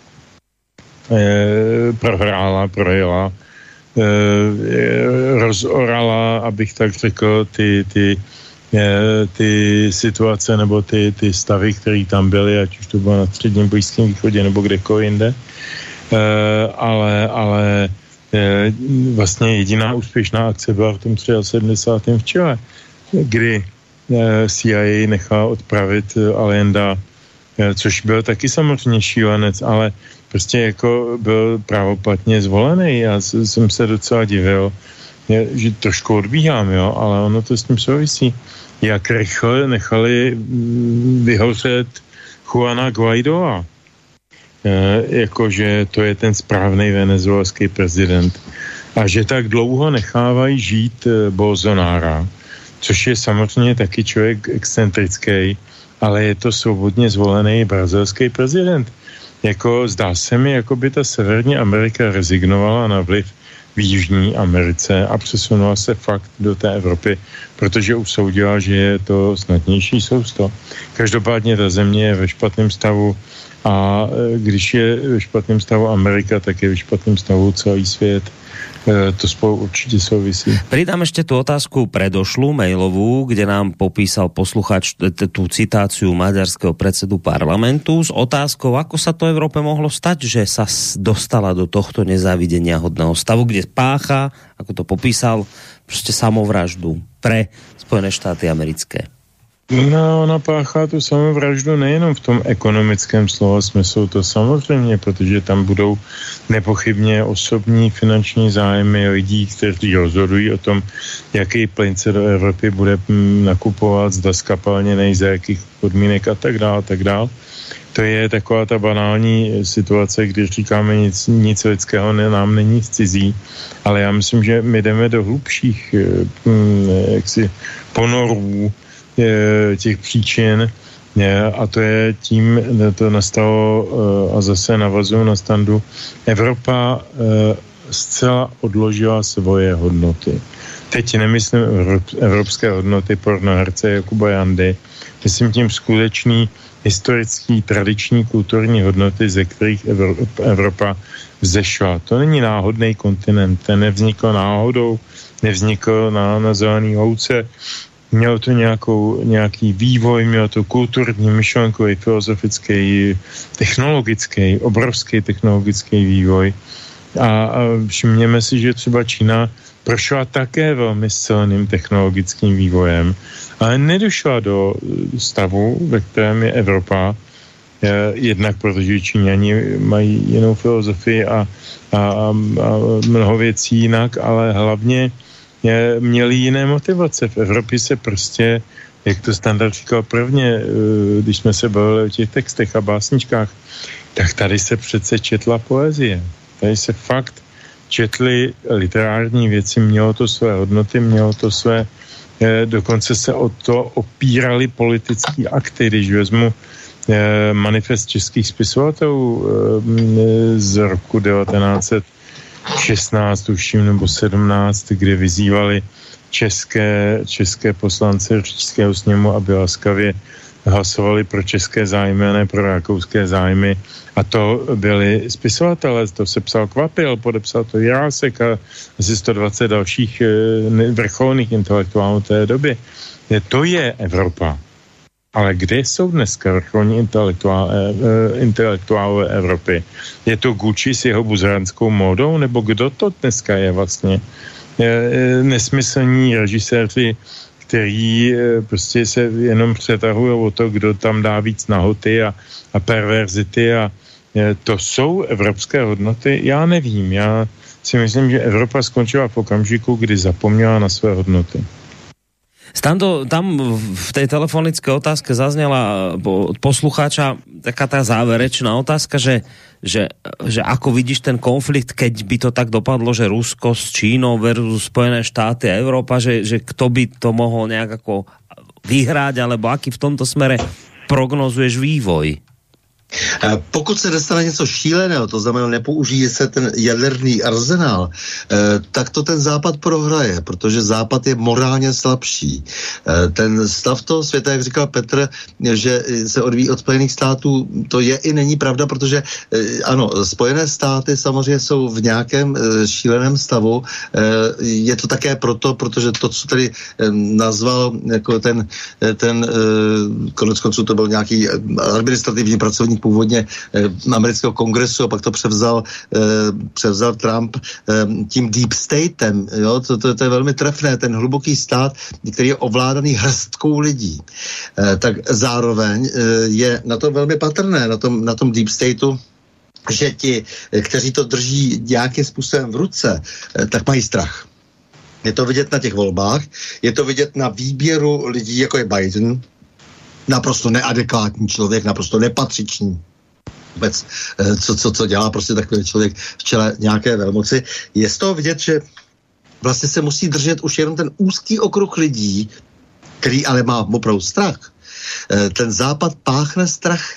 [SPEAKER 4] prohrála, projela, e, rozorala, abych tak řekl, ty, ty, e, ty situace nebo ty, ty stavy, které tam byly, ať už to bylo na středním Blízkém východě nebo kdekoliv jinde. E, ale ale e, vlastně jediná úspěšná akce byla v tom sedmdesátém třetím v Chile, kdy C I A nechala odpravit Allenda, což byl taky samozřejmě šílenec, ale prostě jako byl právoplatně zvolený. Já jsem se docela divil, že trošku odbíhám, jo, ale ono to s tím souvisí. Jak rychle nechali vyhořet Juana Guaidoa. Jakože to je ten správný venezuelský prezident. A že tak dlouho nechávají žít Bolsonára, což je samozřejmě taky člověk excentrický, ale je to svobodně zvolený brazilský prezident. Jako zdá se mi, jako by ta Severní Amerika rezignovala na vliv v Jižní Americe a přesunula se fakt do té Evropy, protože usoudila, že je to snadnější sousto. Každopádně ta země je ve špatném stavu A když je ve špatném stavu Amerika, tak je ve špatném stavu celý svět. To spolu určite souvisí.
[SPEAKER 2] Pridám ešte tú otázku predošlú mailovú, kde nám popísal posluchač tú citáciu maďarského predsedu parlamentu s otázkou, ako sa to Európe mohlo stať, že sa dostala do tohto nezávidenia hodného stavu, kde pácha, ako to popísal, proste samovraždu pre Spojené štáty americké.
[SPEAKER 4] No, ona páchá tu samovraždu nejenom v tom ekonomickém slova smyslu, to samozřejmě, protože tam budou nepochybně osobní finanční zájmy lidí, kteří rozhodují o tom, jaký plyn se do Evropy bude nakupovat, zda skapalněnej, za jakých podmínek a tak dále, tak dále. To je taková ta banální situace, když říkáme nic, nic lidského ne, nám není cizí, ale já myslím, že my jdeme do hlubších jaksi ponorů těch příčin a to je tím, to nastalo a zase navazuju na Standu, Evropa zcela odložila svoje hodnoty. Teď nemyslím evropské hodnoty pornoherce Jakuba Jandy, myslím tím skutečný historický, tradiční, kulturní hodnoty, ze kterých Evropa vzešla. To není náhodný kontinent, ten nevznikl náhodou, nevznikl na, na zelený louce. Mělo to nějakou, nějaký vývoj, mělo to kulturní, myšlenkový, filozofický, technologický, obrovský technologický vývoj. A, a všimněme si, že třeba Čína prošla také velmi silným technologickým vývojem, ale nedošla do stavu, ve kterém je Evropa, jednak protože Číňani mají jinou filozofii a, a, a mnoho věcí jinak, ale hlavně měli jiné motivace. V Evropě se prostě, jak to Standard říkal prvně, když jsme se bavili o těch textech a básničkách, tak tady se přece četla poezie. Tady se fakt četly literární věci, mělo to své hodnoty, mělo to své, dokonce se o to opírali politický akty, když vezmu manifest českých spisovatelů z roku devatenáct šestnáct, tuším, nebo sedmnáct, kde vyzývali české, české poslance Říšského sněmu, aby laskavě hlasovali pro české zájmy a ne pro rakouské zájmy. A to byli spisovatelé, to se psal Kvapil, podepsal to Jirásek a asi sto dvacet dalších vrcholných intelektuálů té doby. To je Evropa. Ale kde jsou dneska vrcholní intelektuálové, intelektuálové Evropy? Je to Gucci s jeho buzeranskou módou, nebo kdo to dneska je vlastně? Nesmyslní režiséři, který prostě se jenom přetahují o to, kdo tam dá víc nahoty a, a perverzity a to jsou evropské hodnoty? Já nevím. Já si myslím, že Evropa skončila v okamžiku, kdy zapomněla na své hodnoty.
[SPEAKER 2] Stando, tam v tej telefonické otázke zaznela od poslucháča taká tá záverečná otázka, že, že, že ako vidíš ten konflikt, keď by to tak dopadlo, že Rusko s Čínou versus Spojené štáty a Európa, že, že kto by to mohol nejak ako vyhrať, alebo aký v tomto smere prognozuješ vývoj?
[SPEAKER 5] Pokud se dostane něco šíleného, to znamená nepoužije se ten jaderný arzenál, tak to ten Západ prohraje, protože Západ je morálně slabší. Ten stav toho světa, jak říkal Petr, že se odvíjí od Spojených států, to je i není pravda, protože ano, Spojené státy samozřejmě jsou v nějakém šíleném stavu. Je to také proto, protože to, co tady nazval jako ten, ten konec konců to byl nějaký administrativní pracovník původně eh, amerického kongresu a pak to převzal, eh, převzal Trump eh, tím deep statem. Jo? To, to, to je velmi trefné. Ten hluboký stát, který je ovládaný hrstkou lidí. Eh, tak zároveň eh, je na to velmi patrné, na tom, na tom deep stateu, že ti, kteří to drží nějakým způsobem v ruce, eh, tak mají strach. Je to vidět na těch volbách, je to vidět na výběru lidí, jako je Biden, naprosto neadekvátní člověk, naprosto nepatřičný vůbec, co, co, co dělá prostě takový člověk v čele nějaké velmoci. Je z toho vidět, že vlastně se musí držet už jenom ten úzký okruh lidí, který ale má opravdu strach. Ten Západ páchne strachem.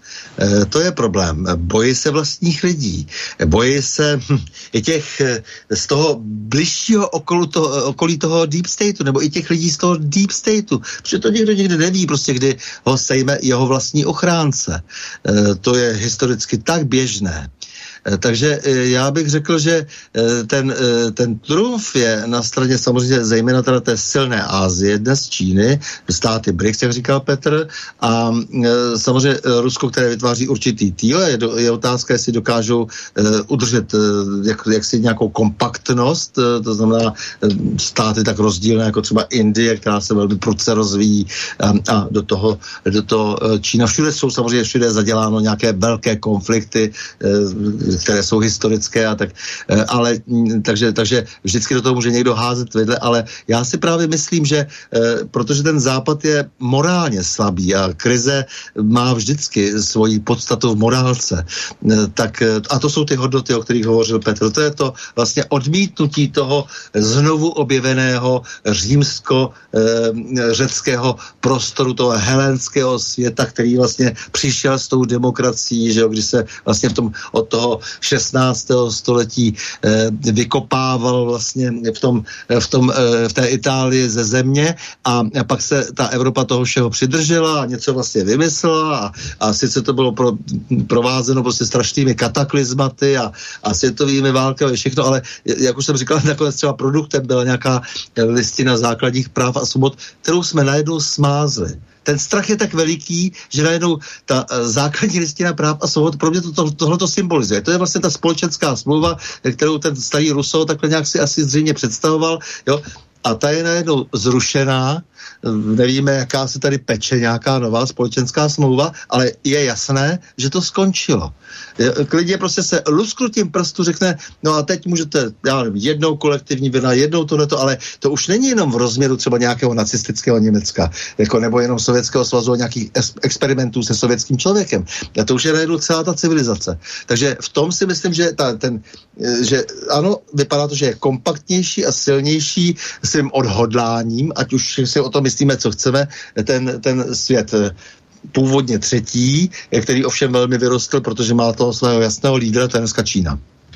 [SPEAKER 5] E, to je problém. Bojí se vlastních lidí. Bojí se hm, i těch z toho bližšího okolu to, okolí toho deep stateu, nebo i těch lidí z toho deep stateu. Protože to někdo někdy neví, prostě kdy ho sejme jeho vlastní ochránce. E, to je historicky tak běžné. Takže já bych řekl, že ten, ten trumf je na straně samozřejmě zejména teda té silné Asie, dnes Číny, státy B R I C S, jak říkal Petr, a samozřejmě Rusko, které vytváří určitý týl. Je, je otázka, jestli dokážou udržet jak, jaksi nějakou kompaktnost, to znamená státy tak rozdílné, jako třeba Indie, která se velmi prudce rozvíjí, a, a do toho, do toho Čína. Všude jsou samozřejmě všude zaděláno nějaké velké konflikty, které jsou historické a tak, ale takže, takže vždycky do toho může někdo házet vedle, ale já si právě myslím, že protože ten západ je morálně slabý a krize má vždycky svoji podstatu v morálce, tak a to jsou ty hodnoty, o kterých hovořil Petr, to je to vlastně odmítnutí toho znovu objeveného římsko-řeckého prostoru, toho helénského světa, který vlastně přišel s tou demokracií, že jo, když se vlastně v tom od toho šestnáctého století eh, vykopával vlastně v tom, v tom eh, v té Itálii ze země a, a pak se ta Evropa toho všeho přidržela a něco vlastně vymyslela a, a sice to bylo pro, provázeno prostě strašnými kataklizmaty a, a světovými válkami, všechno, ale jak už jsem říkal, nakonec třeba produktem byla nějaká listina základních práv a svobod, kterou jsme najednou smázli. Ten strach je tak veliký, že najednou ta uh, základní listina práv a svobod pro mě to, to, tohle to symbolizuje. To je vlastně ta společenská smlouva, kterou ten starý Rousseau takhle nějak si asi zřejmě představoval, jo? A ta je najednou zrušená, nevíme, jaká se tady peče nějaká nová společenská smlouva, ale je jasné, že to skončilo. Klidně prostě se lusknutím prstu řekne, no a teď můžete, já nevím, jednou kolektivní vina, jednou tohleto, ale to už není jenom v rozměru třeba nějakého nacistického Německa, jako nebo jenom Sovětského svazu a nějakých experimentů se sovětským člověkem. A to už je najednou celá ta civilizace. Takže v tom si myslím, že ta, ten, že ano, vypadá to, že je kompaktnější a silnější svým odhodláním, ať už si o tom myslíme, co chceme, ten, ten svět původně třetí, který ovšem velmi vyrostl, protože má toho svého jasného lídra, to je dneska Čína.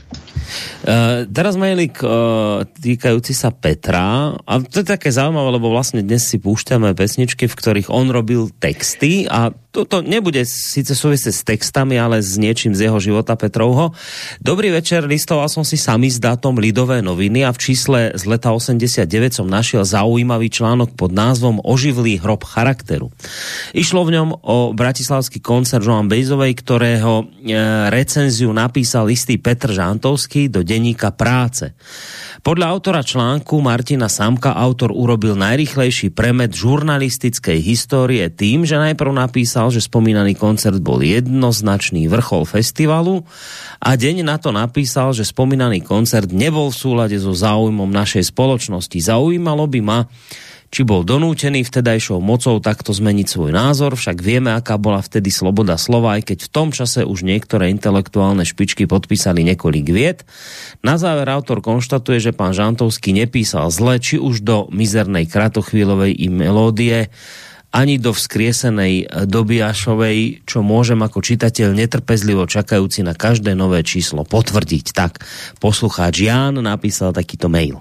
[SPEAKER 2] Uh, teraz mailik uh, týkajúci sa Petra a to je také zaujímavé, lebo vlastne dnes si púšťame pesničky, v ktorých on robil texty a toto nebude síce súvisieť s textami, ale s niečím z jeho života Petrovho. Dobrý večer, listoval som si samizdatom Lidové noviny a v čísle z leta osemdesiatdeväť som našiel zaujímavý článok pod názvom Oživlý hrob charakteru. Išlo v ňom o bratislavský koncert Joan Baezovej, ktorého e, recenziu napísal istý Petr Žantovský do denníka Práce. Podľa autora článku Martina Samka autor urobil najrýchlejší premet žurnalistickej histórie tým, že najprv napísal, že spomínaný koncert bol jednoznačný vrchol festivalu a deň na to napísal, že spomínaný koncert nebol v súlade so záujmom našej spoločnosti. Zaujímalo by ma, či bol donútený vtedajšou mocou takto zmeniť svoj názor, však vieme, aká bola vtedy sloboda slova, aj keď v tom čase už niektoré intelektuálne špičky podpísali niekoľko viet. Na záver autor konštatuje, že pán Žantovský nepísal zle, či už do mizernej kratochvíľovej i melódie, ani do vzkriesenej Dobiašovej, čo môžem ako čitateľ netrpezlivo čakajúci na každé nové číslo potvrdiť. Tak poslucháč Ján napísal takýto mail.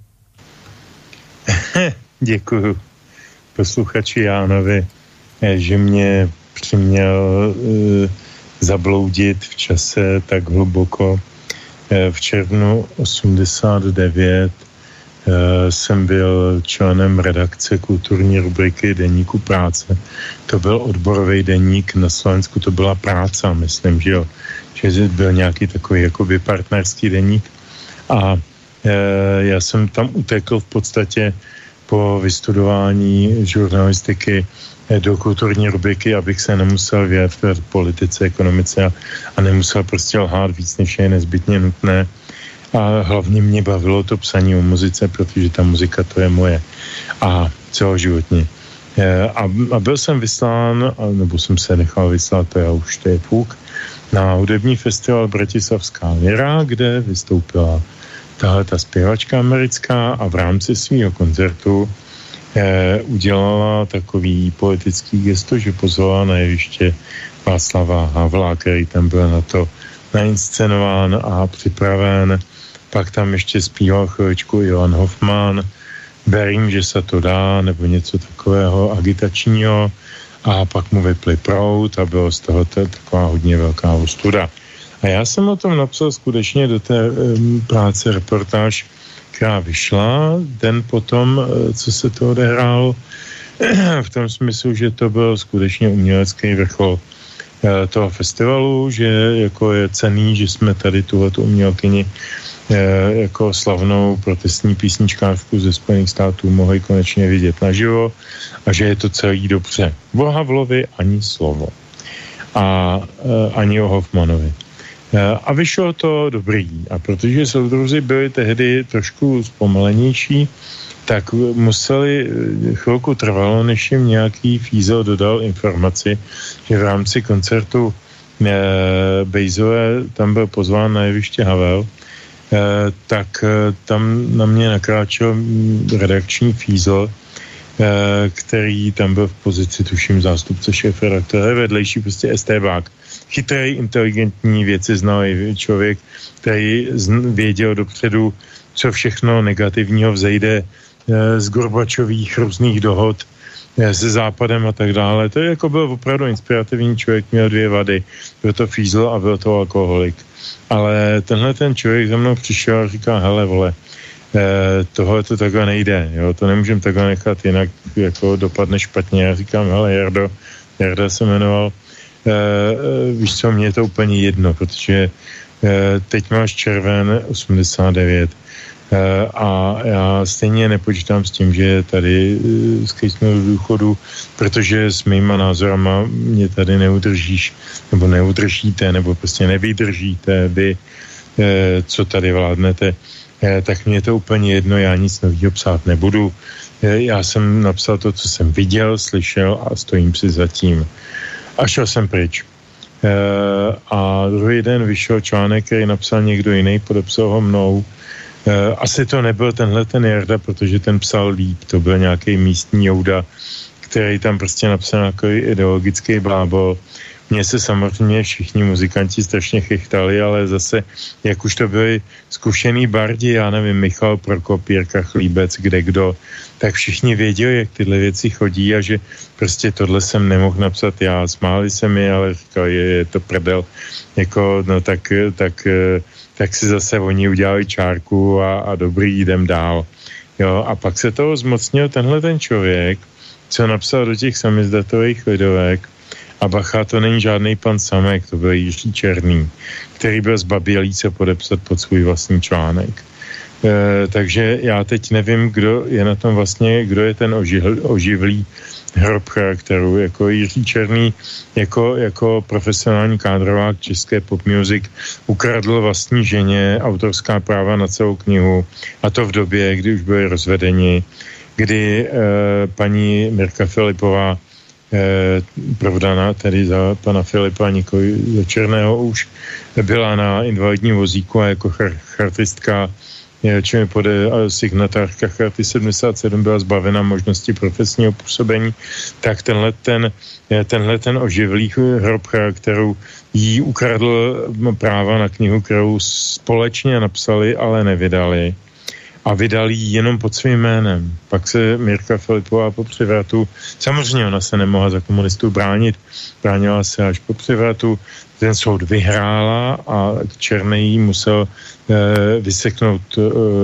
[SPEAKER 4] Děkuju posluchači Jánovi, že mě přiměl e, zabloudit v čase tak hluboko. E, v červnu osmdesát devět e, jsem byl členem redakce kulturní rubriky deníku Práce. To byl odborový deník na Slovensku, to byla Práca, myslím, že jo. Že byl nějaký takový jakoby partnerský deník. A e, já jsem tam utekl v podstatě po vystudování žurnalistiky do kulturní rubriky, abych se nemusel vyjadřovat politice, ekonomice a, a nemusel prostě lhát víc, než je nezbytně nutné. A hlavně mě bavilo to psaní o muzice, protože ta muzika to je moje. A celoživotně. A, a byl jsem vyslán, nebo jsem se nechal vyslat, to já už to je půk, na hudební festival Bratislavská Lira, kde vystoupila tahle ta zpěvačka americká a v rámci svého koncertu eh, udělala takový politický gesto, že pozvala na jeviště Václava Havla, který tam byl na to nainscenován a připraven. Pak tam ještě zpíval chvíličku Johan Hoffmann, Verím, že se to dá, nebo něco takového agitačního, a pak mu vypli proud a bylo z toho taková hodně velká ostuda. A já jsem o tom napsal skutečně do té um, práce reportáž, která vyšla den potom, co se to odehrálo, v tom smyslu, že to byl skutečně umělecký vrchol toho festivalu, že jako je cenný, že jsme tady tuhletu umělkyni jako slavnou protestní písničkářku ze Spojených států mohli konečně vidět naživo a že je to celý dobře. O Havlovi ani slovo. A ani o Hoffmanovi. A vyšlo to dobrý. A protože soudruzi byli tehdy trošku zpomalenější, tak museli, chvilku trvalo, než jim nějaký fízel dodal informaci, že v rámci koncertu e, Bejzové tam byl pozván na jeviště Havel, e, tak e, tam na mě nakráčel redakční fízel, e, který tam byl v pozici, tuším, zástupce šéfredaktora, vedlejší prostě estébák. Chytrý, inteligentní, věci znalý člověk, který věděl dopředu, co všechno negativního vzejde z Gorbačových různých dohod se Západem a tak dále. To jako byl opravdu inspirativní člověk, měl dvě vady. Byl to fízl a byl to alkoholik. Ale tenhle ten člověk za mnou přišel a říká, hele vole, eh, tohle to takhle nejde, jo, to nemůžem takhle nechat, jinak jako dopadne špatně. Já říkám, hele Jardo, Jarda se jmenoval, eh, eh, víš co, mně je to úplně jedno, protože eh, teď máš červen osmdesát devět, a já stejně nepočítám s tím, že tady skejsnu do důchodu, protože s mýma názorama mě tady neudržíš, nebo neudržíte, nebo prostě nevydržíte vy, co tady vládnete, tak mě to úplně jedno, já nic novýho psát nebudu. Já jsem napsal to, co jsem viděl, slyšel a stojím si za tím. A šel jsem pryč. A druhý den vyšel článek, který napsal někdo jiný, podepsal ho mnou. Asi to nebyl tenhle ten Jarda, protože ten psal líp, to byl nějaký místní Jouda, který tam prostě napsal nějaký ideologický blábol. Mně se samozřejmě všichni muzikanti strašně chechtali, ale zase, jak už to byli zkušený bardi, já nevím, Michal Prokop, Jirka Chlíbec, kde kdo, tak všichni věděli, jak tyhle věci chodí a že prostě tohle jsem nemohl napsat já. Smáli se mi, ale říkali, je, je to prdel. Jako, no tak, tak, tak si zase oni udělali čárku a, a dobrý, jdem dál. Jo, a pak se toho zmocnil tenhle ten člověk, co napsal do těch samizdatových lidovek. A bacha, to není žádný pan Samek, to byl Jiří Černý, který byl zbabělý se podepsat pod svůj vlastní článek. E, takže já teď nevím, kdo je na tom vlastně, kdo je ten oživl, oživlý hrob charakteru. Jako Jiří Černý, jako, jako profesionální kádrovák české pop music ukradl vlastní ženě autorská práva na celou knihu, a to v době, kdy už byli rozvedeni, kdy e, paní Mirka Filipová Eh, provdaná tedy za pana Filipa, nikoli za Černého, už byla na invalidním vozíku a jako char- chartistka, čím pod signatářka Charty sedmdesát sedm byla zbavena možnosti profesního působení, tak tenhle ten, tenhle ten oživlý hrob charakteru jí ukradl práva na knihu, kterou společně napsali, ale nevydali. A vydali ji jenom pod svým jménem. Pak se Mirka Filipová po převratu, samozřejmě ona se nemohla za komunistů bránit, bránila se až po převratu, ten soud vyhrála a Černý musel e, vyseknout e,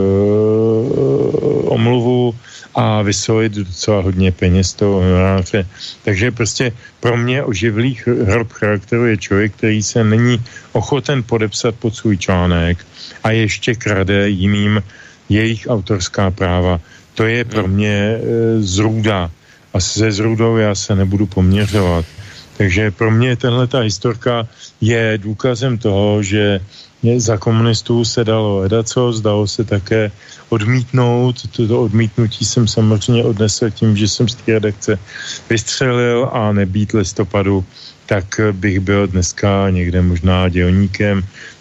[SPEAKER 4] omluvu a vysolit docela hodně peněz toho honoráře. Takže prostě pro mě oživlý hrob charakteru je člověk, který se není ochoten podepsat pod svůj článek a ještě krade jiným jejich autorská práva. To je pro mě e, zrůda. A se zrůdou já se nebudu poměřovat. Takže pro mě tahleta historka je důkazem toho, že za komunistů se dalo edaco, zdalo se také odmítnout. Toto odmítnutí jsem samozřejmě odnesl tím, že jsem z té redakce vystřelil, a nebýt listopadu, tak bych byl dneska někde možná dělníkem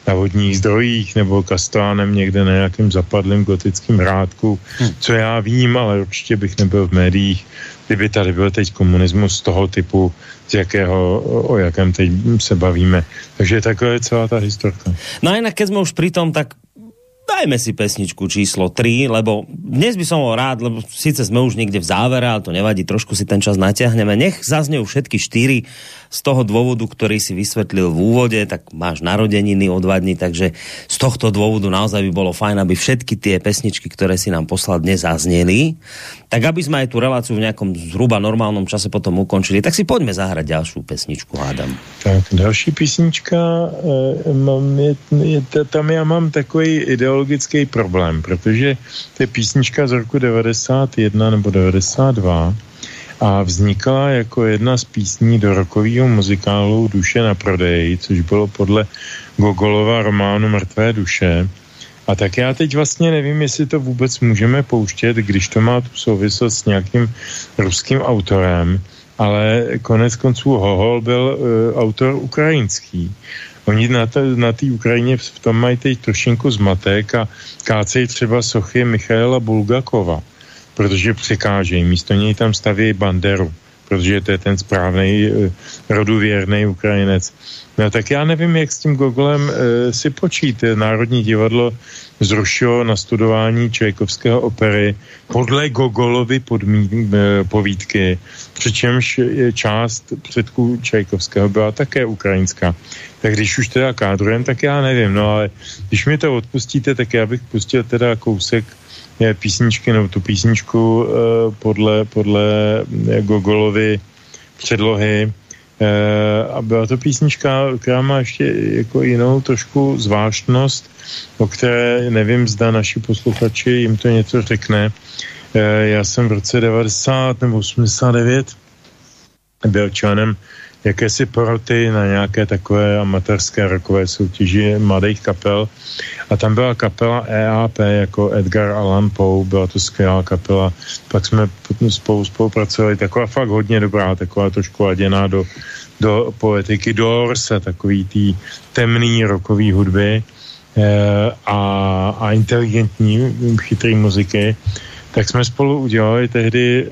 [SPEAKER 4] na vodních zdrojích nebo kastánem někde na nějakém zapadlém gotickém hrádku, hmm. co já vím, ale určitě bych nebyl v médiích, kdyby tady byl teď komunismus z toho typu, z jakého, o jakém teď se bavíme. Takže takhle je celá ta historka.
[SPEAKER 2] No a inak, keď sme už pri tom, tak dajme si pesničku číslo tri, lebo dnes by som bol rád, lebo síce sme už niekde v závere, ale to nevadí, trošku si ten čas natiahneme. Nech zaznejú všetky štyri z toho dôvodu, ktorý si vysvetlil v úvode, tak máš narodeniny o dva dní, takže z tohto dôvodu naozaj by bolo fajn, aby všetky tie pesničky, ktoré si nám poslal dnes, zazneli. Tak aby sme aj tú reláciu v nejakom zhruba normálnom čase potom ukončili, tak si poďme zahrať ďalšiu pesničku, hádam.
[SPEAKER 4] Tak, další písnička, e, mám, je, je, tam já mám takový ideologický problém, protože to je písnička z roku devadesát jedna nebo devadesát dva a vznikala jako jedna z písní do rockového muzikálu Duše na prodej, což bylo podle Gogolova románu Mrtvé duše. A tak já teď vlastně nevím, jestli to vůbec můžeme pouštět, když to má tu souvislost s nějakým ruským autorem, ale konec konců Hohol byl uh, autor ukrajinský. Oni na té na Ukrajině v tom mají teď trošinku zmatek a kácejí třeba sochy Michaela Bulgakova, protože překážejí. Místo něj tam staví Banderu, protože to je ten správnej roduvěrný Ukrajinec. No tak já nevím, jak s tím Gogolem e, si počít. Národní divadlo zrušilo nastudování Čajkovského opery podle Gogolovy podmí, e, povídky, přičemž část předků Čajkovského byla také ukrajinská. Tak když už teda kádrujem, tak já nevím, no ale když mi to odpustíte, tak já bych pustil teda kousek je, písničky, no tu písničku e, podle, podle Gogolovy předlohy. A byla to písnička, která má ještě jako jinou trošku zvláštnost, o které nevím, zda naši posluchači jim to něco řekne. Já jsem v roce devadesát nebo osmdesát devět byl členem jakési poroty na nějaké takové amatérské rockové soutěži mladých kapel a tam byla kapela E A P jako Edgar Allan Poe, byla to skvělá kapela, pak jsme spolu spolupracovali, taková fakt hodně dobrá, taková trošku laděná do, do poetiky Doors a takový tý temný rockový hudby e, a, a inteligentní, chytrý muziky. Tak jsme spolu udělali tehdy,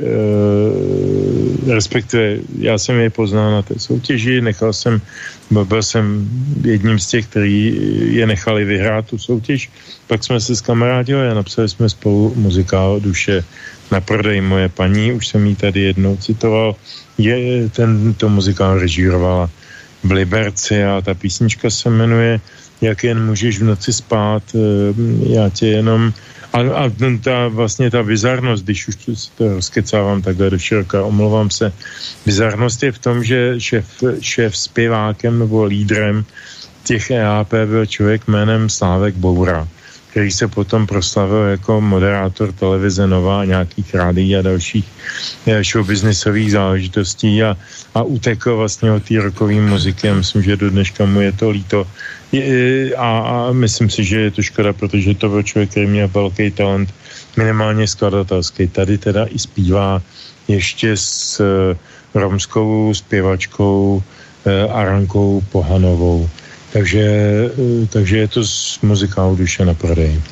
[SPEAKER 4] e, respektive já jsem je poznal na té soutěži, nechal jsem, byl jsem jedním z těch, kteří je nechali vyhrát tu soutěž, pak jsme se zkamarádili a napsali jsme spolu muzikál Duše na prodej moje paní, už jsem jí tady jednou citoval, je, tento muzikál režírovala v Liberci a ta písnička se jmenuje Jak jen můžeš v noci spát, e, já tě jenom A, a ta vlastně ta bizarnost, když už to rozkecávám takhle do široka, omlouvám se, bizarnost je v tom, že šéf, šéf zpěvákem nebo lídrem těch E A P byl člověk jménem Slávek Boura, který se potom proslavil jako moderátor televize Nova, nějakých rádií a dalších showbiznisových záležitostí a, a utekl vlastně od té rockové muziky. Já myslím, že do dneška mu je to líto. Je, a, a myslím si, že je to škoda, protože to byl člověk, který měl velký talent, minimálně skladatelský. Tady teda i zpívá ještě s uh, romskou zpěvačkou uh, Arankou Pohanovou. Takže, uh, takže je to z muzikálu Duše na prodej.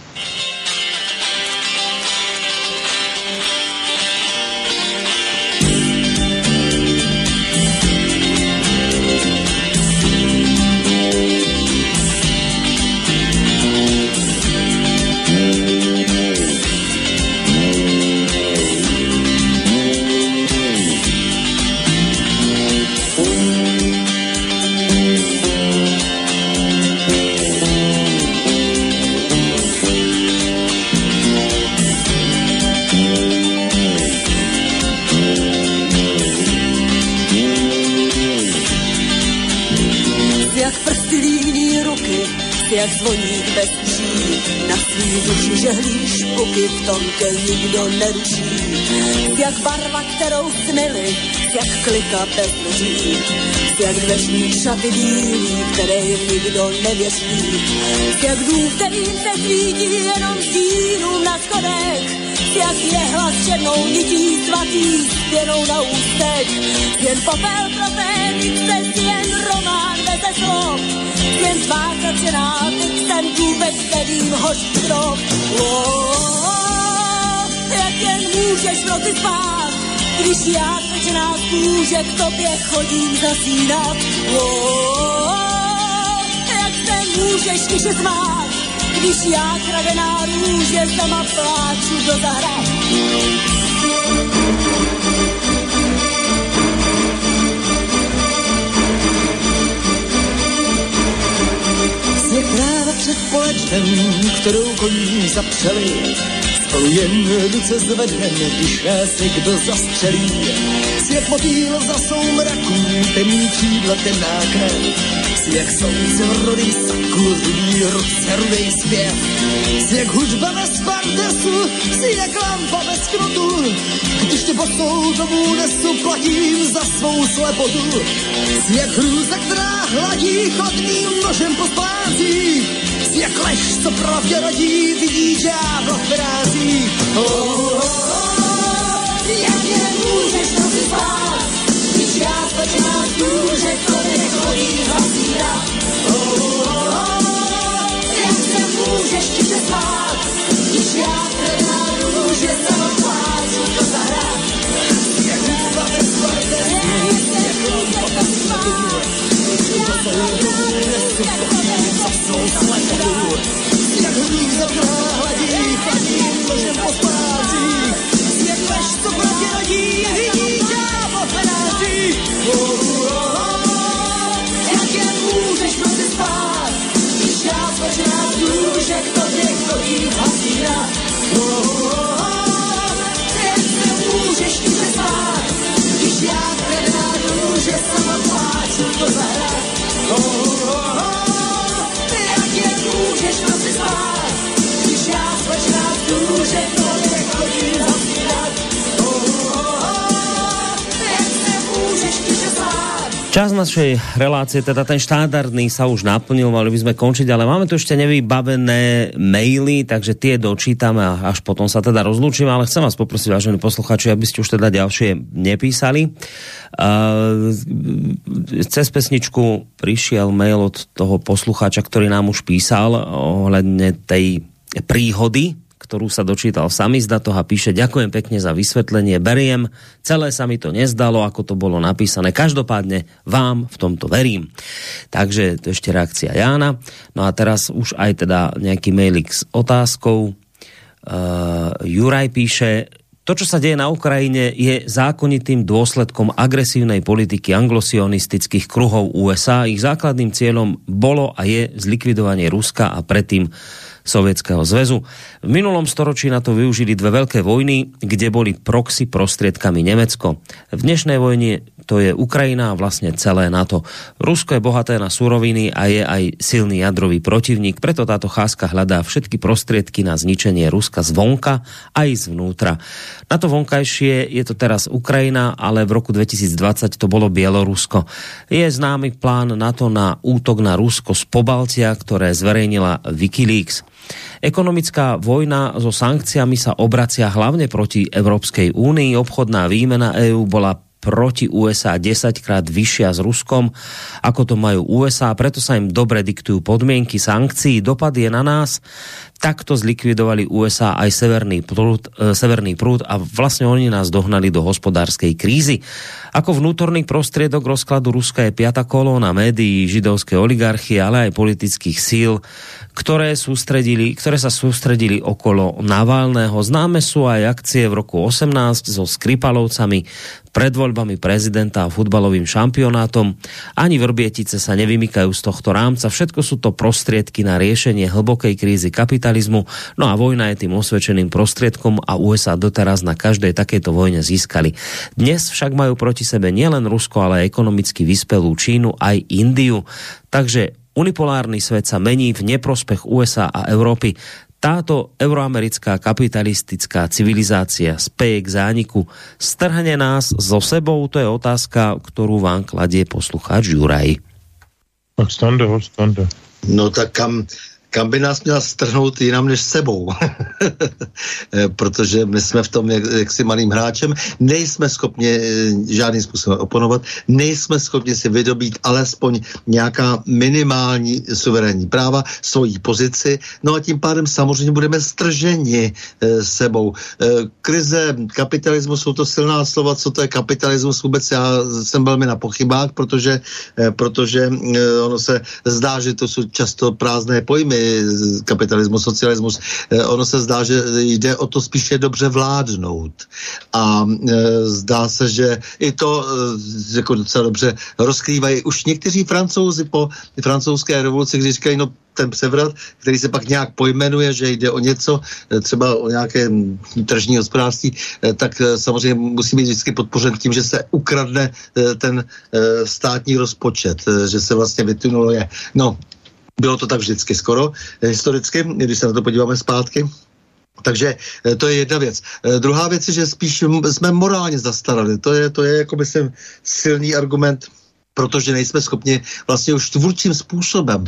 [SPEAKER 8] jak zvoník bez tří, na svý duši žehlíš puky, v tom tě nikdo neruší. Jak barva, kterou snili, jak klika bez dveří, jak dveřní šaty bílí, které nikdo nevěří, jak dům, který se svítí jenom stínům na schodech, jak je hlas černou nití svatý spěnou na ústech, jen popel pro té se jen román beze slov, jen tvá začená ve kterým hoří strop. Jak jen můžeš v noci spát, když já svečená z kůže k tobě chodím zasínat. Jak se můžeš tiše smát, když já kradená růže sama pláču do zahrad.
[SPEAKER 6] Sněh tráva před polečkem, kterou koní zapřeli, spolu jen ruce zvednem, když nás někdo zastřelí. Sněh motýl za soumraku, temný křídla, temná krev. Sněh slunce v rudý saku, rudý ruce, rudej zpěv. Sněh hudba bez pardesu, sněh lampa bez knotu. Když tě bosou domů nesu, platím za svou slepotu. Sněh hrůza, která hladí chodným nožem po spázích. Sněh lež, co pravdě rodí, vidí ďábla v brázích. Oh, oh, oh, jak je nemůžeš noci spát, když já stačná z kůže, to nechodí hasíra. Oh, oh, oh, jak se můžeš tiše spát, když já krevná růže sama pláču do zahrad. Sněh hudba bez pardesu, sněh lampa bez knotu. Když to domů nesu, platím za svou slepotu. Jak hrůza hladí, chladím nožem po spázích. Jak lež, co pravdě rodí, vidí ďábla v penářích. Oh, oh, oh, jak jen můžeš v noci spát, když já svečená z kůže k tobě chodí hasíra. Oh, oh, oh, jak se můžeš tiše spát, když já kradená růže sama pláču do zahrad. Oh, oh, oh, jak jen můžeš v noci spát, když já svečená z kůže k tobě chodí hasírat. Oh, oh, oh, jak se můžeš tiše spát.
[SPEAKER 2] Čas našej relácie, teda ten štandardný sa už naplnil, mali by sme končiť, ale máme tu ešte nevybavené maily, takže tie dočítame a až potom sa teda rozlúčime, ale chcem vás poprosiť, vážení poslucháči, aby ste už teda ďalšie nepísali. Uh, cez pesničku prišiel mail od toho poslucháča, ktorý nám už písal ohľadne tej príhody, ktorú sa dočítal v samizdatoch a píše: ďakujem pekne za vysvetlenie, beriem, celé sa mi to nezdalo, ako to bolo napísané, každopádne vám v tomto verím. Takže to ešte reakcia Jána. No a teraz už aj teda nejaký mailik s otázkou. Uh, Juraj píše: to, čo sa deje na Ukrajine, je zákonitým dôsledkom agresívnej politiky anglosionistických kruhov ú es á. Ich základným cieľom bolo a je zlikvidovanie Ruska a predtým Sovietskeho zväzu. V minulom storočí na to využili dve veľké vojny, kde boli proxy prostriedkami Nemecko. V dnešnej vojne to je Ukrajina a vlastne celé NATO. Rusko je bohaté na suroviny a je aj silný jadrový protivník, preto táto cházka hľadá všetky prostriedky na zničenie Ruska zvonka aj zvnútra. Na to vonkajšie je to teraz Ukrajina, ale v roku dvetisícdvadsať to bolo Bielorusko. Je známy plán NATO na útok na Rusko z Pobaltia, ktoré zverejnila Wikileaks. Ekonomická vojna so sankciami sa obracia hlavne proti Európskej únii. Obchodná výmena EÚ bola proti ú es á desaťkrát vyššia s Ruskom, ako to majú ú es á, preto sa im dobre diktujú podmienky sankcií. Dopad je na nás. Takto zlikvidovali ú es á aj severný prúd, e, severný prúd a vlastne oni nás dohnali do hospodárskej krízy. Ako vnútorný prostriedok rozkladu Ruska je piata kolóna médií, židovské oligarchie, ale aj politických síl, ktoré, sústredili, ktoré sa sústredili okolo Navalného. Známe sú aj akcie v roku osemnásť so Skripalovcami, pred voľbami prezidenta a futbalovým šampionátom. Ani Vrbietice sa nevymykajú z tohto rámca. Všetko sú to prostriedky na riešenie hlbokej krízy kapitalizmu. No a vojna je tým osvedčeným prostriedkom a ú es á doteraz na každej takejto vojne získali. Dnes však majú proti sebe nielen Rusko, ale aj ekonomicky vyspelú Čínu, aj Indiu. Takže unipolárny svet sa mení v neprospech ú es á a Európy. Táto euroamerická kapitalistická civilizácia speje k zániku. Strhne nás so sebou? To je otázka, ktorú vám kladie poslucháč Juraj.
[SPEAKER 4] Tak Stando, Stando.
[SPEAKER 5] No tak kam, kam by nás měla strhnout jinam než sebou. Protože my jsme v tom jak, jaksi malým hráčem, nejsme schopni žádným způsobem oponovat, nejsme schopni si vydobít alespoň nějaká minimální suverénní práva, svojí pozici, no a tím pádem samozřejmě budeme strženi e, sebou. E, krize, kapitalismus, jsou to silná slova, co to je kapitalismus vůbec, já jsem velmi na pochybách, protože, e, protože e, ono se zdá, že to jsou často prázdné pojmy, kapitalismus, socialismus, e, ono se zdá, že jde o to spíše dobře vládnout. A e, zdá se, že i to e, jako docela dobře rozkrývají už někteří Francouzi po francouzské revoluci, když říkají, no ten převrat, který se pak nějak pojmenuje, že jde o něco, třeba o nějaké tržní hospodářství, tak samozřejmě musí být vždycky podpořen tím, že se ukradne ten státní rozpočet, že se vlastně vytunuluje. No, bylo to tak vždycky skoro, historicky, když se na to podíváme zpátky. Takže to je jedna věc. Druhá věc je, že spíš jsme morálně zastarali. To je, to je jako myslím silný argument, protože nejsme schopni vlastně už tvůrčím způsobem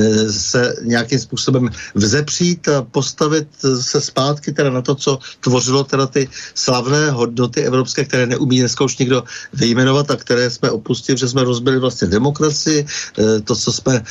[SPEAKER 5] se nějakým způsobem vzepřít a postavit se zpátky teda na to, co tvořilo teda ty slavné hodnoty evropské, které neumí dneska už nikdo vyjmenovat a které jsme opustili, že jsme rozbili vlastně demokracii, to, co jsme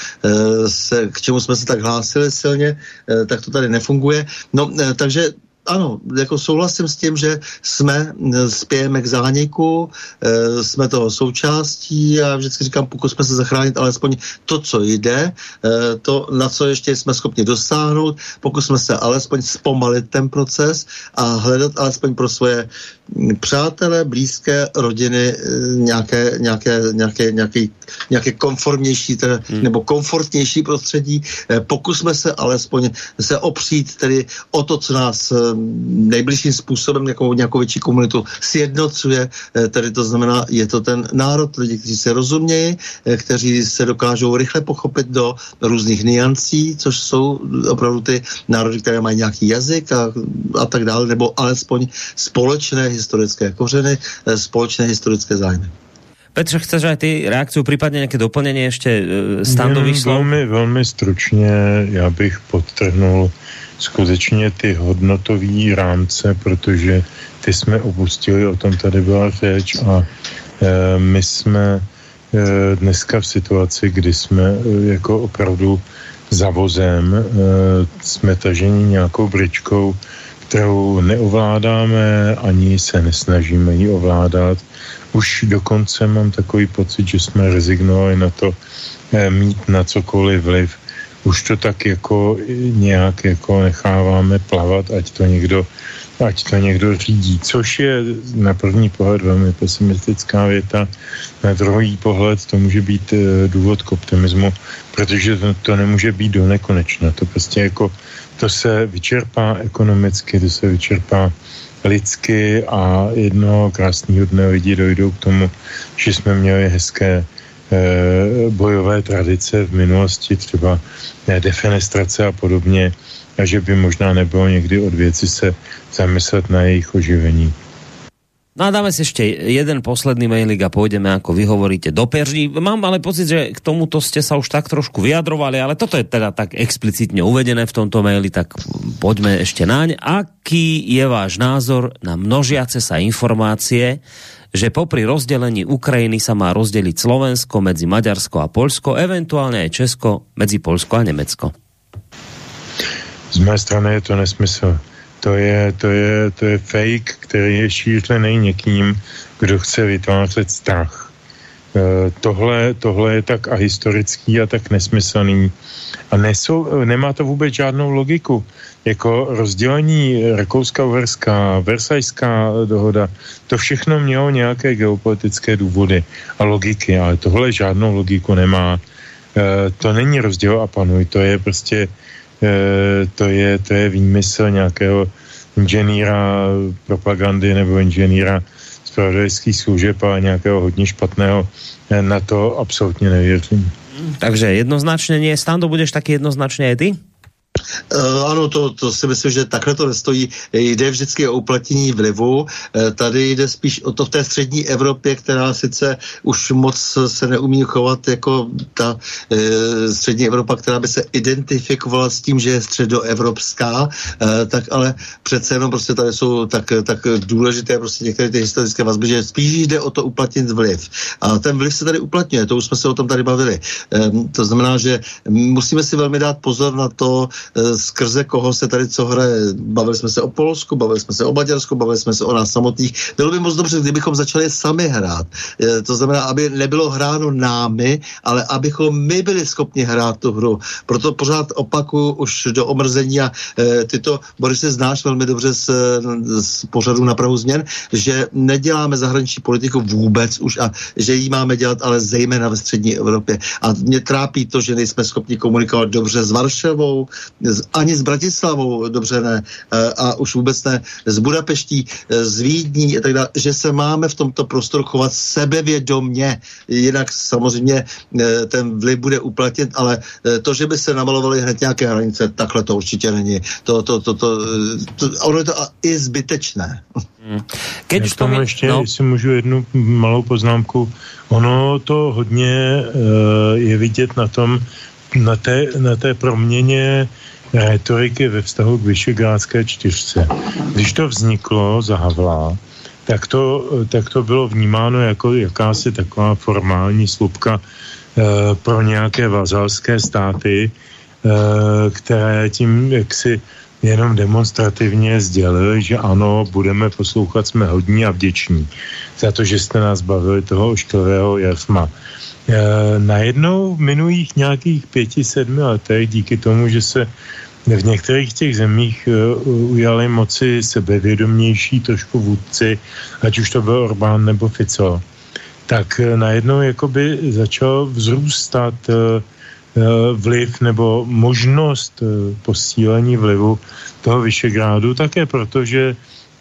[SPEAKER 5] se, k čemu jsme se tak hlásili silně, tak to tady nefunguje. No, takže ano, jako souhlasím s tím, že jsme spějeme k zániku, e, jsme toho součástí a vždycky říkám, pokusme se zachránit alespoň to, co jde, e, to, na co ještě jsme schopni dosáhnout, pokusme se alespoň zpomalit ten proces a hledat alespoň pro svoje přátelé, blízké, rodiny nějaké, nějaké, nějaké, nějaké, nějaké konformnější teda, hmm. nebo komfortnější prostředí. E, pokusme se alespoň se opřít tedy o to, co nás nejbližším způsobem nějakou, nějakou větší komunitu sjednocuje, tedy to znamená, je to ten národ, lidi, kteří se rozumějí, kteří se dokážou rychle pochopit do různých niancí, což jsou opravdu ty národy, které mají nějaký jazyk a, a tak dále, nebo alespoň společné historické kořeny, společné historické zájmy.
[SPEAKER 2] Petře, chceš aj ty reakciu, případně nějaké doplnění ještě standových slov?
[SPEAKER 4] Velmi, velmi stručně, já bych podtrhnul skutečně ty hodnotové rámce, protože ty jsme opustili, o tom tady byla řeč a e, my jsme e, dneska v situaci, kdy jsme e, jako opravdu za vozem, e, jsme taženi nějakou bričkou, kterou neovládáme, ani se nesnažíme ji ovládat. Už dokonce mám takový pocit, že jsme rezignovali na to e, mít na cokoliv vliv. Už to tak jako nějak jako necháváme plavat, ať to někdo, ať to někdo řídí, což je na první pohled velmi pesimistická věta, na druhý pohled to může být důvod k optimismu, protože to, to nemůže být do nekonečna, to prostě jako, to se vyčerpá ekonomicky, to se vyčerpá lidsky a jednoho krásného dne lidi dojdou k tomu, že jsme měli hezké bojové tradice v minulosti, třeba defenestrace a podobně, a že by možná nebylo někdy od věci se zamyslet na jejich oživení.
[SPEAKER 2] No a dáme si ešte jeden posledný mailik a pôjdeme, ako vy hovoríte, do perží. Mám ale pocit, že k tomuto ste sa už tak trošku vyjadrovali, ale toto je teda tak explicitne uvedené v tomto maili, tak poďme ešte naň. Aký je váš názor na množiace sa informácie, že popri rozdelení Ukrajiny sa má rozdeliť Slovensko medzi Maďarsko a Poľsko, eventuálne aj Česko medzi Poľsko a Nemecko?
[SPEAKER 4] Z mé strany je to nesmysl. To je, to je, to je fake, který je šířený někým, kdo chce vytvářet strach. E, tohle, tohle je tak ahistorický a tak nesmyslný. A nesou, nemá to vůbec žádnou logiku. Jako rozdělení Rakouska-Uherská, Versajská dohoda, to všechno mělo nějaké geopolitické důvody a logiky, ale tohle žádnou logiku nemá. E, to není rozděl a panuj, to je prostě E, to je, to je výmysl nějakého inženýra propagandy nebo inženýra zpravodajských služeb a nějakého hodně špatného. E, na to absolutně nevěřím.
[SPEAKER 2] Takže jednoznačně nie. Stando, budeš taky jednoznačně aj ty?
[SPEAKER 5] Uh, ano, to, to si myslím, že takhle to nestojí. Jde vždycky o uplatnění vlivu. Uh, tady jde spíš o to v té střední Evropě, která sice už moc se neumí chovat jako ta uh, střední Evropa, která by se identifikovala s tím, že je středoevropská, uh, tak ale přece jenom prostě tady jsou tak, tak důležité prostě některé ty historické vazby, že spíš jde o to uplatnit vliv. A ten vliv se tady uplatňuje, to už jsme se o tom tady bavili. Um, to znamená, že musíme si velmi dát pozor na to, skrze koho se tady co hraje. Bavili jsme se o Polsku, bavili jsme se o Maďarsku, bavili jsme se o nás samotných. Bylo by moc dobře, kdybychom začali sami hrát. To znamená, aby nebylo hráno námi, ale abychom my byli schopni hrát tu hru. Proto pořád opakuju už do omrzení a e, ty to, Borise, znáš velmi dobře z, z pořadu Na prahu změn, že neděláme zahraniční politiku vůbec už a že ji máme dělat, ale zejména ve střední Evropě. A mě trápí to, že nejsme schopni komunikovat dobře s Varšavou, ani s Bratislavou, dobře ne, a už vůbec ne s Budapeští, s Vídní a tak dále, že se máme v tomto prostoru chovat sebevědomně. Jinak samozřejmě ten vliv bude uplatnit, ale to, že by se namalovaly hned nějaké hranice, takhle to určitě není. To, to, to, to, to, ono je to i zbytečné.
[SPEAKER 4] Keď už tomu ještě, no. Jestli můžu jednu malou poznámku, ono to hodně uh, je vidět na tom, na té, na té proměně rétoriky ve vztahu k Visegrádské čtyřce. Když to vzniklo za Havla, tak to, tak to bylo vnímáno jako jakási taková formální slupka e, pro nějaké vazalské státy, e, které tím jaksi jenom demonstrativně sdělili, že ano, budeme poslouchat, jsme hodní a vděční za to, že jste nás bavili toho ošklivého jasma. E, najednou v minulých nějakých pěti, sedmi letech, díky tomu, že se v některých těch zemích e, ujali moci sebevědomější trošku vůdci, ať už to byl Orbán nebo Fico, tak e, najednou jakoby začal vzrůstat e, vliv nebo možnost e, posílení vlivu toho Visegrádu, také protože e,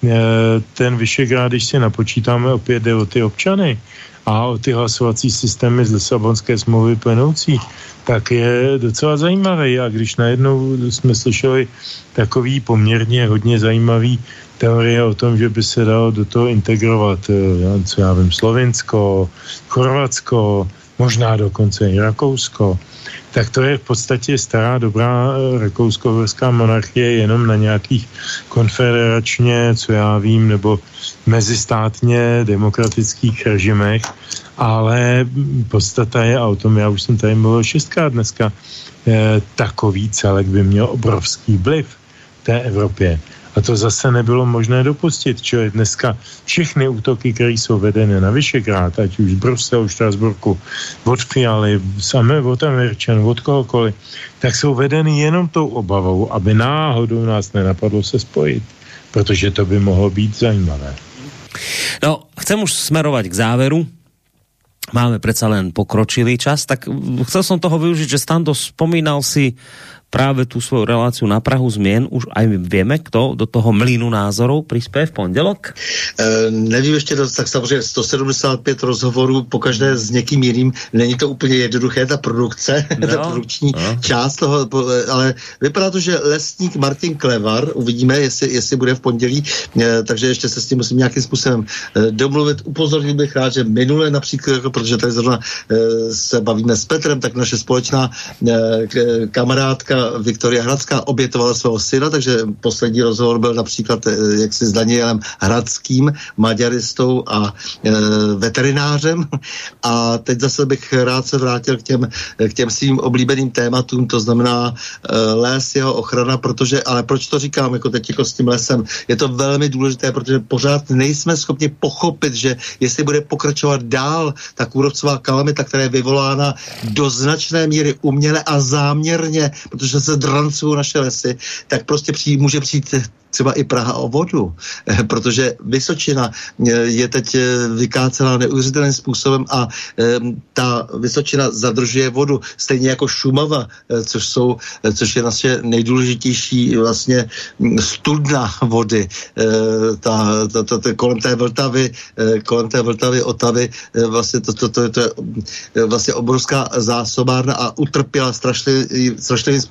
[SPEAKER 4] ten Visegrád, když si napočítáme, opět jde o ty občany a o ty hlasovací systémy z Lisabonské smlouvy plynoucí, tak je docela zajímavý. A když najednou jsme slyšeli takový poměrně hodně zajímavý teorie o tom, že by se dalo do toho integrovat, co já vím, Slovinsko, Chorvatsko, možná dokonce i Rakousko, tak to je v podstatě stará dobrá rakousko-uherská monarchie jenom na nějakých konfederačně, co já vím, nebo mezistátně demokratických režimech, ale podstata je, a o tom já už jsem tady mluvil šestkrát dneska, eh, takový celek by měl obrovský vliv v té Evropě. A to zase nebylo možné dopustit, čili dneska všechny útoky, které jsou vedeny na Visegrád, ať už z Bruselu, Štrasburku, od Fialy, samé od Američanů, od kohokoliv, tak jsou vedeny jenom tou obavou, aby náhodou nás nenapadlo se spojit, protože to by mohlo být zajímavé.
[SPEAKER 2] No, chcem už smerovať k záveru. Máme predsa len pokročilý čas, tak chcel som toho využiť, že Stando, spomínal si práve tú svoju reláciu Na prahu zmien. Už aj vieme, kto do toho mlýnu názorov prispěje v pondělok?
[SPEAKER 5] E, nevím ještě dost, tak samozřejmě sto sedmdesát pět rozhovorů, pokaždé s někým jiným. Není to úplně jednoduché, ta produkce, no, ta produkční no. část toho, ale vypadá to, že lesník Martin Klevar, uvidíme, jestli, jestli bude v pondělí, e, takže ještě se s tím musím nějakým způsobem e, domluvit. Upozornil bych rád, že minule například, jako, protože tady zrovna e, se bavíme s Petrem, tak naše společná e, kamarádka Viktoria Hradská obětovala svého syna, takže poslední rozhovor byl například jaksi s Danielem Hradským, maďaristou a e, veterinářem. A teď zase bych rád se vrátil k těm, k těm svým oblíbeným tématům, to znamená e, les, jeho ochrana, protože, ale proč to říkám, jako teď jako s tím lesem, je to velmi důležité, protože pořád nejsme schopni pochopit, že jestli bude pokračovat dál ta kůrovcová kalamita, která je vyvolána do značné míry uměle a záměrně, protože se drancují naše lesy, tak prostě přijít, může přijít třeba i Praha o vodu, protože Vysočina je teď vykácená neuvěřitelným způsobem a ta Vysočina zadržuje vodu, stejně jako Šumava, což jsou, což je naše nejdůležitější vlastně studna vody. Ta, ta, ta, ta, kolem té Vltavy, kolem té Vltavy, Otavy, vlastně to, to, to, to je vlastně obrovská zásobárna a utrpěla strašlivým, strašlivým způsobem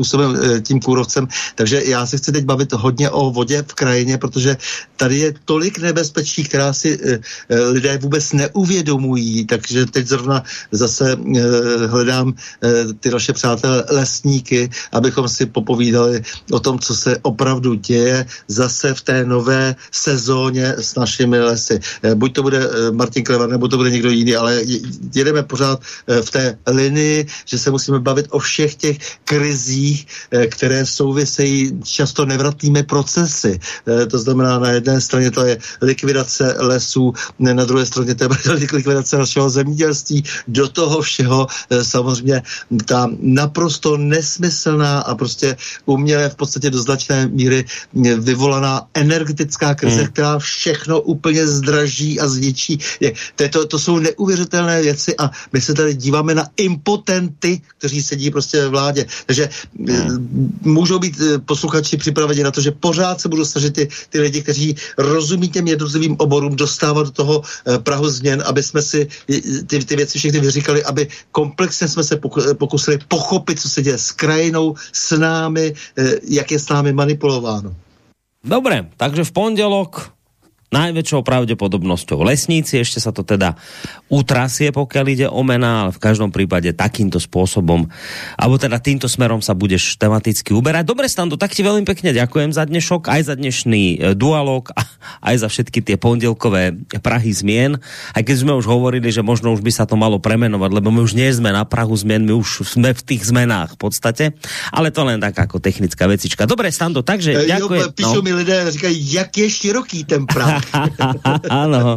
[SPEAKER 5] způsobem tím kůrovcem. Takže já se chci teď bavit hodně o vodě v krajině, protože tady je tolik nebezpečí, která si lidé vůbec neuvědomují. Takže teď zrovna zase hledám ty naše přátelé lesníky, abychom si popovídali o tom, co se opravdu děje zase v té nové sezóně s našimi lesy. Buď to bude Martin Klevar, nebo to bude někdo jiný, ale jedeme pořád v té linii, že se musíme bavit o všech těch krizích, které souvisejí často nevratnými procesy. To znamená, na jedné straně to je likvidace lesů, na druhé straně to je likvidace našeho zemědělství. Do toho všeho samozřejmě ta naprosto nesmyslná a prostě uměle v podstatě do značné míry vyvolaná energetická krize, hmm. která všechno úplně zdraží a zničí. To, to, to jsou neuvěřitelné věci a my se tady díváme na impotenty, kteří sedí prostě ve vládě. Takže hmm. můžou být posluchači připraveni na to, že pořád se budou snažit ty, ty lidi, kteří rozumí těm jednotlivým oborům, dostávat do toho prahu změn, aby jsme si ty, ty věci všechny vyříkali, aby komplexně jsme se pokusili pochopit, co se děje s krajinou, s námi, jak je s námi manipulováno.
[SPEAKER 2] Dobre, takže v pondelok najväčšou pravdepodobnosťou lesníci, ešte sa to teda utrasie, pokiaľ ide o mená, ale v každom prípade takýmto spôsobom, alebo teda týmto smerom sa budeš tematicky uberať. Dobre, Stando, tak ti veľmi pekne ďakujem za dnešok, aj za dnešný dualog, aj za všetky tie pondelkové prahy zmien. Aj keď sme už hovorili, že možno už by sa to malo premenovať, lebo my už nie sme na prahu zmien, my už sme v tých zmenách v podstate, ale to len tak ako technická vecička. Dobre, Stando, takže
[SPEAKER 5] e,
[SPEAKER 2] ďakujem.
[SPEAKER 5] Jo, píšu no. mi lidé, říkají, jak je široký ten prah.
[SPEAKER 2] Áno.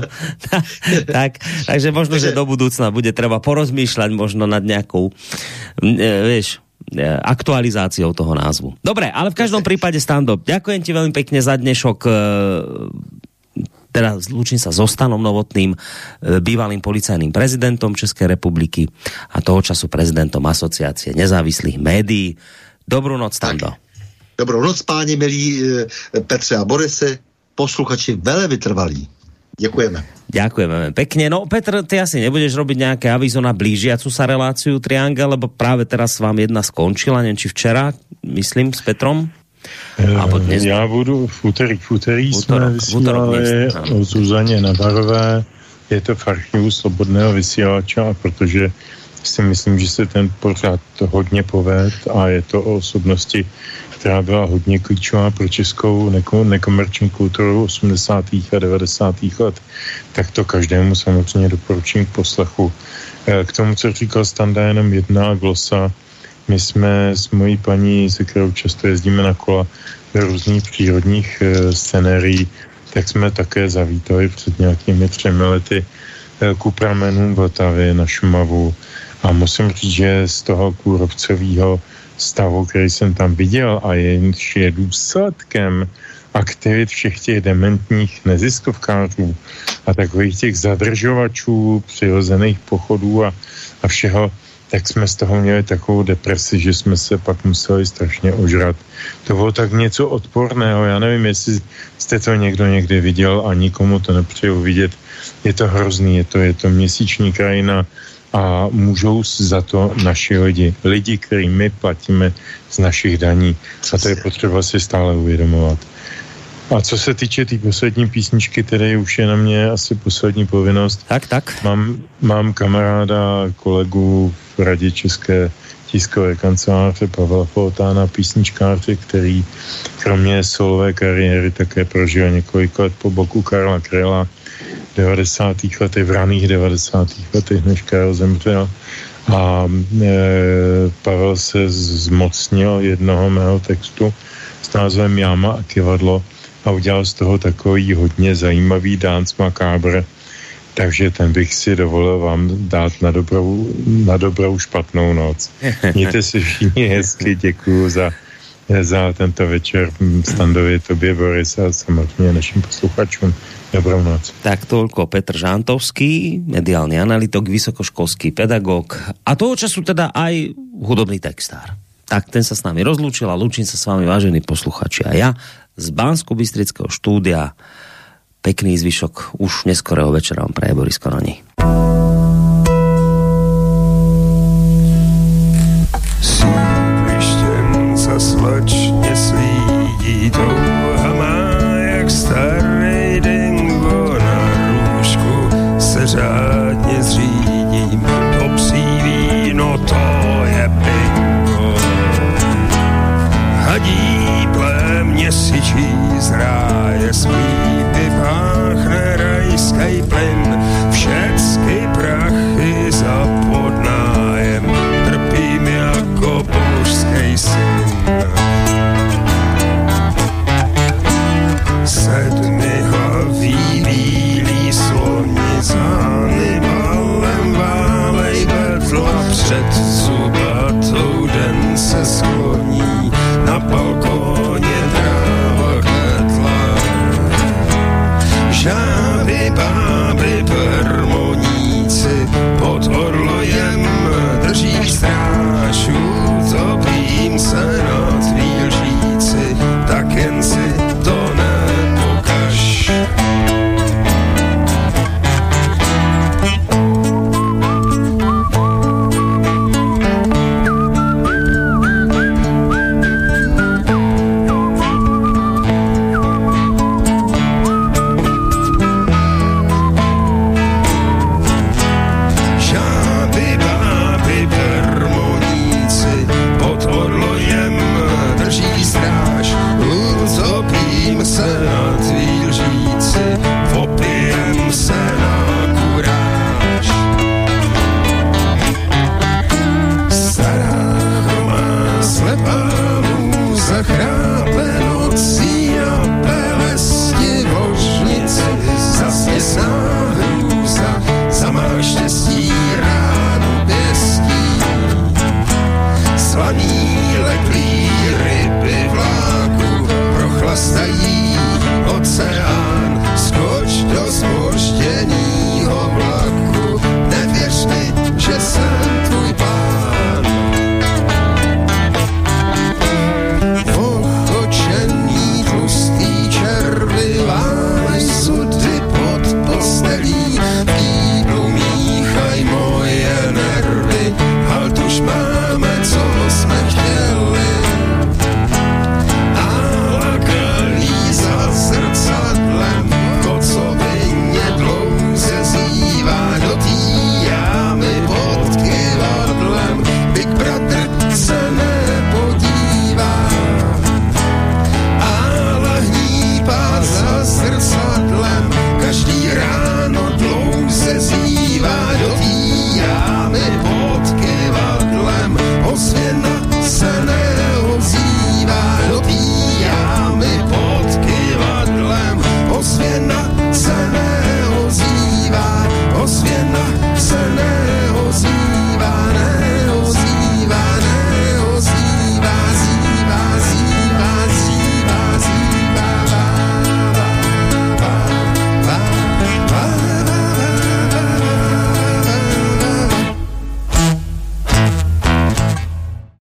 [SPEAKER 2] tak, takže možno, že do budúcna bude treba porozmýšľať možno nad nejakou e, vieš, e, aktualizáciou toho názvu. Dobre, ale v každom prípade, Stando, ďakujem ti veľmi pekne za dnešok. E, teda zlúčim sa so Stanom Novotným, e, bývalým policajným prezidentom Českej republiky a toho času prezidentom Asociácie nezávislých médií. Dobrú noc, Stando.
[SPEAKER 5] Dobrou noc, páni milí e, Petře a Borisy, posluchači veľmi vytrvalí. Ďakujeme.
[SPEAKER 2] Ďakujeme pekne. No, Petr, ty asi nebudeš robiť nejaké avízo na blížiacu sa reláciu Triangel, lebo práve teraz vám jedna skončila, neviem, či včera, myslím, s Petrom?
[SPEAKER 4] E, já budu v úterý, v úterý jsme vysílali o Zuzaně Navarové, je to v archivu Slobodného vysílača, protože si myslím, že se ten pořád hodně poved a je to o osobnosti, která byla hodně klíčová pro českou neko- nekomerční kulturu osmdesátých a devadesátých let, tak to každému samozřejmě doporučím k poslechu. E, k tomu, co říkal Standa, jenom jedna glosa. My jsme s mojí paní, se kterou často jezdíme na kola do různých přírodních e, scenérií, tak jsme také zavítali před nějakými třemi lety e, ku pramenům Vltavy na Šumavu a musím říct, že z toho kůrovcového stavu, který jsem tam viděl a jenž je důsledkem aktivit všech těch dementních neziskovkářů a takových těch zadržovačů, přirozených pochodů a, a všeho, tak jsme z toho měli takovou depresi, že jsme se pak museli strašně ožrat. To bylo tak něco odporného, já nevím, jestli jste to někdo někdy viděl a nikomu to nepřeju vidět. Je to hrozný, je to, je to měsíční krajina, a můžou za to naši lidi. Lidi, který my platíme z našich daní. A to je potřeba si stále uvědomovat. A co se týče té tý poslední písničky, které už je na mě asi poslední povinnost.
[SPEAKER 2] Tak, tak.
[SPEAKER 4] Mám, mám kamaráda, kolegu v Radě České tiskové kanceláře Pavla Foltána, písničkáře, který kromě solové kariéry také prožil několik let po boku Karla Kryla v devadesátých letech, v raných devadesátých letech, než Karel zemřel. A e, Pavel se zmocnil jednoho mého textu s názvem Jáma a kivadlo a udělal z toho takový hodně zajímavý dance macabre. Takže ten bych si dovolil vám dát na dobrou, na dobrou špatnou noc. Mějte si všichni hezky, děkuju za, za tento večer. Standovi, tobě, Boris, a samozřejmě našim posluchačům. Dobrou noc.
[SPEAKER 2] Tak toľko Petr Žantovský, mediálny analytik, vysokoškolský pedagóg a toho času teda aj hudobný textár. Tak ten sa s nami rozlúčil a lúčim sa s vami, vážení posluchači, a ja z Banskobystrického štúdia. Pekný zvyšok už neskorého večera vám praje Boris Koroni.
[SPEAKER 9] Sídlištěm za před zubatou den se skloní